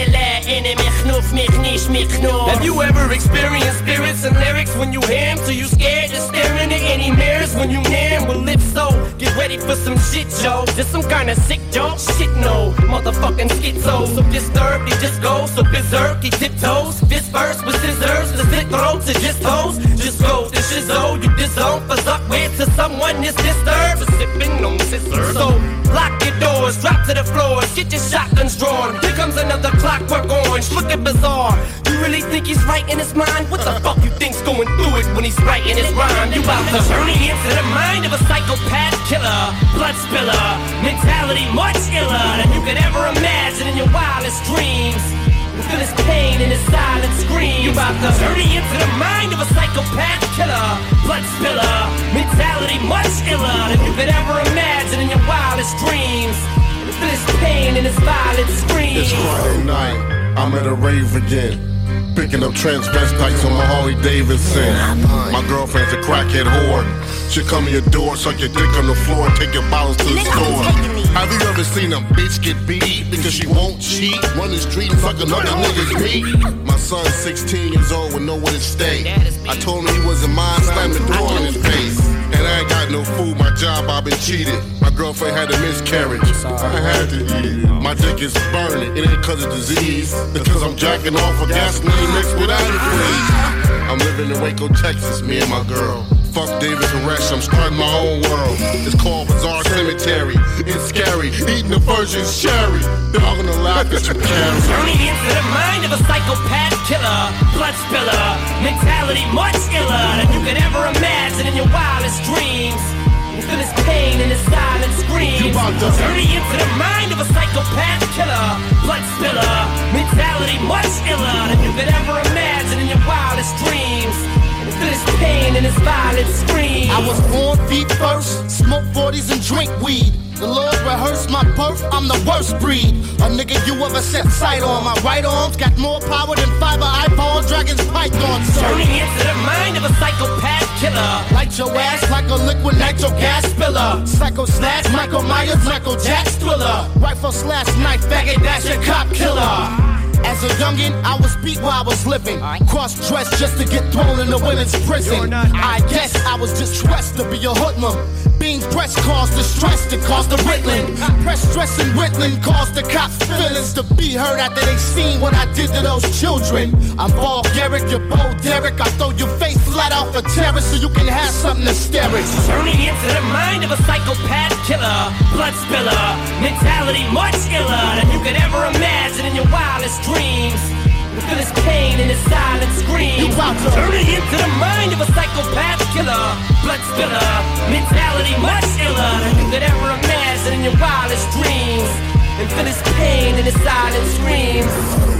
Have you ever experienced spirits and lyrics when you hear them? So you scared to stare into any mirrors when you near them? Well, if so, get ready for some shit, Joe. Just some kind of sick joke? Shit, no, motherfucking schizo. So disturbed, he just goes so berserk, he tiptoes. This verse with scissors, the slit throats and just toes. Just go to shizzo, you disown for suck with to someone is disturbed for sipping on scissors. So lock your doors, drop to the floors, get your shotguns drawn. Here comes another clockwork orange, looking bizarre. You really think he's right in his mind? What the fuck you think's going through it when he's writing his rhyme? You about to journey into the mind of a psychopath killer, blood spiller, mentality much iller than you could ever imagine in your wildest dreams. Feel his pain and his silent scream. You about to journey into the mind of a psychopath killer, blood spiller, mentality much iller than you could ever imagine in your wildest dreams. Feel his pain and his violent scream. It's Friday night, I'm at a rave again, picking up transvestites on my Harley Davidson. My girlfriend's a crackhead whore. She'll come to your door, suck your dick on the floor, and take your bottles to the store. Have you ever seen a bitch get beat because she won't cheat? Run the street and fuck another nigga's meat. My son's 16 years old with nowhere to stay. I told him he wasn't mine, slammed the door in his face. And I ain't got no food, my job, I've been cheated. My girlfriend had a miscarriage, I had to eat it. My dick is burning, it ain't cause of disease. Because I'm jacking off a gasoline mixed with antifreeze. I'm living in Waco, Texas, me and my girl. Fuck David Koresh, I'm starting my own world. It's called Bizarre Cemetery. It's scary, eating the virgin's cherry. They're all gonna laugh at you, Karen. Journey into the mind of a psychopath killer, blood spiller, mentality much iller than you could ever imagine in your wildest dreams. You feel his pain and his silent screams. You about to journey into the mind of a psychopath killer, blood spiller, mentality much iller than you could ever imagine in your wildest dreams. Feel his pain and his violent scream. I was born feet first, smoke 40s and drink weed. The Lord rehearsed my birth, I'm the worst breed. A nigga you ever set sight on. My right arm's got more power than fiber iPhone, dragons, pythons. Journey into the mind of a psychopath killer. Light your ass like a liquid nitro gas spiller. Psycho slash, Michael Myers, Michael Jack's thriller. Rifle slash knife, faggot, that's your cop killer. As a youngin', I was beat while I was living. Cross-dressed just to get thrown in the women's prison. I guess I was distressed to be a hoodlum. Being pressed caused distress that caused the Ritalin. Press stress and Ritalin caused the cops' feelings to be hurt after they seen what I did to those children. I'm Garrick, you're Bo Derek. I throw your face flat off a terrace so you can have something to stare at. Journey into the mind of a psychopath killer, blood spiller, mentality much iller than you could ever imagine in your wildest dreams. You feel his pain and his silent scream. You about to journey into the mind of a psychopath killer, blood spiller, mentality much iller than you could ever imagine in your wildest dreams. And feel his pain and his silent screams.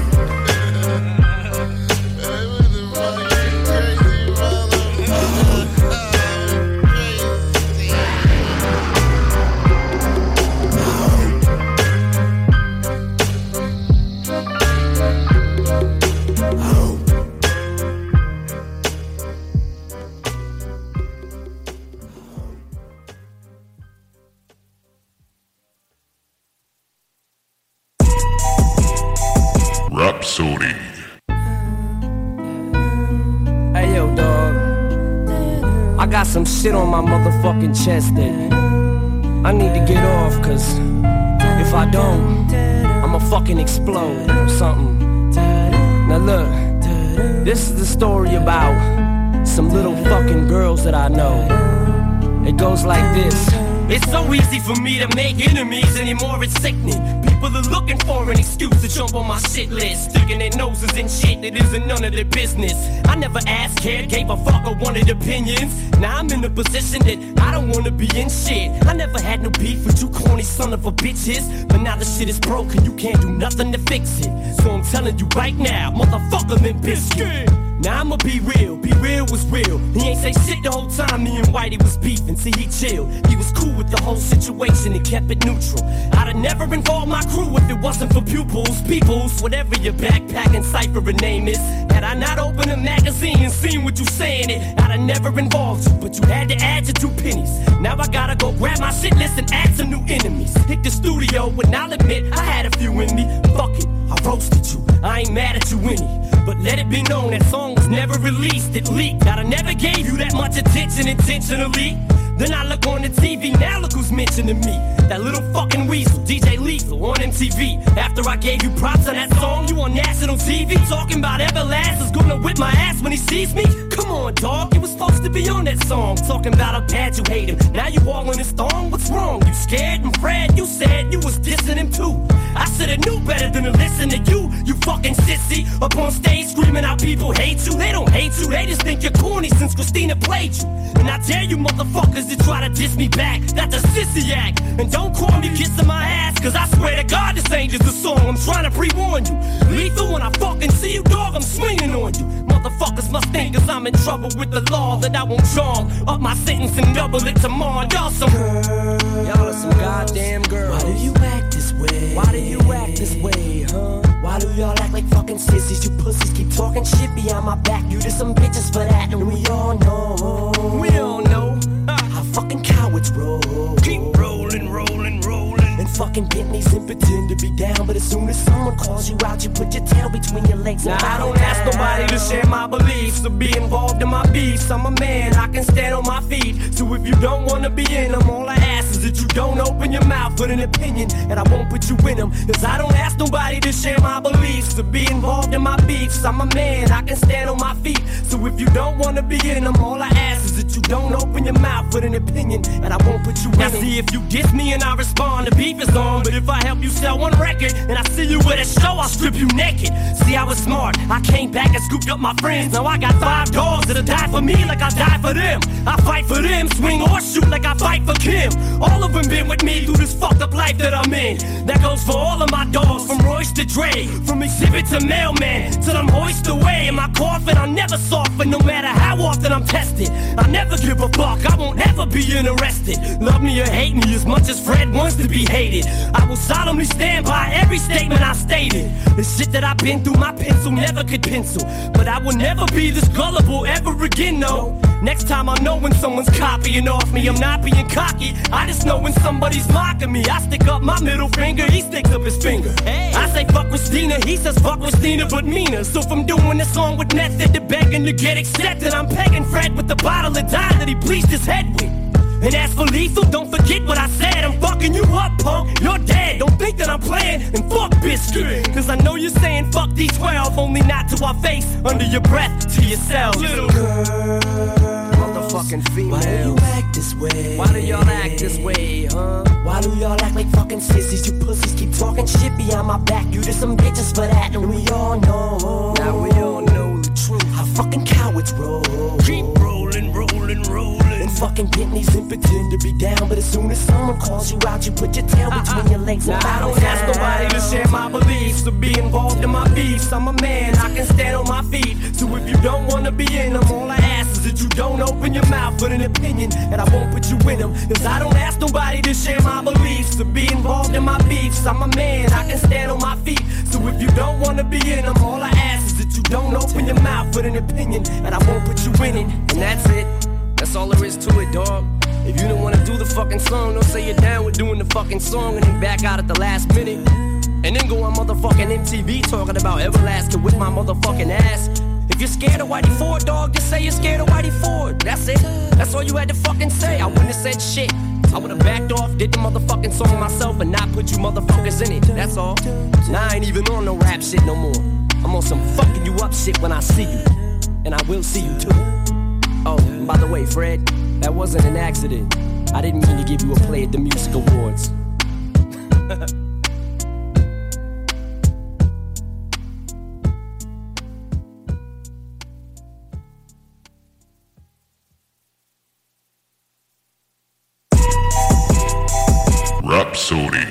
Rhapsody. Hey yo, dog. I got some shit on my motherfucking chest that I need to get off, cause if I don't, I'ma fucking explode or something. Now look, this is the story about some little fucking girls that I know. It goes like this. It's so easy for me to make enemies anymore, it's sickening. People are looking for an excuse to jump on my shit list, sticking their noses in shit that isn't none of their business. I never asked, cared, gave a fuck or wanted opinions. Now I'm in a position that I don't wanna be in shit. I never had no beef with you corny son of a bitches, but now the shit is broken, you can't do nothing to fix it. So I'm telling you right now, motherfucker Limp Bizkit. Now I'ma be real was real. He ain't say shit the whole time me and Whitey was beefing. See, he chilled, he was cool with the whole situation and kept it neutral. I'd have never involved my crew if it wasn't for pupils, peoples, whatever your backpacking cipher and name is. Had I not opened a magazine and seen what you saying it, I'd have never involved you, but you had to add your 2 pennies. Now I gotta go grab my shit list and add some new enemies. Hit the studio, and I'll admit I had a few in me. Fuck it, I roasted you, I ain't mad at you any. But let it be known that song was never released, it leaked. I never gave you that much attention intentionally. Then I look on the TV, now look who's mentioning me. That little fucking weasel, DJ Lethal on MTV. After I gave you props on that song, you on national TV talking about Everlast is gonna whip my ass when he sees me? Come on, dog, you was supposed to be on that song. Talking about how bad you hate him, now you all in his thong, what's wrong? You scared and Fred, you said you was dissing him too. I shoulda knew better than to listen to you, you fucking sissy. Up on stage screaming how people hate you. They don't hate you, they just think you're corny since Christina played you. And I dare you motherfuckers to try to diss me back, that's a sissy act. And don't call me kissing my ass, cause I swear to God this ain't just a song, I'm trying to pre-warn you. Lethal, when I fucking see you, dog, I'm swinging on you. Motherfuckers must think cause I'm in trouble with the law that I won't charm up my sentence and double it tomorrow. Y'all some girls, y'all are some goddamn girls. Why do you act this way? Why do you act this way, huh? Why do y'all act like fucking sissies? You pussies keep talking shit behind my back. You just some bitches for that, and we all know. We all know how fucking cowards roll. Keep rolling, rolling, rolling. And fucking Bentleys and pretend to be down, but as soon as someone calls you out, you put your tail between your legs. Now I don't ask nobody to share my beliefs or be involved in my beefs. I'm a man, I can stand on my feet. So if you don't wanna be in them, all I ask is that you don't open your mouth with an opinion, and I won't put you in them. Cause I don't ask nobody to share my beliefs or be involved in my beefs. I'm a man, I can stand on my feet. So if you don't wanna be in them, all I ask is that you don't open your mouth with an opinion, and I won't put you in them. Now see, if you diss me and I respond, the beef is on. But if I help you sell one record and I see you at a show, I'll strip you naked. See, I was smart, I came back and scooped up my friends. Now I got 5 dogs that'll die for me like I die for them. I fight for them, swing or shoot like I fight for Kim. All of them been with me through this fucked up life that I'm in. That goes for all of my dogs, from Royce to Dre, from Exhibit to Mailman, till I'm hoisted away in my coffin. I'll never soften, no matter how often I'm tested. I'll never give a fuck, I won't ever be interested. Love me or hate me as much as Fred wants to be hated. I will solemnly stand by every statement I stated. The shit that I've been through, my pencil never could pencil. But I will never be this gullible ever again, no. Next time I know when someone's copying off me. I'm not being cocky, I just know when somebody's mocking me. I stick up my middle finger, he sticks up his finger. I say fuck Christina, he says fuck Christina but Mina. So from doing this song with method to begging to get accepted, I'm pegging Fred with the bottle of dye that he bleached his head with. And as for Lethal, don't forget what I said. I'm fucking you up, punk, you're dead. Don't think that I'm playing, and fuck Bizkit. Cause I know you're saying fuck D12, only not to our face, under your breath, to yourself. Little girl, motherfucking female. Why do you act this way? Why do y'all act this way, huh? Why do y'all act like fucking sissies? You pussies keep talking shit behind my back. You just some bitches for that, and we all know. Now we all know the truth. How fucking cowards roll. Keep rolling, rolling, rolling. And fucking Bentleys and pretend to be down, but as soon as someone calls you out, you put your tail between your legs. Now I don't ask nobody to share my beliefs or be involved in my beefs. I'm a man, I can stand on my feet. So if you don't wanna be in them, all I ask is that you don't open your mouth with an opinion, and I won't put you in them. Cause I don't ask nobody to share my beliefs or be involved in my beefs. I'm a man, I can stand on my feet. So if you don't wanna be in them, all I ask is that you don't open your mouth with an opinion, and I won't put you in it. And that's it. That's all there is to it, dog. If you don't wanna do the fucking song, don't say you're down with doing the fucking song and then back out at the last minute. And then go on motherfucking MTV talking about Everlast with my motherfucking ass. If you're scared of Whitey Ford, dog, just say you're scared of Whitey Ford. That's it. That's all you had to fucking say. I wouldn't have said shit. I would've backed off, did the motherfucking song myself and not put you motherfuckers in it. That's all. Now I ain't even on no rap shit no more. I'm on some fucking you up shit when I see you. And I will see you too. Oh, and by the way, Fred, that wasn't an accident. I didn't mean to give you a play at the music awards. Rhapsody.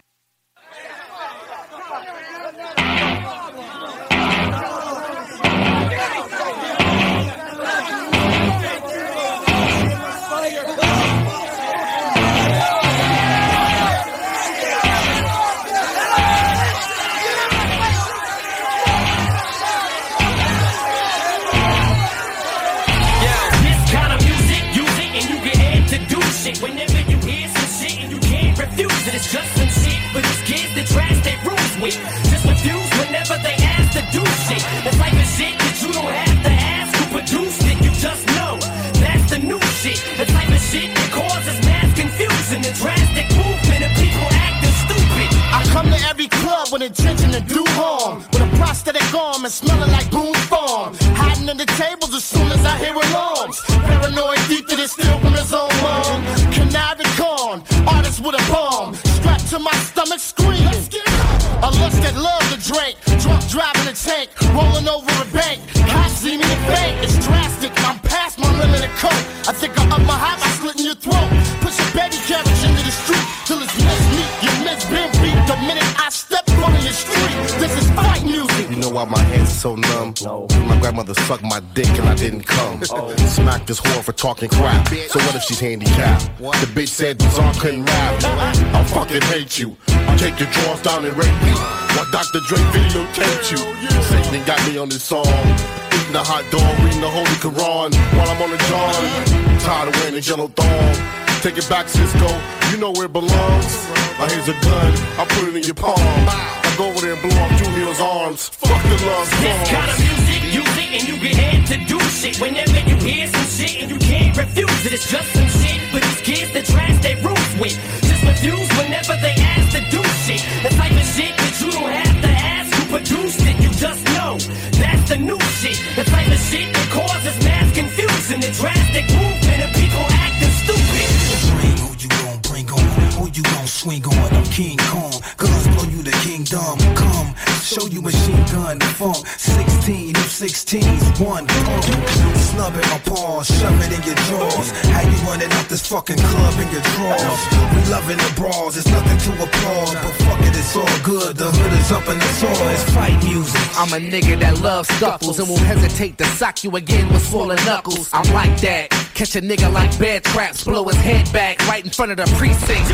Whenever you hear some shit and you can't refuse it, it's just some shit for these kids that trash their rules with. Just refuse whenever they ask to do shit. The type of shit that you don't have to ask who produced it, you just know. That's the new shit. The type of shit that causes mass confusion, the drastic movement of people acting stupid. I come to every club with intention to do harm, with a prosthetic arm and smelling like Boone's Farm. Hiding in the tables as soon as I hear alarms. Paranoid deep that it's still from his own mom. Conniving con, artist with a bomb. Strapped to my stomach screaming. A lust that love to drink. Drunk driving a tank, rolling over a bank. Cops see me in bank, it's drastic. I'm past my limit of coke. I think I'm up my high by slitting your throat. Push a baby carriage into the street till it's mismeet. You miss been beat the minute I step on your street. This is fight music. You know why my hands are so numb? No. My grandmother sucked my dick and I didn't come. Smacked this whore for talking crap. So what if she's handicapped? The bitch said Bizarre couldn't rap. I fucking hate you. Take your drawers down and rape me. While Dr. Dre videotaped you. Satan got me on this song. Eating a hot dog, reading the Holy Quran while I'm on the John. Tired of wearing a yellow thong. Take it back, Cisco. You know where it belongs. Here's a gun. I put it in your palm. I go over there and blow off Junior's arms. Fuck the love songs. This kind of music, you think and you get head to do shit. Whenever you hear some shit and you can't refuse it, it's just some shit for these kids that trash their roots with. Just refuse whenever they ask to do shit. The type of shit that you don't have to ask who produced it, you just know. That's the new shit. The type of shit that causes mass confusion, the drastic movement of people acting stupid. Bring who you gon' bring on, who you gon' swing on. I'm King Kong, guns blow you the kingdom. Come, show you machine gun funk. 16 of 16s, one pump. Snub in my paws, shove it in your drawers. How you running out this fucking club in your drawers? We loving the brawls, it's nothing to applaud. But fuck it, it's all good, the hood is up and it's all. It's fight music. I'm a nigga that loves scuffles and won't hesitate to sock you again with swollen knuckles. I'm like that. Catch a nigga like bear traps, blow his head back right in front of the precinct.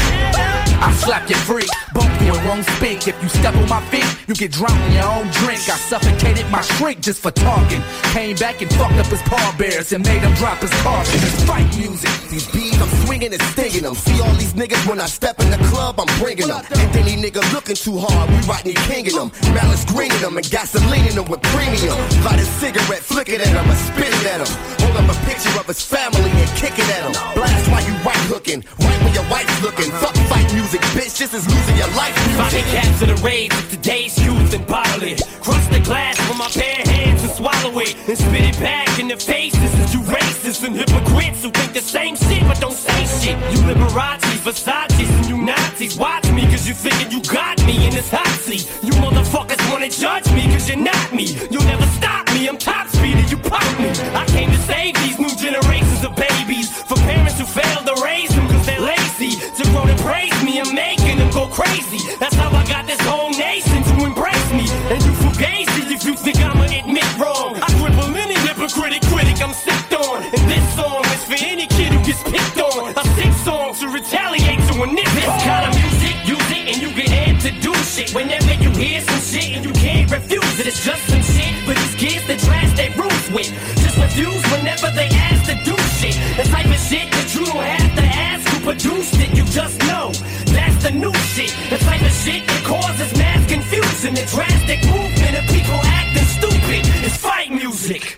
I slap you free, bump you and won't speak. If you step on my feet, you get drowned in your own drink. I suffocated my shrink just for talking. Came back and fucked up his pallbearers and made him drop his caution. It's fight music. These beats, I'm swinging and stinging them. See all these niggas when I step in the club, I'm bringing them. And any nigga looking too hard, we Rodney Kinging them. Malice greening them and gasoline in them with premium. Light a cigarette, flick it at him, I spit it at him. Hold up a picture of his family and kick it at him. Blast while you right hooking, right when your wife's looking. Fuck fight music, bitch, this is losing your life music. If I can capture the rage of today's youth and bottle it. Crush the glass with my bare hands and swallow it. And spit it back in the faces of you racists and hypocrites who think the same shit but don't say shit. You Liberace's, Versace's, and you Nazis. Watch me cause you thinking you got me in this hot seat. You motherfuckers wanna judge me cause you're not me. You'll never stop me, I'm top speed and you pop me. I came to save these new generations of babies for parents who failed to raise them cause they're lazy. To grow to praise me, I'm making them go crazy. That's how I got this whole nation to embrace me. And you fugazi if you think I'ma admit wrong. I cripple any hypocritic critic I'm sick on. And this song is for any kid who gets picked on. I sing songs to retaliate to a nigga. This kind of music, use it and you get head to do shit. Whenever you hear some shit and you can't refuse it, it's just some shit for these kids that trash their roots with. Just refuse whenever they ask to do shit. The type of shit that you don't have to ask who produced it, you just know. That's the new shit. The type of shit that causes mass confusion, the drastic movement of people acting stupid. It's fight music.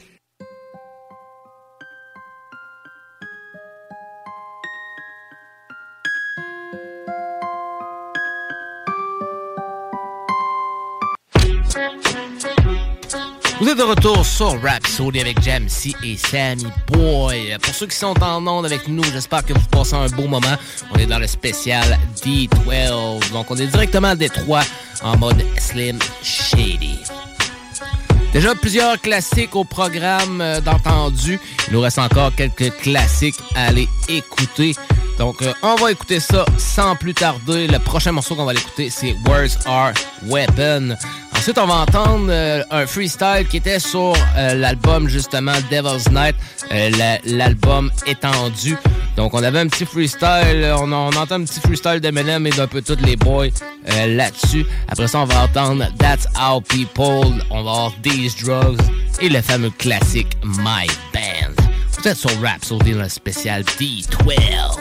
Vous êtes de retour sur Rhapsody avec Jamsey et Sammy Boy. Pour ceux qui sont en onde avec nous, j'espère que vous passez un beau moment. On est dans le spécial D12. Donc, on est directement à Détroit en mode Slim Shady. Déjà plusieurs classiques au programme d'entendu. Il nous reste encore quelques classiques à aller écouter. Donc, on va écouter ça sans plus tarder. Le prochain morceau qu'on va l'écouter, c'est Words Are Weapon. Ensuite, on va entendre un freestyle qui était sur l'album, justement, Devil's Night, l'album étendu. Donc, on avait un petit freestyle, on entend un petit freestyle d'Eminem et d'un peu tous les boys là-dessus. Après ça, on va entendre That's How People, on va avoir These Drugs et le fameux classique My Band. Vous êtes sur Rhapsody dans le spécial D12.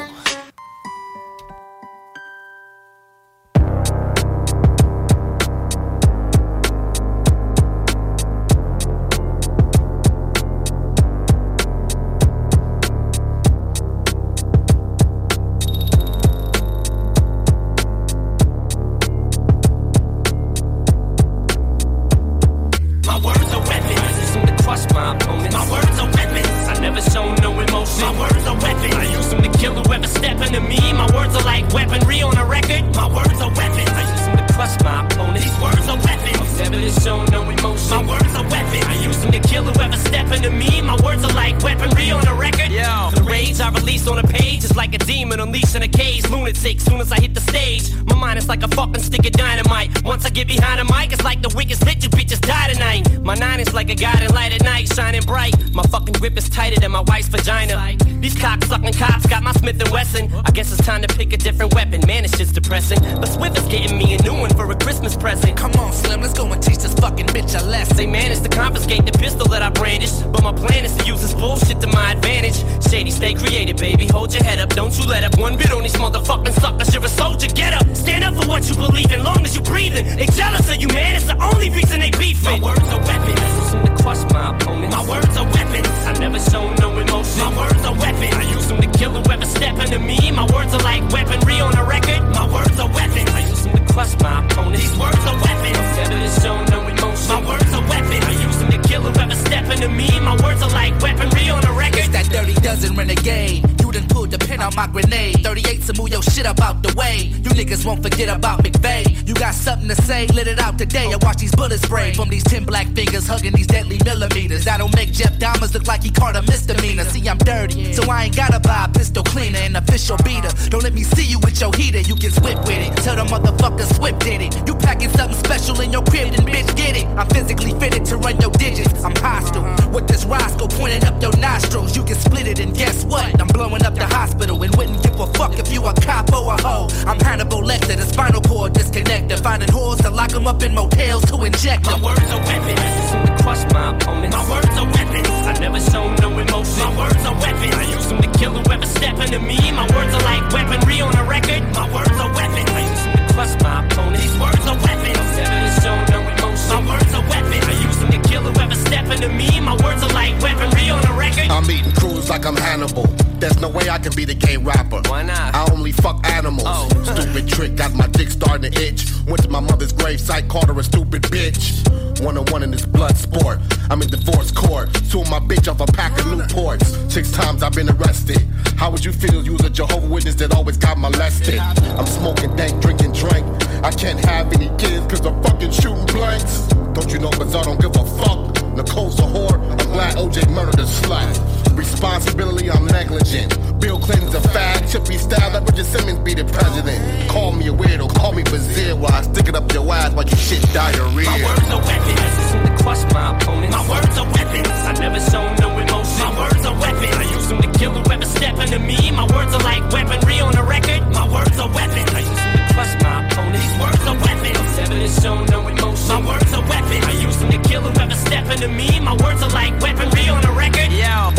I guess it's time to pick a different weapon. Man, it's just depressing. But Swift is getting me a new one for a Christmas present. Come on, Slim, let's go and teach this fucking bitch a lesson. They managed to confiscate the pistol that I brandish, but my plan is to use this bullshit to my advantage. Shady, stay creative, baby. Hold your head up, don't you let up one bit on these motherfucking suckers. You're a soldier, get up. Stand up for what you believe in, long as you breathing. They jealous of you, man. It's the only reason they beefing. My words are weapons. I use them to crush my opponents. My words are weapons. I never show no emotion. My words are weapons. I use them to kill whoever step into me. My words are like weaponry on a record. My words are weapons. I use them to crush my opponents. These words are weapons. Instead of to show no emotion. My words are weapons. I use them to kill whoever step into me. My words are like weaponry on a record. It's that dirty dozen renegade. You done pulled the pin on my grenade. 38 to move your shit up out the way. You niggas won't forget about McVeigh. You got something to say? Let it out today. I watch these bullets spray from these 10 black fingers hugging these deadly millimeters. That'll make Jeff Dahmer look like he caught a misdemeanor. See, I'm dirty, so I ain't gotta buy a pistol cleaner and official beater. Don't let me see you with your heater. You can whip with it. Tell the motherfucker Swift did it. You packing something special in your crib, then bitch get it. I'm physically fitted to run your digits. I'm hostile with this Roscoe pointing up your nostrils. You can split it and guess what? I'm blowing up the hospital and wouldn't give a fuck if you a cop or a hoe. I'm Hannibal Lecter, the spinal cord disconnected. Finding whores to lock them up in motels to inject them. My words are weapons. I use them to crush my opponents. My words are weapons. I never show no emotion. My words are weapons. I use them to kill whoever step into me. My words are like weaponry on a record. My words are weapons. I use them to crush my opponents. These words are weapons. I never show no emotion. My words are weapons. I use them to kill whoever step into me. My words are like weaponry on a record. I'm eating crews like I'm Hannibal. There's no way I can be the gay rapper. Why not? I only fuck animals. Oh. Stupid trick, got my dick starting to itch. Went to my mother's gravesite, called her a stupid bitch. 1-on-1 in this blood sport. I'm in divorce court. Suing my bitch off a pack of Newports. 6 times I've been arrested. How would you feel? You was a Jehovah's Witness that always got molested. I'm smoking dank, drinking drink. I can't have any kids cause I'm fucking shooting blanks. Don't you know cause I don't give a fuck. Nicole's a whore. I'm glad OJ murdered a slut. Responsibility, I'm negligent. Bill Clinton's a fag, chippy style, that Richard Simmons be the president. Call me a weirdo, call me Brazil while I stick it up your ass while you shit diarrhea. My words are weapons. I use them to crush my opponents. My words are weapons. I never show no emotion. My words are weapons. I use them to kill whoever step into me. My words are like weaponry on a record. My words are weapons. I use them to crush my opponents. These words are weapons. Never to show no emotion. My words are weapons. I use them to kill whoever step into me. My words are like weaponry on a record. Yo.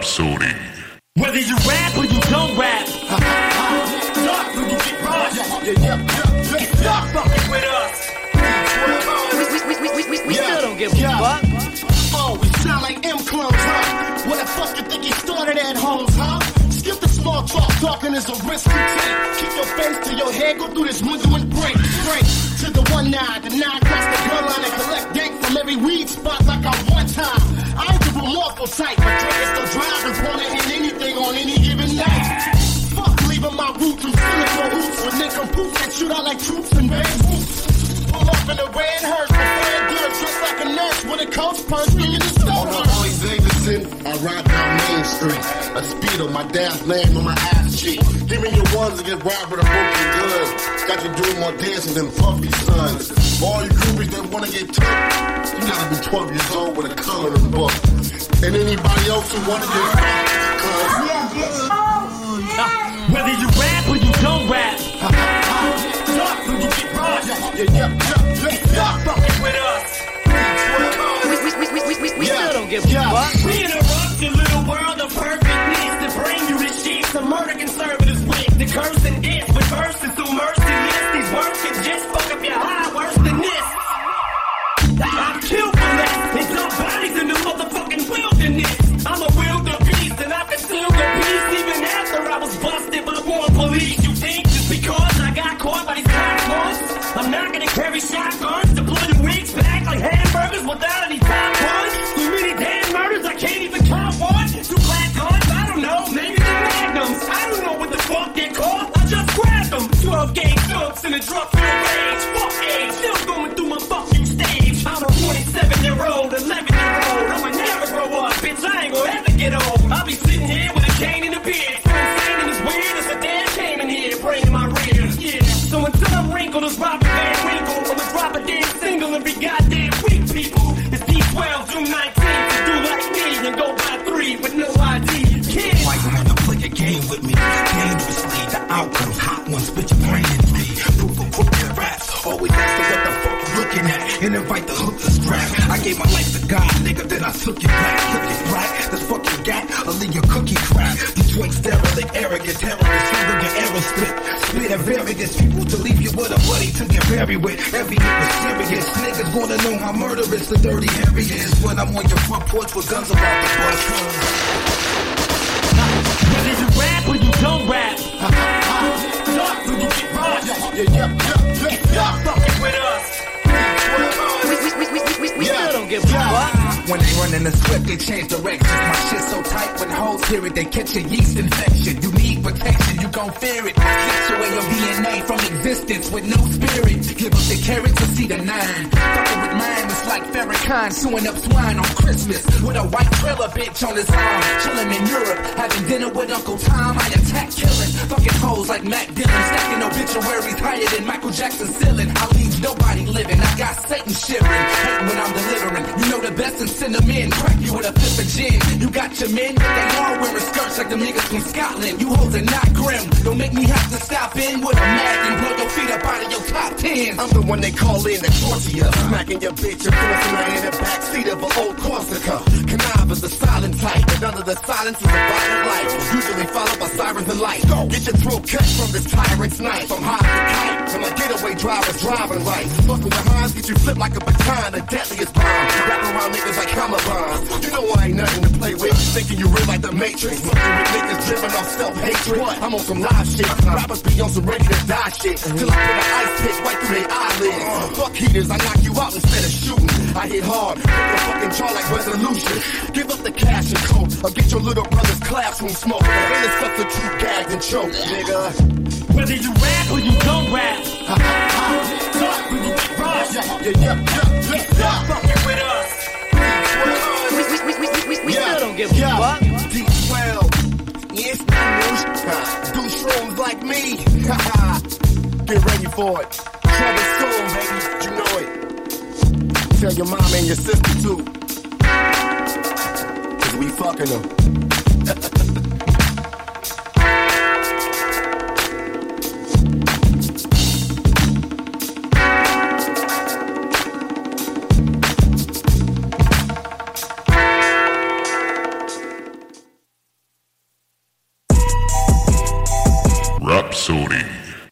Rhapsody. Whether you rap or you don't rap, stop when you get rushed. Stop fucking with us. We still don't give a fuck. Oh, we sound like M-clones, huh? What the fuck you think you started at, Holmes, huh? Skip the small talk, talking is a risk you take. Keep your face to your head, go through this window and break. Straight to the 1-9, the 9 cross the gun line and collect dank from every weed spot like I one time. I ain't the remorseful type, but drinkers still driving, wanna hit anything on any given night. Fuck leaving my roots and stealing for hoops when they come poof and shoot out like troops in Beirut. Pull up in the red hearse, prepared good, dressed like a nurse with a coach purse, bringing the stone. On the Harley Davidson, I ride down Main Street. A speed on my dad's name on my ass cheek. Give me your ones and get robbed with a broken gun. Got you doing more dancing than Puffy sons. All you groupies that wanna get took, you gotta be 12 years old with a coloring book. And anybody else who wanna get fucked, whether you rap or you don't rap, stop when you get rushed. Stop fucking with us. We still don't give a fuck. We interrupt your little world of perfectness to bring you the shit. The murder conservatives with the cursing is with verses so merciless. These words can just fuck up your high worse than this. I've killed for less and dump bodies in the motherfucking wilderness. I'm a wildebeest and I concealed the peace even after I was busted by more police. You think just because I got caught by these cops once, I'm not gonna carry shotguns to blow your wigs back like hamburgers without any top ones? Too many damn murders, I can't even count one. Two black guns, I don't know, maybe they're magnums. I don't know what the fuck they're called, I just grabbed them. 12 gauge dumps in a drug-filled rage. Fuck age, still going through my fucking stage. I'm a 27-year-old, 11-year-old. I'ma never grow up, bitch, I ain't gonna ever get old. I'll be sitting here with a cane and a beard. So insane and it's weird, it's a damn shame in here, praying my rear. Yeah, so until I'm wrinkled as Robert Van Winkle, I'ma drop a damn single every goddamn week, people. It's D12, June 19th, to do like me and go by 3 with no ID. Kids. Why you wanna play a game with me? Dangerously, the outcomes, hot ones, split your brain in me. Proof of crooked raps, always ask them what the fuck you looking at, and invite the hook to scrap. I gave my life to God, nigga, then I took it back. Took it back, this fucking gat, I'll leave your cookie crap. Detroit derelict, arrogant, terrorist, finger your arrow spit. Spit at various people to leave you with a buddy to get buried with. Every hit was serious, niggas wanna know how murderous the dirty Harry is. When I'm on your front porch with guns about to bust. Whether you rap or you don't rap, stop when you get rushed. Stop fucking with us. We still don't give a fuck. When they running the script, they change directions. My shit so tight when hoes hear it, they catch a yeast infection. You need protection, you gon' fear it. Situate your DNA from existence with no spirit. Give up the carrot to see the 9. Fucking with mine, it's like Farrakhan suing up swine on Christmas. With a white trailer bitch on his arm. Chillin' in Europe, having dinner with Uncle Tom. I attack killing. Fucking hoes like Mac Dillon. Stacking obituaries higher than Michael Jackson's ceiling. I leave nobody living, I got Satan shivering. Hate when I'm delivering. You know the best and send them in. Crack you with a fifth of gin. You got your men, but they all wearing skirts like them niggas from Scotland. You hoes are not grim. Don't make me have to stop in with a mag and blow your feet up out of your top 10. I'm the one they call in the torture, smacking your bitch and forcing her in the backseat of an old Corsica. Connive is the silent type, and under the silence is a violent life, usually followed by sirens and lights. Get your throat cut from this tyrant's knife. I'm high as a kite, and my getaway driver's driving right. Fucking with Hines, get you flipped like a baton, the deadliest bomb. Wrap around niggas like hammer bombs. You know I ain't nothing to play with, thinking you real like the Matrix. Fucking with niggas driven off self-hatred. I'm on some live shit, rappers be on some ready to die shit. Till I put an ice pick right through their eyelids. Fuck heaters, I knock you out instead of shooting. I hit hard, break your fucking jaw like resolution. Give up the cash and coke, or get your little brother's classroom smoke. And it's substitute gagged and choke, nigga. Whether you rap or you don't rap, talk when you get rushed. Stop fucking with us. We still don't give a fuck. D12, yeah, it's not news. Do shrooms like me. Get ready for it. Trouble soon, baby. You know it. Tell your mom and your sister too. 'Cause we fucking them. Rhapsody.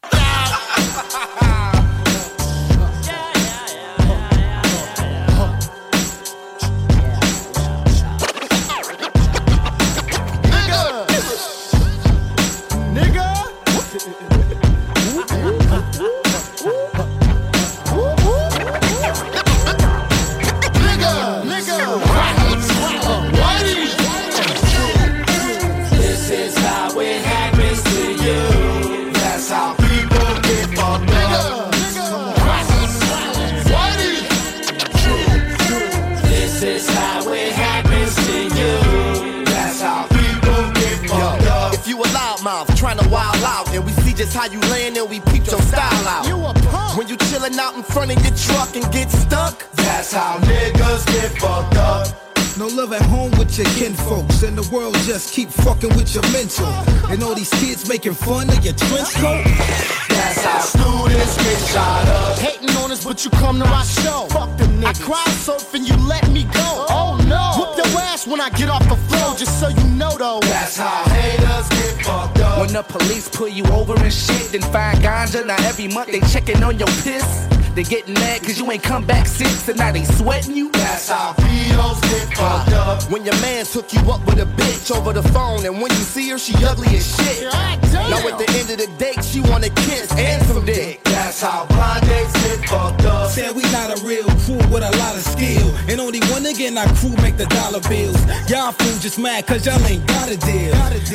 Just how you laying and we peep your style out. You a punk. When you chillin' out in front of your truck and get stuck, that's how niggas get fucked up. No love at home with your kinfolks, and the world just keep fucking with your mental. And all these kids making fun of your trench coat. That's how students get shot up. Hating on us, but you come to our show. Fuck them niggas. I crowd surf and you let me go. Oh no. Whoop your ass when I get off the floor, just so you know though. That's how haters get fucked up. When the police pull you over and shit, then find ganja. Now every month they checking on your piss. They getting mad cause you ain't come back since, and now they sweating you. That's how pedos get fucked up. When your man took you up with a bitch over the phone, and when you see her, she ugly as shit. Now at the end of the date, she wanna kiss and some dick. That's how blind dates get fucked up. Said we not a real crew with a lot of skill, and only one nigga in our crew make the dollar bills. Y'all fools just mad cause y'all ain't got a deal.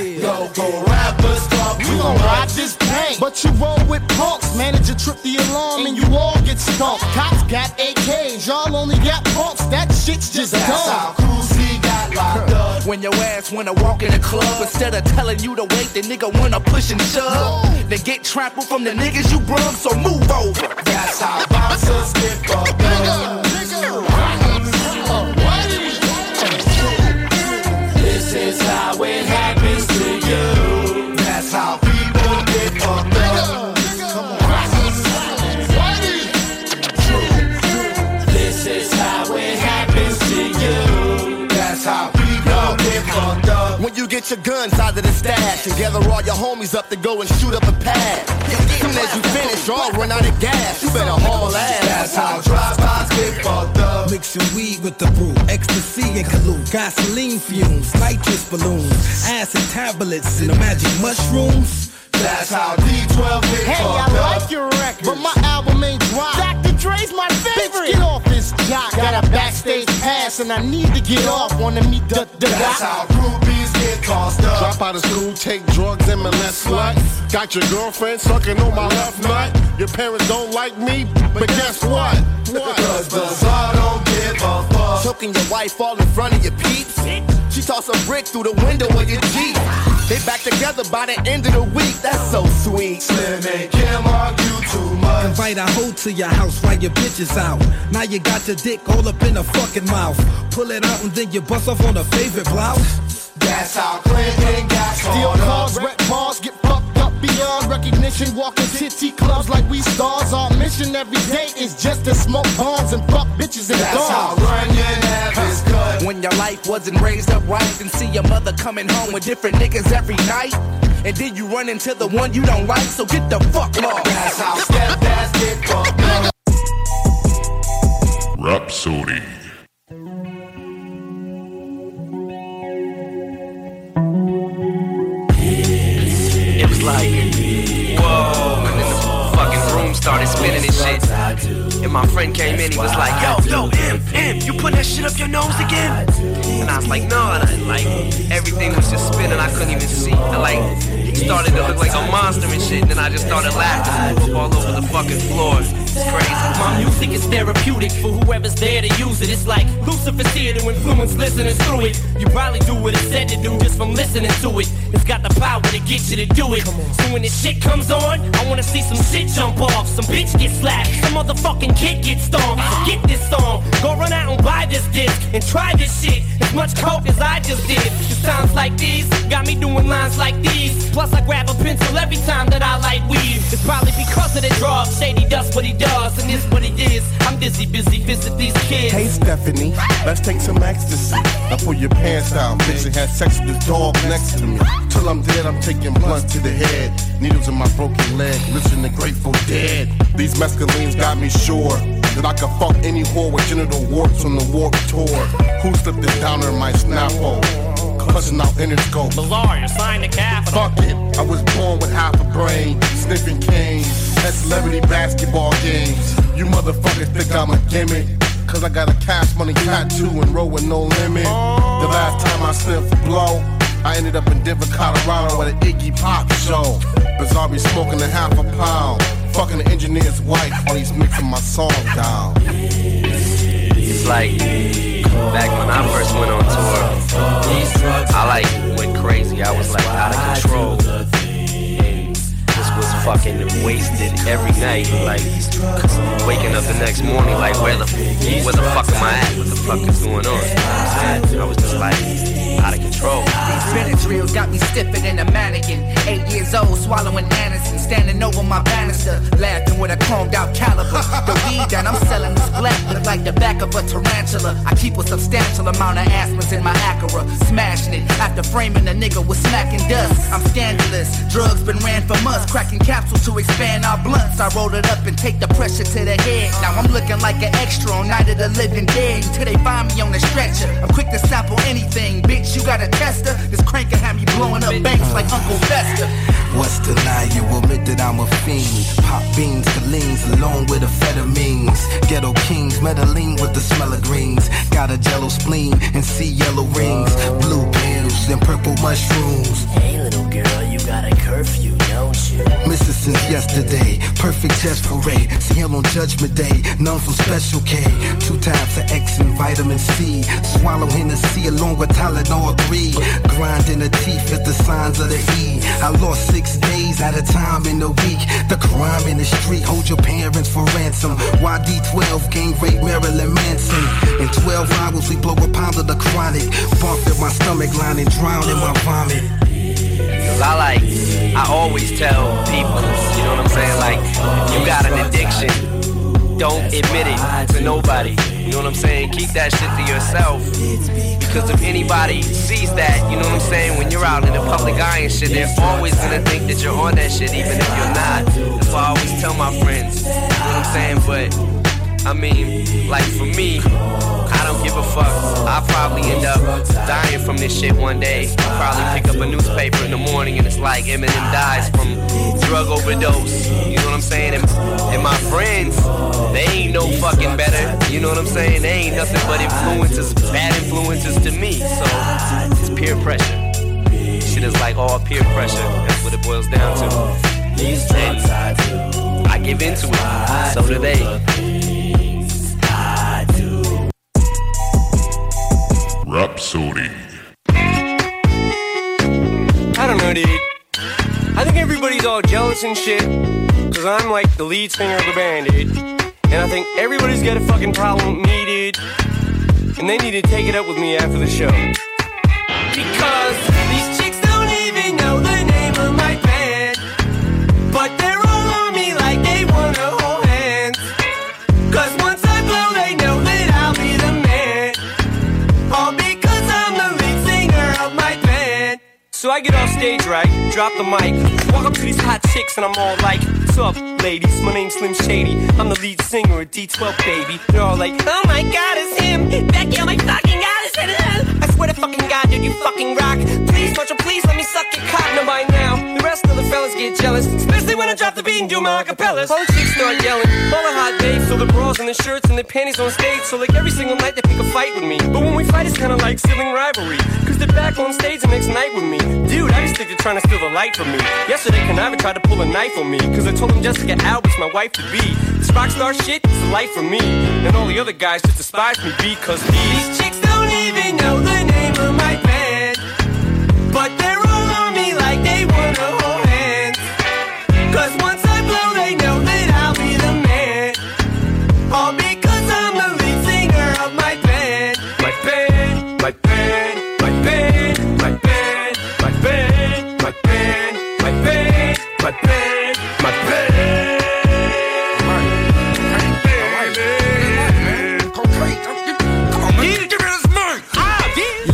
Go rappers talk you gon' ride this paint, but you roll with punks. Manager trip the alarm and you all get stumped. Cops got AKs, y'all only got punks. That shit's just That's dumb. how Cousy got locked up. When your ass wanna walk in the club, instead of telling you to wait, the nigga wanna push and shove. They get trampled from the niggas you brung, so move over. That's how bouncers get fucked up. This is how it happens to you. That's how people get fucked up. This is how it happens to you. That's how people get fucked up. When you get your guns out of the stash and gather all your homies up to go and shoot up a pad. Soon as you finish, y'all run out of gas. You better haul ass. That's how drive-bys get fucked up. Mixing weed with the brew, ecstasy and collude, gasoline fumes, nitrous balloons, acid tablets, and the magic mushrooms. That's how D12 get Hey, fucked I up. like your record, but my album ain't dropped. Dr. Dre's my favorite. Bitch, get off this jock. Got a backstage pass and I need to get off. Wanna meet the That's how groupies get tossed up. Drop out of school, take drugs, and molest slut. Got your girlfriend sucking on my left nut. Your parents don't like me, but guess what? Cause the Czar don't give a fuck. Choking your wife all in front of your peeps. She toss a brick through the window of your Jeep. They back together by the end of the week. That's so sweet. Slim and Kim argue too much. Invite a hoe to your house while your bitch is out. Now you got your dick all up in her fucking mouth. Pull it out and then you bust off on her favorite blouse. That's how Clinton got Steal caught cars, up. rep bars, get fucked up beyond recognition. Walking titty clubs like we stars. Our mission every day is just to smoke bombs and fuck bitches and That's how dogs. Runyon have his cut. When your life wasn't raised up right, and see your mother coming home with different niggas every night. And then you run into the one you don't like, so get the fuck lost. That's how stepdads get fucked up. Rhapsody. It was like, whoa, and then the fucking room started spinning and shit. And my friend came in, he was like, yo, Imp, you putting that shit up your nose again? And I was like, no, and everything was just spinning, I couldn't even see. And like, it started to look like a monster and shit, and then I just started laughing all over the fucking floor. It's crazy. My music is therapeutic for whoever's there to use it. It's like Lucifer's here to influence listeners through it. You probably do what it's said to do just from listening to it. It's got the power to get you to do it. So when this shit comes on, I wanna see some shit jump off. Some bitch get slapped, some motherfucking kid get stomped. So get this song, go run out and buy this disc and try this shit. It's as much coke as I just did. It's times like these got me doing lines like these. Plus I grab a pencil every time that I light weed. It's probably because of the drugs. Shady does what he does, and this what he is. I'm busy visit these kids. Hey Stephanie, let's take some ecstasy. Now pull your pants down, bitch, and have sex with this dog next to me. Till I'm dead, I'm taking blunts to the head. Needles in my broken leg, listen to Grateful Dead. These mescalines got me sure that I could fuck any whore with genital warts on the Warped Tour. Who slipped it down in my Snapple? Clutching out Interscope. Bizarre, you're signed to Capital. Fuck it, I was born with half a brain, sniffing cane at celebrity basketball games. You motherfuckers think I'm a gimmick, cause I got a Cash Money tattoo and roll with no limit. The last time I sniffed a blow, I ended up in Denver, Colorado at an Iggy Pop show. Bizarre be smoking a half a pound, fucking the engineer's wife while he's mixing my song down. It's like back when I first went on tour, I went crazy. I was out of control. And this was fucking wasted every night. Waking up the next morning, where the fuck am I at? What the fuck is going on? I was just out of control. These Benadryls got me stiffer than a mannequin. 8 years old, swallowing Anderson, standing over my banister, laughing with a chromed out caliber. The weed that I'm selling is black, look like the back of a tarantula. I keep a substantial amount of aspirins in my Acura, smashing it after framing a nigga with smacking dust. I'm scandalous, drugs been ran from us, cracking capsules to expand our blunts. I roll it up and take the pressure to the head. Now I'm looking like an extra on Night of the Living Dead until they find me on the stretcher. I'm quick to sample anything, bitch. You got a tester? This crank can have me blowing up banks like Uncle Fester. What's the lie? You admit that I'm a fiend. Pop beans, Collines, along with amphetamines. Ghetto kings, Medellin with the smell of greens. Got a jello spleen and see yellow rings. Blue pills and purple mushrooms. Hey little girl, you got a curfew, don't you? Mrs. since yesterday, perfect test parade. See him on Judgment Day, none from Special K. 2 times of X and vitamin C. Swallow Hennessy along with Tylenol 3. Grind in the teeth is the signs of the E. I lost 6 days at a time in the week. The crime in the street, hold your parents for ransom. YD12, gang rape Marilyn Manson. In 12 hours we blow a pound of the chronic. Barf at my stomach line and drown in my vomit. Cause I always tell people, you know what I'm saying, if you got an addiction, don't admit it to nobody. You know what I'm saying? Keep that shit to yourself. Because if anybody sees that, you know what I'm saying, when you're out in the public eye and shit, they're always gonna think that you're on that shit, even if you're not. That's why I always tell my friends, you know what I'm saying? But I mean, for me, I don't give a fuck. I'll probably end up dying from this shit one day. I'll probably pick up a newspaper in the morning and it's like Eminem dies from drug overdose. You know what I'm saying? And my friends, they ain't no fucking better. You know what I'm saying? They ain't nothing but influences, bad influences to me. So it's peer pressure. Shit is all peer pressure. That's what it boils down to. And I give into it. So do they. Rhapsody. I don't know, dude. I think everybody's all jealous and shit, cause I'm the lead singer of the band, dude. And I think everybody's got a fucking problem with me, dude. And they need to take it up with me after the show. Because these chicks don't even know the name of my band, but they're all on me like they wanna hold hands. Cause once I blow, they know that I'll be the man. All because I'm the lead singer of my band. So I get off stage, right, drop the mic, walk up to these hot chicks and I'm all like, what's up, ladies? My name's Slim Shady. I'm the lead singer of D12, baby. They're all like, oh my god, it's him. Becky, oh my fucking god, it's him. I swear to fucking god, dude, you fucking rock. Please, Marshall, please let me suck your cock. Now by now, the rest of the fellas get jealous, especially when I drop the beat and do my acapellas. All the chicks start yelling, all the hot babes, so the bras and the shirts and the panties on stage. So every single night they pick a fight with me. But when we fight, it's kinda like sibling rivalry, cause they're back on stage the next night with me. Dude, I just think they're trying to steal the light from me. Yesterday, Conniva tried to pull a knife on me, cause I told him Jessica Albert's my wife to be. This rock star shit is a life for me, and all the other guys just despise me because these chicks don't even know the name of my band, but they're all on me like they wanna hold hands. Cause once I blow, they know that I'll be the man. All because I'm the lead singer of my band. My band, my band.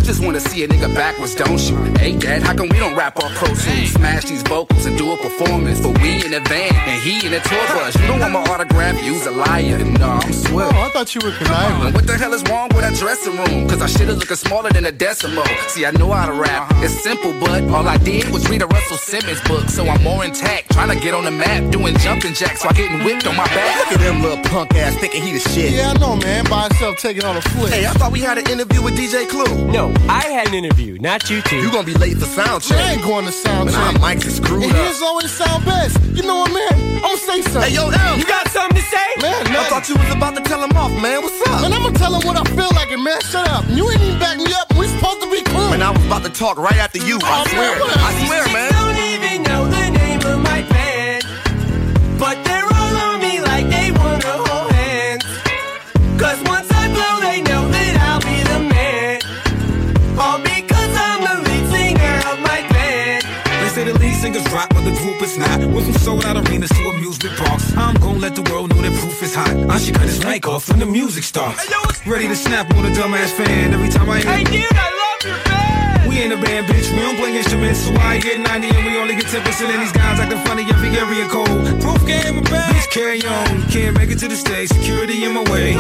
just wanna see a nigga backwards, don't you? Hey, Dad, how come we don't rap our pro tunes? Smash these vocals and do a performance for we in the van and he in the tour bus. You don't want my autograph, you's a liar. No, I'm swift. Oh, I thought you were conniving. What the hell is wrong with that dressing room? Cause I should've looking smaller than a decimal. See, I know how to rap. It's simple, but all I did was read a Russell Simmons book. So I'm more intact, trying to get on the map, doing jumping jacks while getting whipped on my back. Look at them little punk ass thinking he the shit. Yeah, I know, man. By himself taking on a flip. Hey, I thought we had an interview with DJ Clue. No, I had an interview, not you two. You gonna be late for sound check. I ain't going to sound check. Nah, mics is screwed and up. Here's always sound best. You know what, man? I'ma say something. Hey, yo, M. You got something to say? Man, I thought you was about to tell him off, man. What's up? Man, I'ma tell him what I feel like, and man, shut up. You ain't even back me up. We supposed to be cool. Man, I was about to talk right after you. I swear. Man, I swear, man. Don't even know the name of my band, but they're all on me like they wanna hold hands. Cause once I blow, they know that I'll be the man. All because I'm the lead singer of my band. They say the lead singers rock, but the group is not. Went from sold out arenas to amusement parks. I'm gonna let the world know that proof is hot. I should cut his mic off when the music starts. Ready to snap on a dumbass fan every time I hear. Hey dude, I love your band. We ain't a band, bitch. We don't play instruments, so I get 90 and we only get 10%. And these guys acting funny every area code. Proof game a bad. Bitch, carry on. Can't make it to the stage. Security in my way.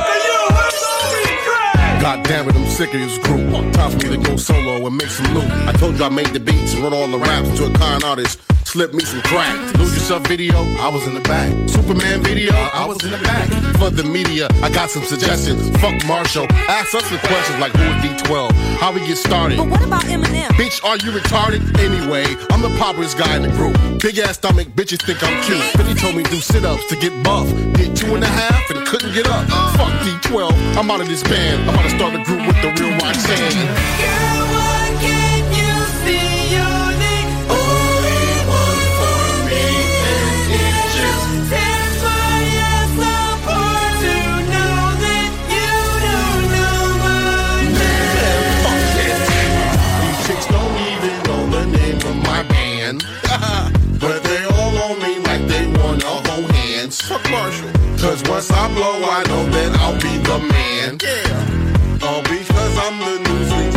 God damn it, I'm sick of this group. Time for me to go solo and make some loot. I told you I made the beats and wrote all the raps to a con artist. Slip me some crack. Lose Yourself video, I was in the back. Superman video, I was in the back. For the media, I got some suggestions. Fuck Marshall. Ask us the questions like who is D12? How we get started? But what about Eminem? Bitch, are you retarded? Anyway, I'm the poppiest guy in the group. Big ass stomach, bitches think I'm cute. Then he told me do sit-ups to get buff. Did 2.5 and couldn't get up. Fuck D12, I'm out of this band. I'm about to start a group with the real Roxanne. Girl, why can't you see you're the only one for me? And it just tears my ass apart to know that you don't know my name. Fuck it. These chicks don't even know the name of my band. But they all on me like they wanna hold hands. Fuck Marshall. Cause once I blow, I know that I'll be the man. Yeah. All because I'm the new thing.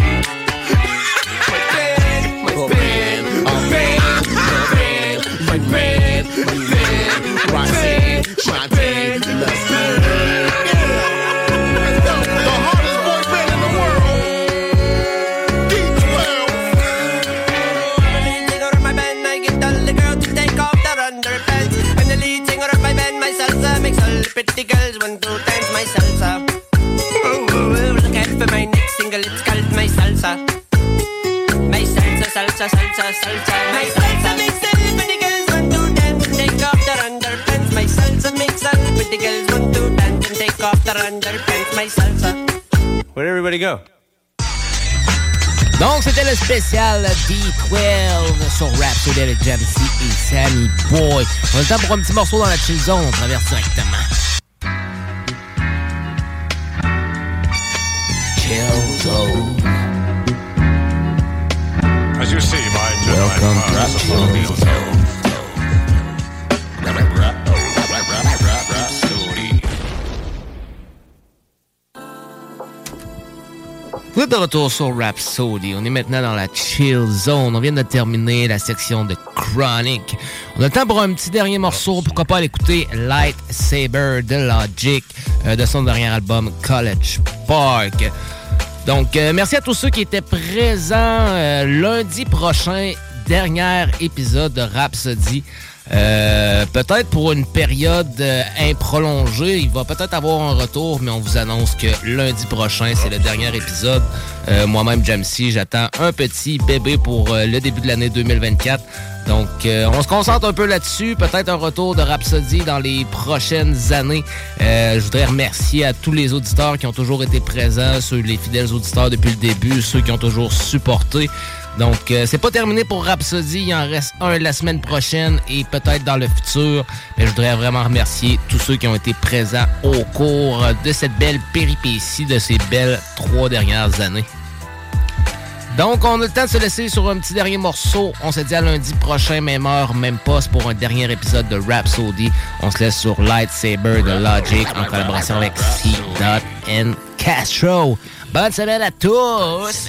Roxanne, Shantae, let's go. The hardest boy band in the world. D12. The lead singer of my band, I get all the girls to take off their underpants. I'm the lead singer of my band, my salsa makes all the pretty girls want to dance my salsa. Look out for my next single, it's called my salsa. My salsa, salsa, salsa, salsa. My salsa makes all the pretty girls want to dance and take off their underpants. My salsa makes all the pretty girls want to dance and take off their underpants. My salsa. Where'd everybody go? Donc, c'était le spécial D12 sur Rhapsody avec Jamsey et Sammy Boy. On a le temps pour un petit morceau dans la chill zone. On traverse directement. Chill zone. As you see, my Welcome to Chill Zone. Vous êtes de retour sur Rhapsody. On est maintenant dans la Chill Zone. On vient de terminer la section de Chronic. On a le temps pour un petit dernier morceau. Pourquoi pas aller écouter Lightsaber de Logic de son dernier album College Park. Donc, merci à tous ceux qui étaient présents lundi prochain. Dernier épisode de Rhapsody. Peut-être pour une période improlongée. Il va peut-être avoir un retour, mais on vous annonce que lundi prochain, c'est le dernier épisode. Moi-même, Jamsey, j'attends un petit bébé pour le début de l'année 2024. Donc, on se concentre un peu là-dessus. Peut-être un retour de Rhapsody dans les prochaines années. Je voudrais remercier à tous les auditeurs qui ont toujours été présents, les fidèles auditeurs depuis le début, ceux qui ont toujours supporté. Donc, c'est pas terminé pour Rhapsody. Il en reste un la semaine prochaine et peut-être dans le futur. Mais je voudrais vraiment remercier tous ceux qui ont été présents au cours de cette belle péripétie de ces belles 3 dernières années. Donc, on a le temps de se laisser sur un petit dernier morceau. On se dit à lundi prochain, même heure, même poste pour un dernier épisode de Rhapsody. On se laisse sur Lightsaber de Logic en collaboration avec C.N.K. Castro. Bonne semaine à tous!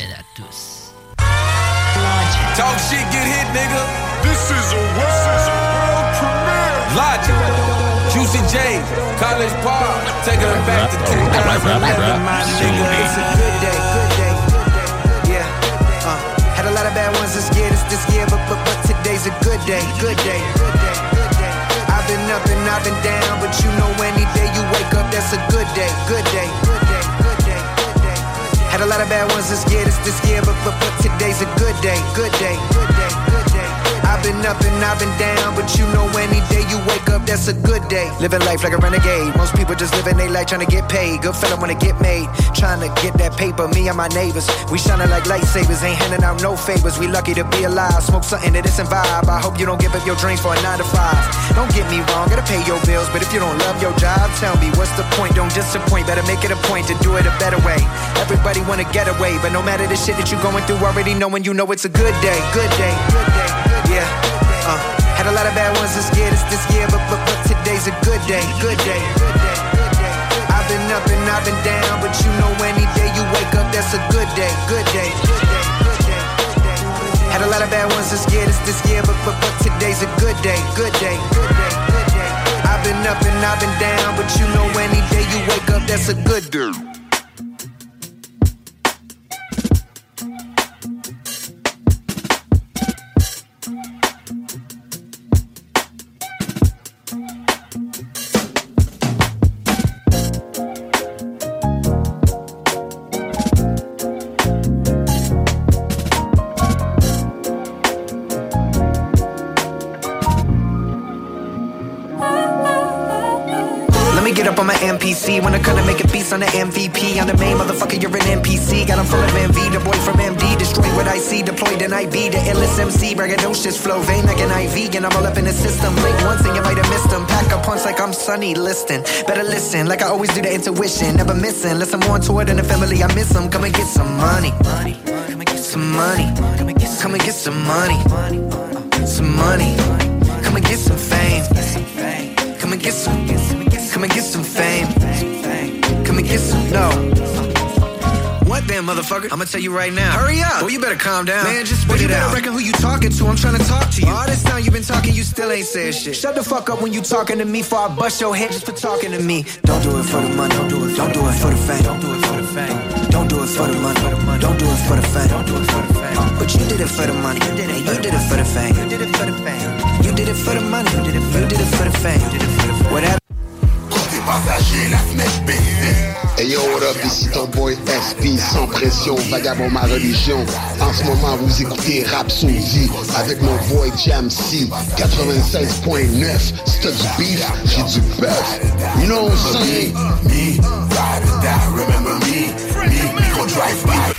Talk shit, get hit, nigga. This is a world premiere. Logic. Juicy J, College Park, taking them back to 2011, my nigga. It's a good day, yeah. Had a lot of bad ones this year, but today's a good day, I've been up and I've been down, but you know any day you wake up, that's a good day. Had a lot of bad ones this year, but today's a good day. I've been up and I've been down, but you know any day you wake up, that's a good day. Living life like a renegade. Most people just living their life trying to get paid. Good fella wanna get made, trying to get that paper. Me and my neighbors, we shining like lightsabers. Ain't handing out no favors. We lucky to be alive. Smoke something that isn't vibe. I hope you don't give up your dreams for a 9 to 5. Don't get me wrong, gotta pay your bills, but if you don't love your job, tell me what's the point? Don't disappoint. Better make it a point to do it a better way. Everybody wanna get away, but no matter the shit that you going through, already knowing you know it's a good day. Yeah, had a lot of bad ones this year, but today's a good day. I've been up and I've been down, but you know any day you wake up, that's a good day. Had a lot of bad ones this year, but today's a good day. I've been up and I've been down, but you know any day you wake up, that's a good day. MPC, when I couldn't make a beast on the MVP. I'm the main motherfucker, you're an NPC. Got him full of envy, the boy from MD. Destroy what I see, deployed in IB. The illest MC, braggadocious flow, vein like an IV. And I'm all up in the system, blink once and you might have missed them. Pack a punch like I'm Sonny Liston. Better listen, like I always do the intuition. Never missing, unless I'm more toward than the family, I miss them. Come and get some money. Come and get some money. Come and get some money. Some money. Come and get some fame. Come and get some fame. Come and get some, no. What then, motherfucker? I'ma tell you right now. Hurry up. Well, you better calm down. Man, just spit it out. You better reckon who you talking to. I'm trying to talk to you. All this time you been talking, you still ain't said shit. Shut the fuck up when you talking to me, before I bust your head just for talking to me. Don't do it for the money. Don't do it for the fame. Don't do it for the fame. Don't do it for the money. Don't do it for the fame. Don't do it for the fame. But you did it for the money. You did it for the fame. You did it for the fame. You did it for the money. You did it for the fame. Whatever. Passager, la fenêtre baissée. Hey yo, what up, ici ton boy SP, sans pression, vagabond ma religion. En ce moment, vous écoutez Rhapsody avec mon boy Jamc, 96.9. Si t'as du beef, j'ai du bœuf. You know what I'm saying? Me, ride or die, remember me, go drive by.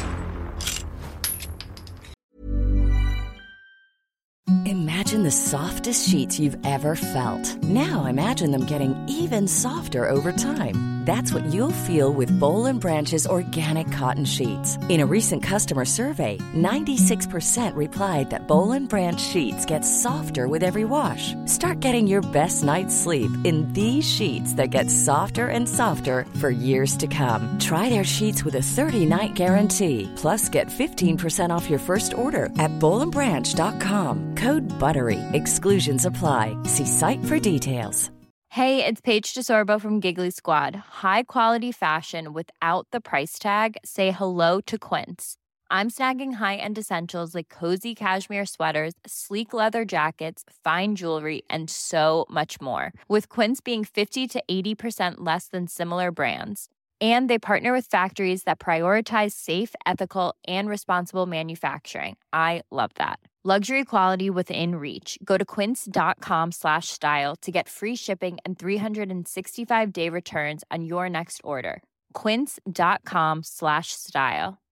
Imagine the softest sheets you've ever felt. Now imagine them getting even softer over time. That's what you'll feel with Boll & Branch's organic cotton sheets. In a recent customer survey, 96% replied that Boll & Branch sheets get softer with every wash. Start getting your best night's sleep in these sheets that get softer and softer for years to come. Try their sheets with a 30-night guarantee. Plus, get 15% off your first order at bollandbranch.com. Code BUTTERY. Exclusions apply. See site for details. Hey, it's Paige DeSorbo from Giggly Squad. High quality fashion without the price tag. Say hello to Quince. I'm snagging high-end essentials like cozy cashmere sweaters, sleek leather jackets, fine jewelry, and so much more. With Quince being 50 to 80% less than similar brands. And they partner with factories that prioritize safe, ethical, and responsible manufacturing. I love that. Luxury quality within reach. Go to quince.com/style to get free shipping and 365-day returns on your next order. Quince.com/style.